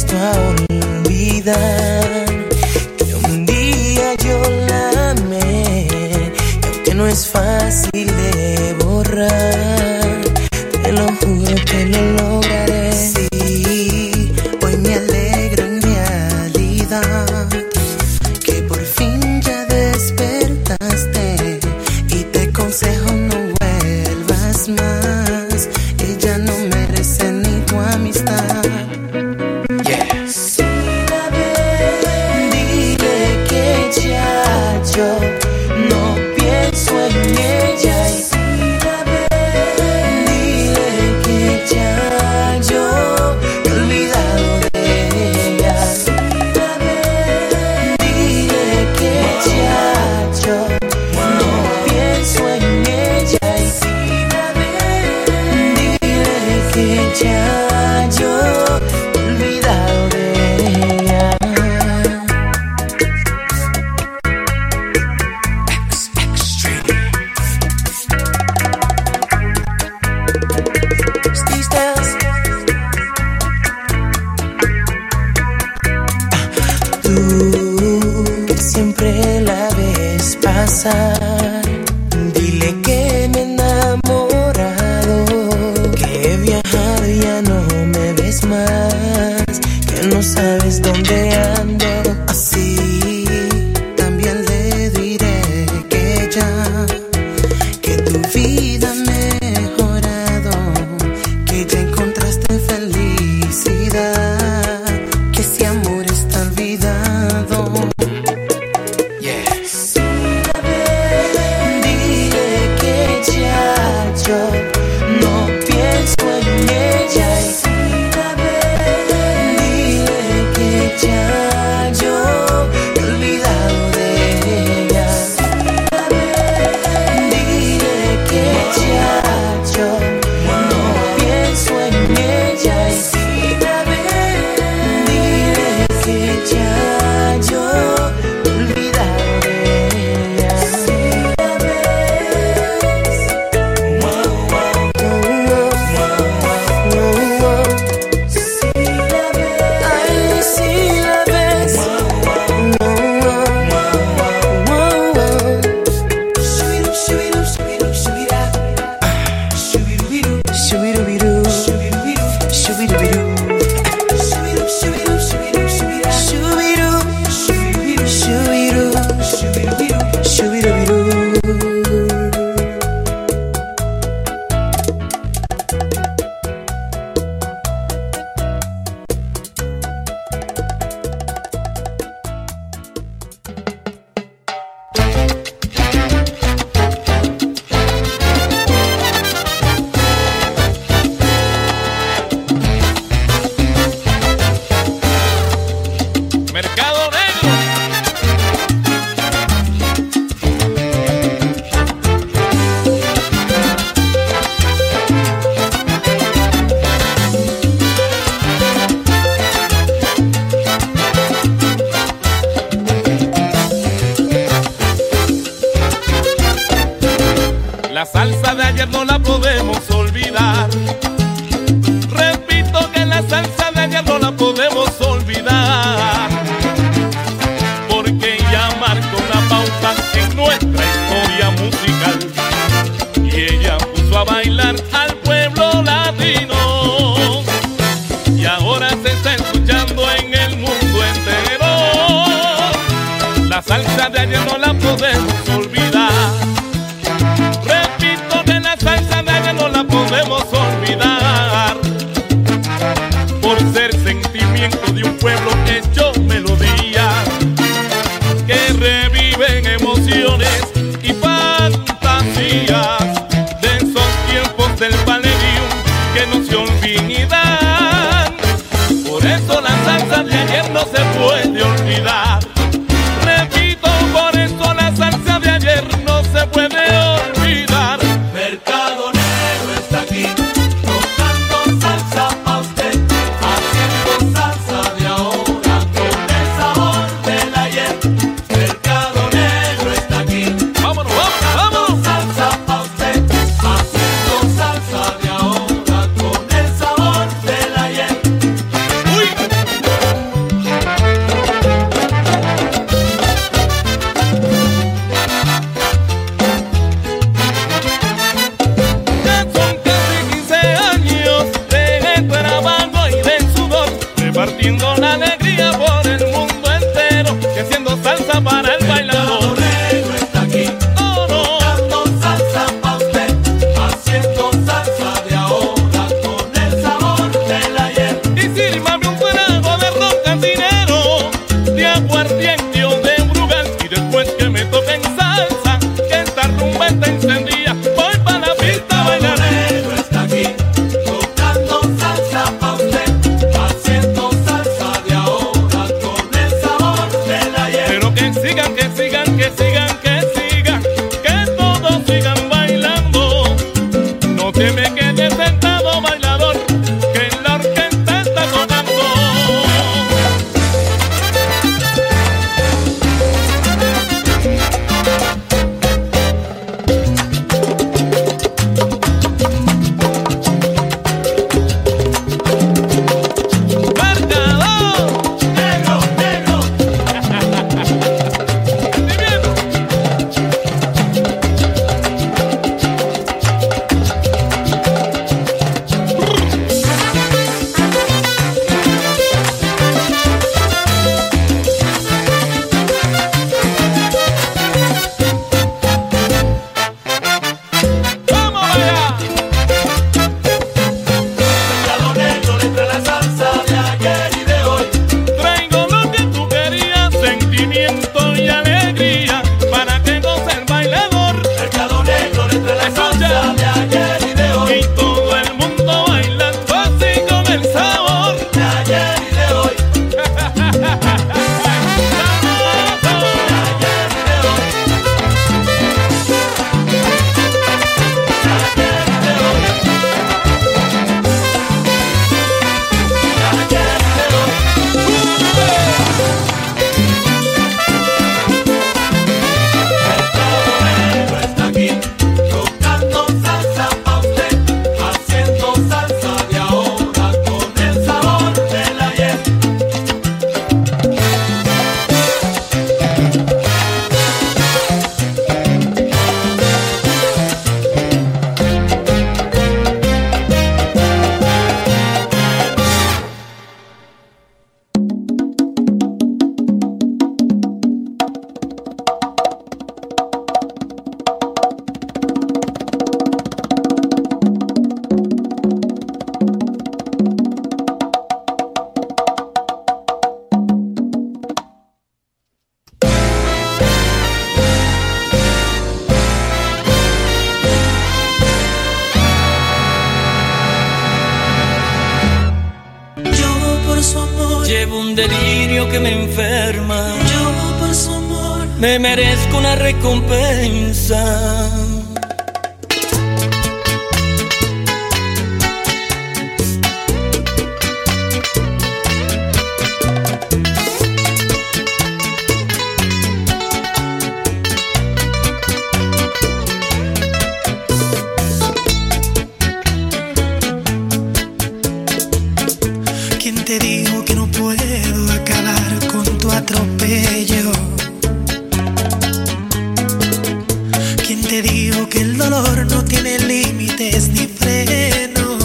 [SPEAKER 11] ya yo he olvidado de ella. These days, tú que siempre la ves pasar, dile que me he enamorado, que viajar ya no me ves más, que no sabes dónde ando. Así también le diré que ya, que tu vida ha mejorado, que ya encontraste felicidad, que ese amor está olvidado. Yes. Dile que ya yo no pienso en ella. Dile que ya yo he olvidado de ella. Dile que ya yo no pienso en ella. Dile que ya yo he olvidado de ella. Ay, si la ves. Shubiru, shubiru, shubiru, shubira. Shubiru, shubiru, shubiru, shubiru. Shubiru, shubiru, shubiru, shubira. Shubiru, shubiru, shubiru, shubiru.
[SPEAKER 2] Mercado Negro. La salsa de ayer no la podemos olvidar. Repito que la salsa de ayer no la podemos olvidar, porque ella marcó una pauta en nuestra historia musical y ella puso a bailar al pueblo latino y ahora se está escuchando en el mundo entero. La salsa de ayer no la podemos olvidar. Repito que la salsa de ayer no la podemos olvidar, por ser sentimiento de un pueblo hecho melodía, que reviven emociones y fantasías de esos tiempos del Palladium que no se olvidan. Por eso la salsa de ayer no se puede olvidar. Repito, por eso la salsa de ayer no se puede olvidar. Mercado Negro está aquí, tocando salsa pa' usted, haciendo salsa de ahora con el sabor del ayer. Mercado Negro está aquí, vámonos, vámonos, vámonos. Salsa pa' usted, haciendo salsa de ahora con el sabor del ayer. Uy.
[SPEAKER 10] delirio que me enferma. Yo por su amor me merezco una recompensa.
[SPEAKER 11] ¿Quién te dijo que no puedo acabar con tu atropello? ¿Quién te dijo que el dolor no tiene límites ni freno?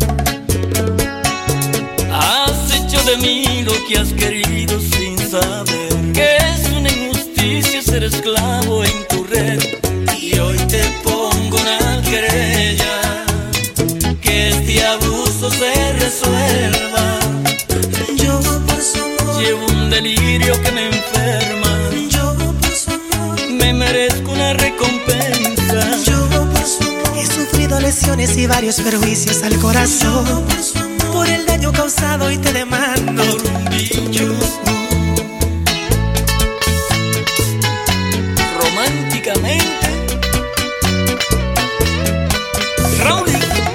[SPEAKER 10] Has hecho de mí lo que has querido sin saber que es una injusticia ser esclavo en tu red. Y hoy te pongo una querella, que este abuso se resuelva.
[SPEAKER 11] Yo por su amor
[SPEAKER 10] llevo un delirio que me enferma.
[SPEAKER 11] Yo por su amor
[SPEAKER 10] me merezco una recompensa.
[SPEAKER 11] Yo por su amor he sufrido lesiones y varios perjuicios al corazón. Yo por su amor por el daño causado y te demando
[SPEAKER 10] por un bicho. Románticamente Raúl.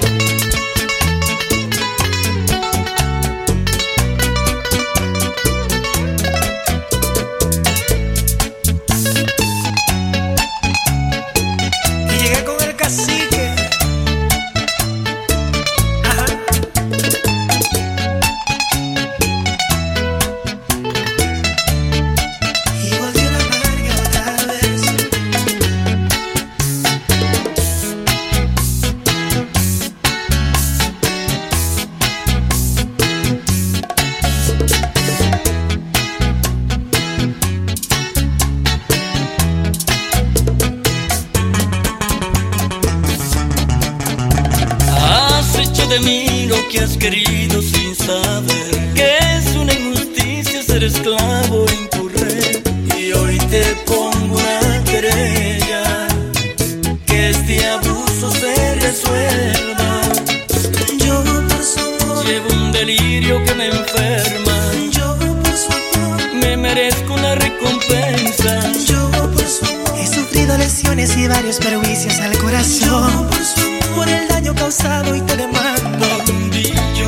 [SPEAKER 10] De mí lo que has querido sin saber que es una injusticia ser esclavo en tu red. Y hoy te pongo una querella, que este abuso se resuelva.
[SPEAKER 11] Yo por su amor
[SPEAKER 10] llevo un delirio que me enferma.
[SPEAKER 11] Yo por su amor
[SPEAKER 10] me merezco una recompensa.
[SPEAKER 11] Yo por su amor he sufrido lesiones y varios perjuicios al corazón. Yo por su amor por el daño causado y te demando
[SPEAKER 10] un billo.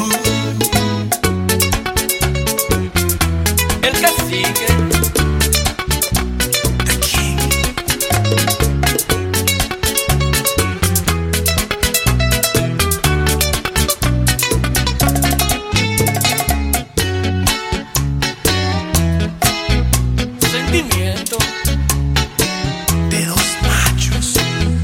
[SPEAKER 10] El cacique
[SPEAKER 11] aquí.
[SPEAKER 10] Sentimiento
[SPEAKER 11] de dos machos.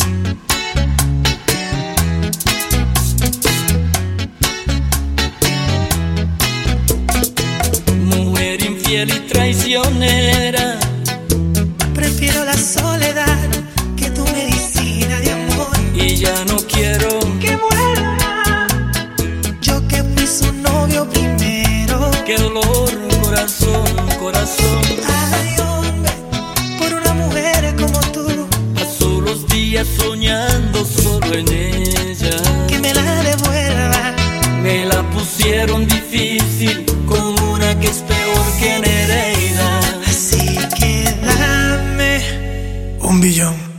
[SPEAKER 10] Infiel y traicionera,
[SPEAKER 11] prefiero la soledad que tu medicina de amor.
[SPEAKER 10] Y ya no quiero
[SPEAKER 11] que vuelva. Yo que fui su novio primero.
[SPEAKER 10] Qué dolor, corazón, corazón.
[SPEAKER 11] Ay, hombre, por una mujer como tú.
[SPEAKER 10] Paso los días soñando solo en ella.
[SPEAKER 11] Que me la devuelva.
[SPEAKER 10] Me la pusieron difícil con una que es peor que Nereida.
[SPEAKER 11] Así que dame un billón.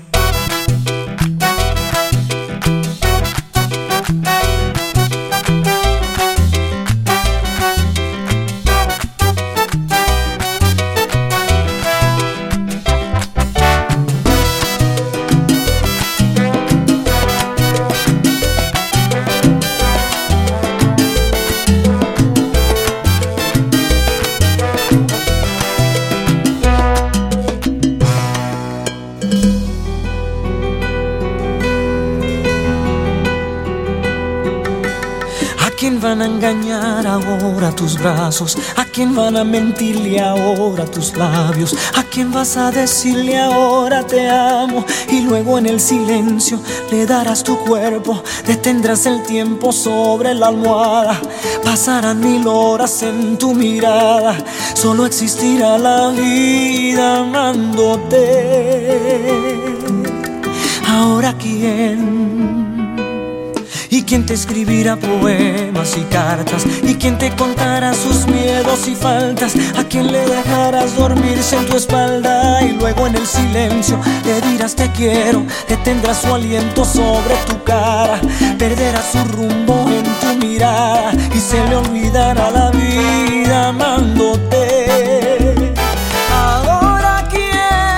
[SPEAKER 14] van a engañar ahora tus brazos? ¿A quién van a mentirle ahora tus labios? ¿A quién vas a decirle ahora te amo? Y luego en el silencio le darás tu cuerpo, detendrás el tiempo sobre la almohada. Pasarán mil horas en tu mirada, solo existirá la vida amándote. Ahora quién ¿Y quién te escribirá poemas y cartas? ¿Y quién te contará sus miedos y faltas? ¿A quién le dejarás dormirse en tu espalda? Y luego en el silencio le dirás te quiero. Detendrás su aliento sobre tu cara, perderás su rumbo en tu mirada y se le olvidará la vida amándote. Ahora quién,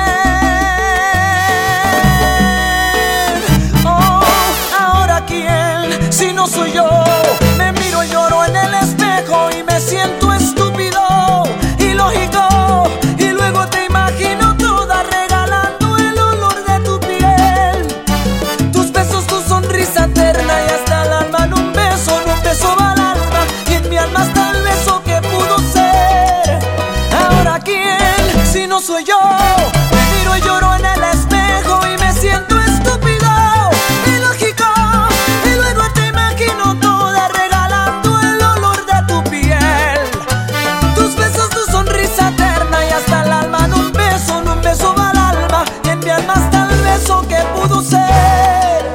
[SPEAKER 14] oh, ahora quién, si no soy yo. Me miro y lloro en el espejo y me siento estúpido, ilógico, y luego te imagino toda regalando el olor de tu piel, tus besos, tu sonrisa eterna y hasta el alma en un beso, en un beso va al alma y en mi alma está el beso que pudo ser. Ahora quién, si no soy yo. Me miro y lloro en el espejo y me siento estúpido, ilógico, y luego te imagino toda regalando el olor de tu piel, tus besos, tu sonrisa eterna y hasta el alma en un beso, en un beso va al alma y en mi alma está el beso que pudo ser.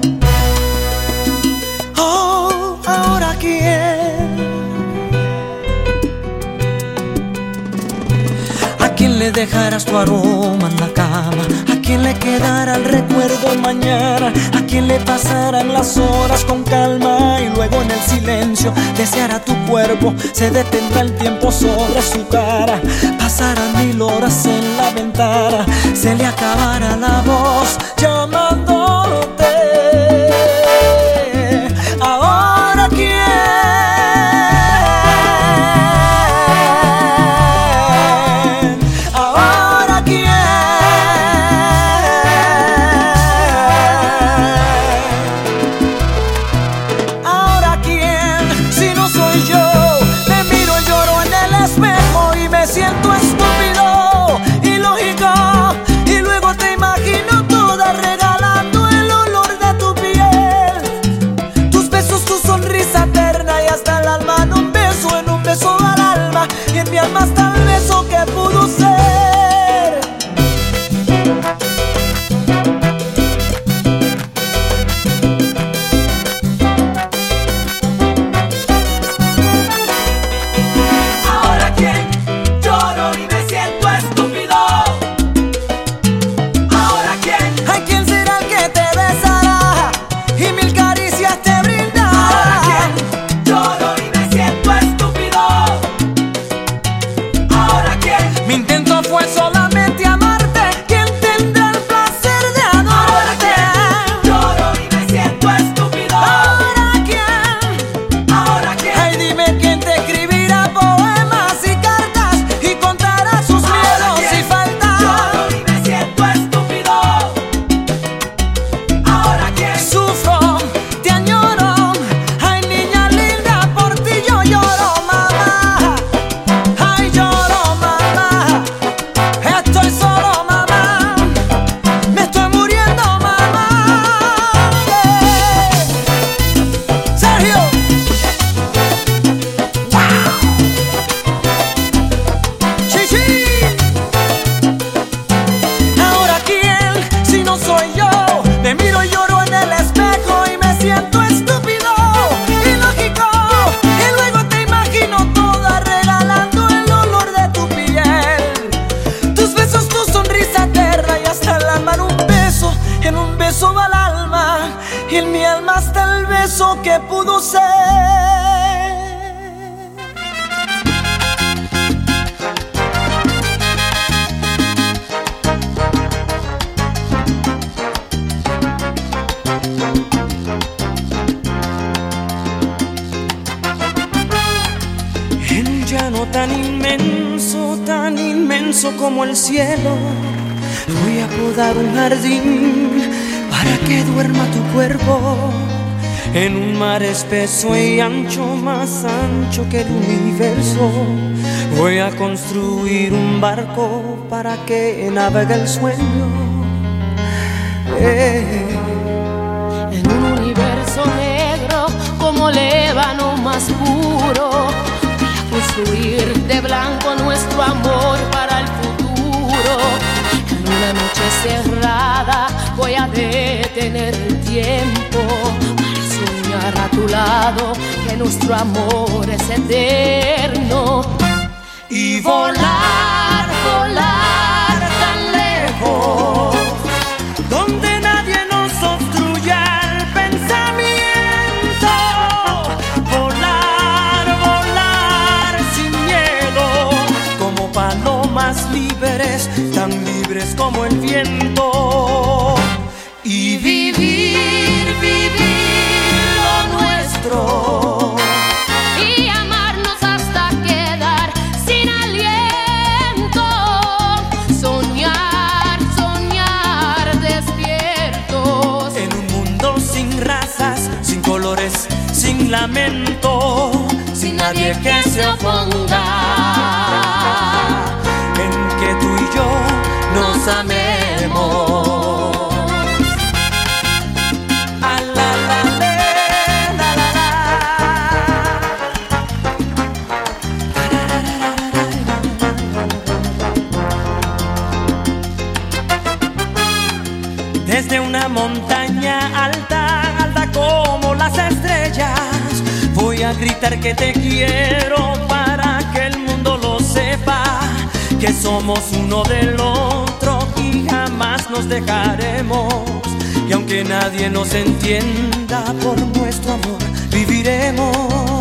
[SPEAKER 14] Oh, ahora quién. ¿A quién le dejarás tu aroma en la cama? ¿A quién le quedará el recuerdo mañana? ¿A quién le pasarán las horas con calma? Y luego en el silencio deseará tu cuerpo, se detendrá el tiempo sobre su cara, pasarán mil horas en la ventana, se le acabará la voz llamándote. Ahora quién. Siento estúpido, ilógico, y luego te imagino toda regalando el olor de tu piel, tus besos, tu sonrisa eterna y hasta el alma en un beso, en un beso al alma y en mi alma está el beso que pudo ser. Que pudo ser. En un llano tan inmenso, tan inmenso como el cielo, voy a podar un jardín para que duerma tu cuerpo. En un mar espeso y ancho, más ancho que el universo, voy a construir un barco para que navegue el sueño. Eh.
[SPEAKER 5] En un universo negro como el ébano más puro, voy a construir de blanco nuestro amor para el futuro. En una noche cerrada voy a detener el tiempo para soñar lado, que nuestro amor es eterno. Y volar, volar tan lejos,
[SPEAKER 11] donde nadie nos obstruya el pensamiento. Volar, volar sin miedo, como palomas libres, tan libres como el viento.
[SPEAKER 5] Y vivir, vivir lo nuestro, y amarnos hasta quedar sin aliento. Soñar, soñar despiertos,
[SPEAKER 11] en un mundo sin razas, sin colores, sin lamento, sin nadie que se oponga, en que tú y yo nos amemos. Desde una montaña alta, alta como las estrellas, voy a gritar que te quiero para que el mundo lo sepa, que somos uno del otro y jamás nos dejaremos. Y aunque nadie nos entienda, por nuestro amor viviremos.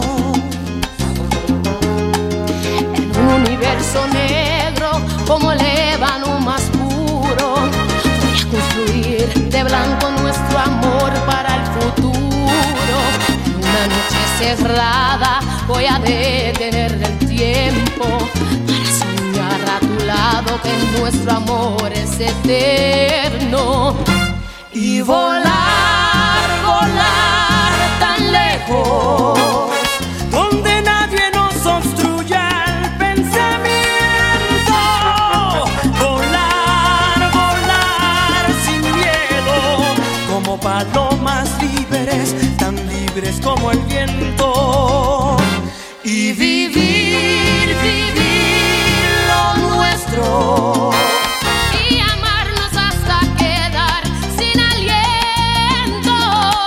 [SPEAKER 5] En un universo negro como el ébano más puro, voy a construir de blanco nuestro amor para el futuro. En una noche cerrada voy a detener el tiempo para soñar a tu lado que nuestro amor es eterno. Y volar, volar tan lejos,
[SPEAKER 11] donde nadie nos obstruya el pensamiento. Volar, volar sin miedo, como palomas libres, tan libres como el viento.
[SPEAKER 5] Y vivir, vivir lo nuestro, y amarnos hasta quedar sin aliento.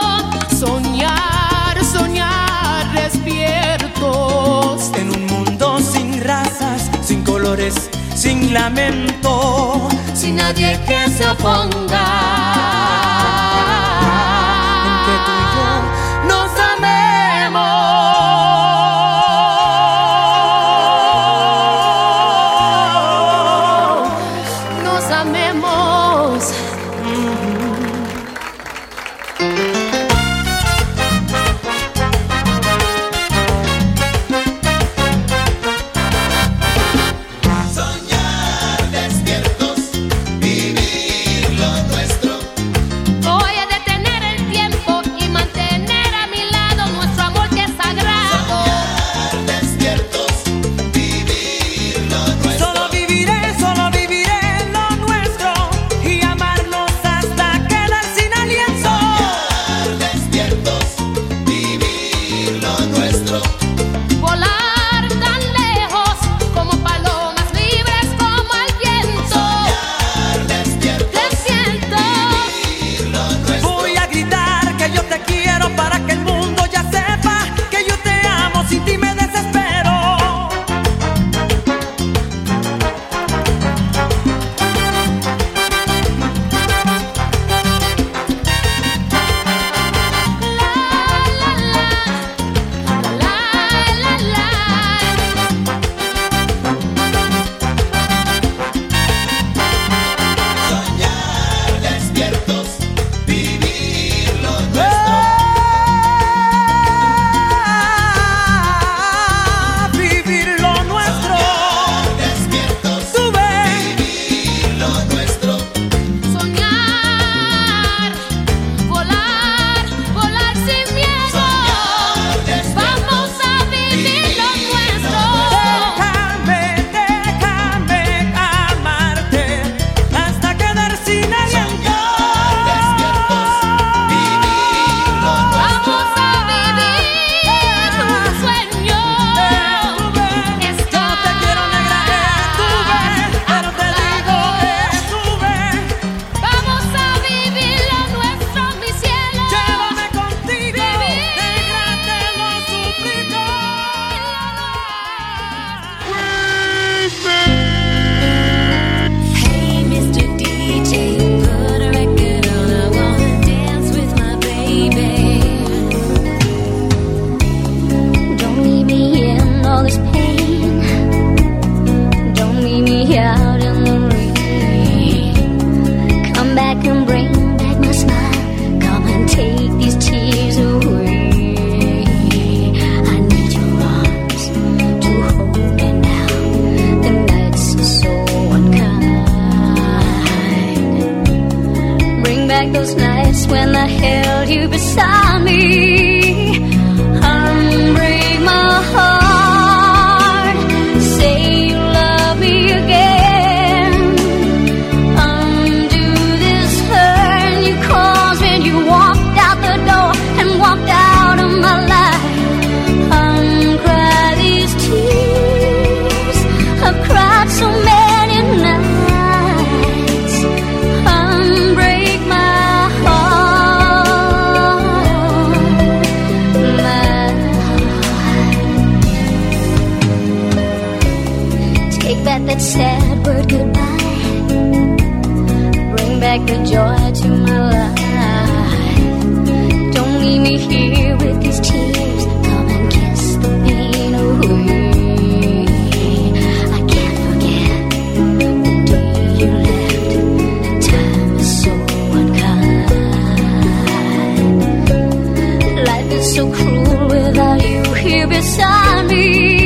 [SPEAKER 5] Soñar, soñar despiertos,
[SPEAKER 11] en un mundo sin razas, sin colores, sin lamento,
[SPEAKER 5] sin nadie que se oponga,
[SPEAKER 11] en que tú y yo nos amemos.
[SPEAKER 5] Nos amemos.
[SPEAKER 21] Soñar despiertos, vivir lo nuestro,
[SPEAKER 12] here beside me. Unbreak my heart, say you love me again. Undo this hurt you caused when you walked out the door and walked out of my life. Uncry these tears, I've cried so many nights. Unbreak my heart, my heart. Take back that sad word goodbye. Bring back the joy to my life. Don't leave me here with these tears. Come and kiss the pain away. I can't forget the day you left. Time is so unkind. Life is so cruel without you here beside me.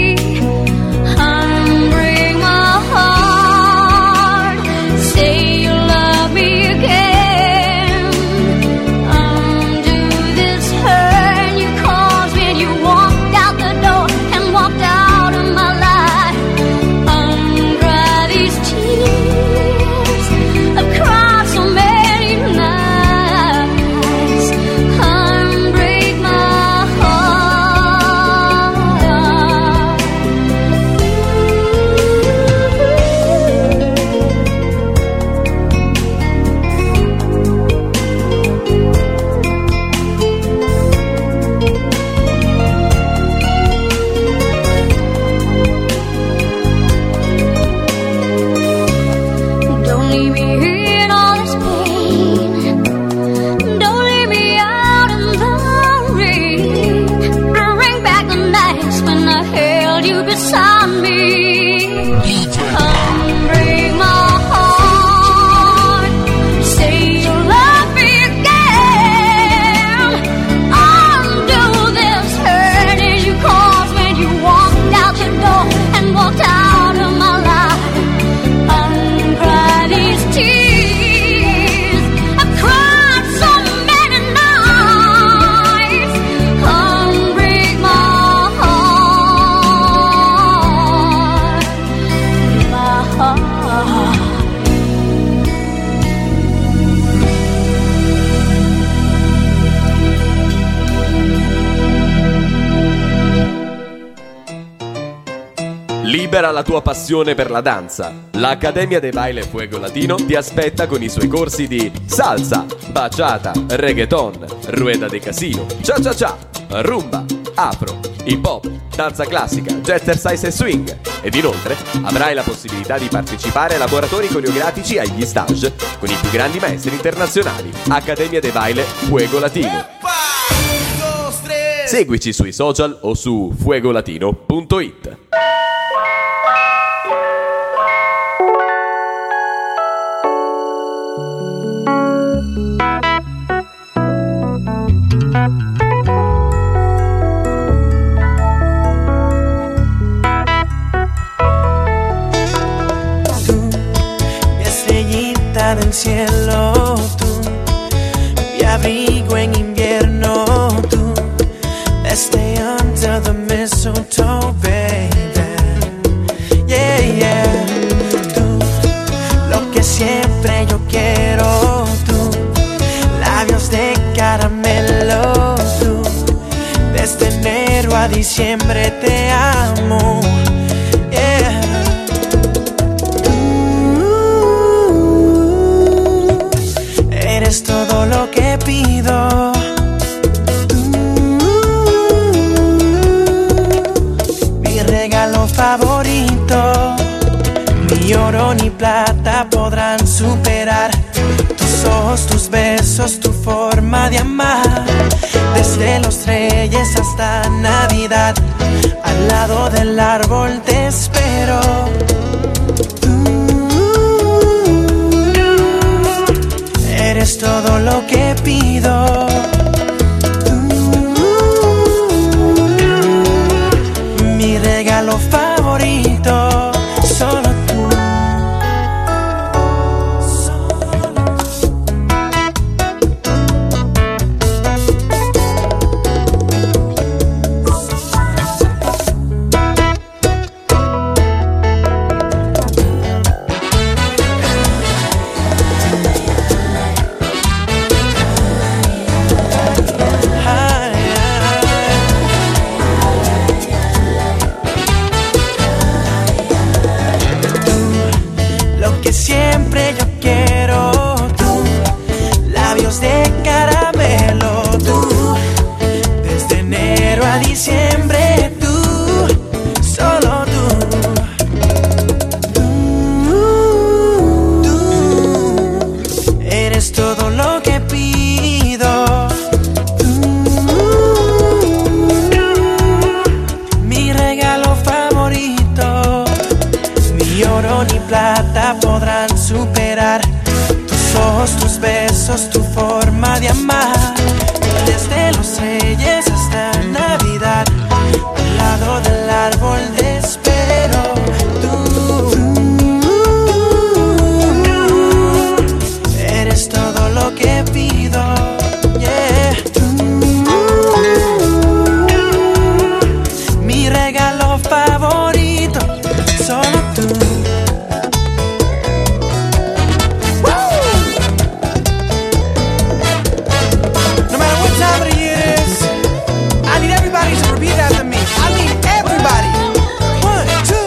[SPEAKER 12] Unbreak my heart, say you love me again. Undo this hurt you caused when you walked out the door and walked out of my life. Uncry these tears, I've cried so many nights. Unbreak my Don't leave me here in all this pain. Don't leave me out in the rain. Bring back the nights when I held you beside me. Unbreak my heart, say you love me again. Undo this hurt as you caused when you walked out the door and walked out of my life. Uncry these tears, I've cried so many nights. Unbreak my heart, my heart.
[SPEAKER 13] Libera la tua passione per la danza. L'Accademia de Baile Fuego Latino ti aspetta con i suoi corsi di salsa, bachata, reggaeton, rueda de casino, cha-cha-cha, rumba, afro, hip hop, danza classica, jazzercise e swing. Ed inoltre avrai la possibilità di partecipare a laboratori coreografici agli stage con i più grandi maestri internazionali. Accademia de Baile Fuego Latino. Seguici sui social o su fuegolatino punto it.
[SPEAKER 11] Mi estrellita del cielo, tú, mi abrigo en invierno, tú, stay under the mistletoe, baby, yeah, yeah, tú, lo que siempre yo quiero, tú, labios de caramelo, tú, desde enero a diciembre te amo, yeah. Eres todo lo que pido. Mi regalo favorito. Ni oro ni plata podrán superar tus ojos, tus besos, tu forma de amar. Desde los Reyes hasta Navidad, al lado del árbol te espero. Eres todo lo que pido. Mi regalo favorito, solo tú. Solo tú. plata podrán superar tus ojos, tus besos, tu forma de amar. Desde los Reyes hasta Navidad, al lado del árbol te espero. Tú eres todo lo que pido. Yeah. Mi regalo favorito, solo tú. No matter what time of the year it is, I need everybody to repeat after me. I need everybody. One, two.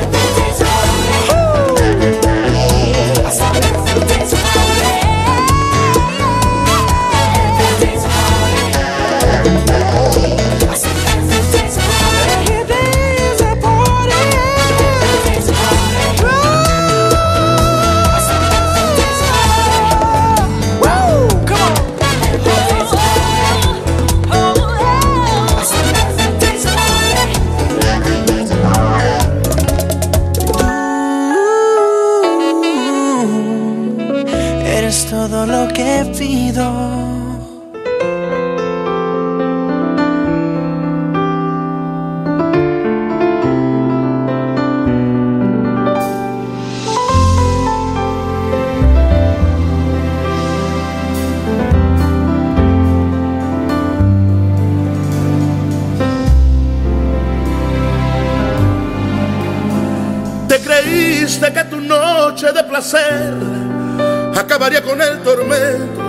[SPEAKER 11] Eres todo lo que pido.
[SPEAKER 17] Te creíste que tu noche de placer acabaría con el tormento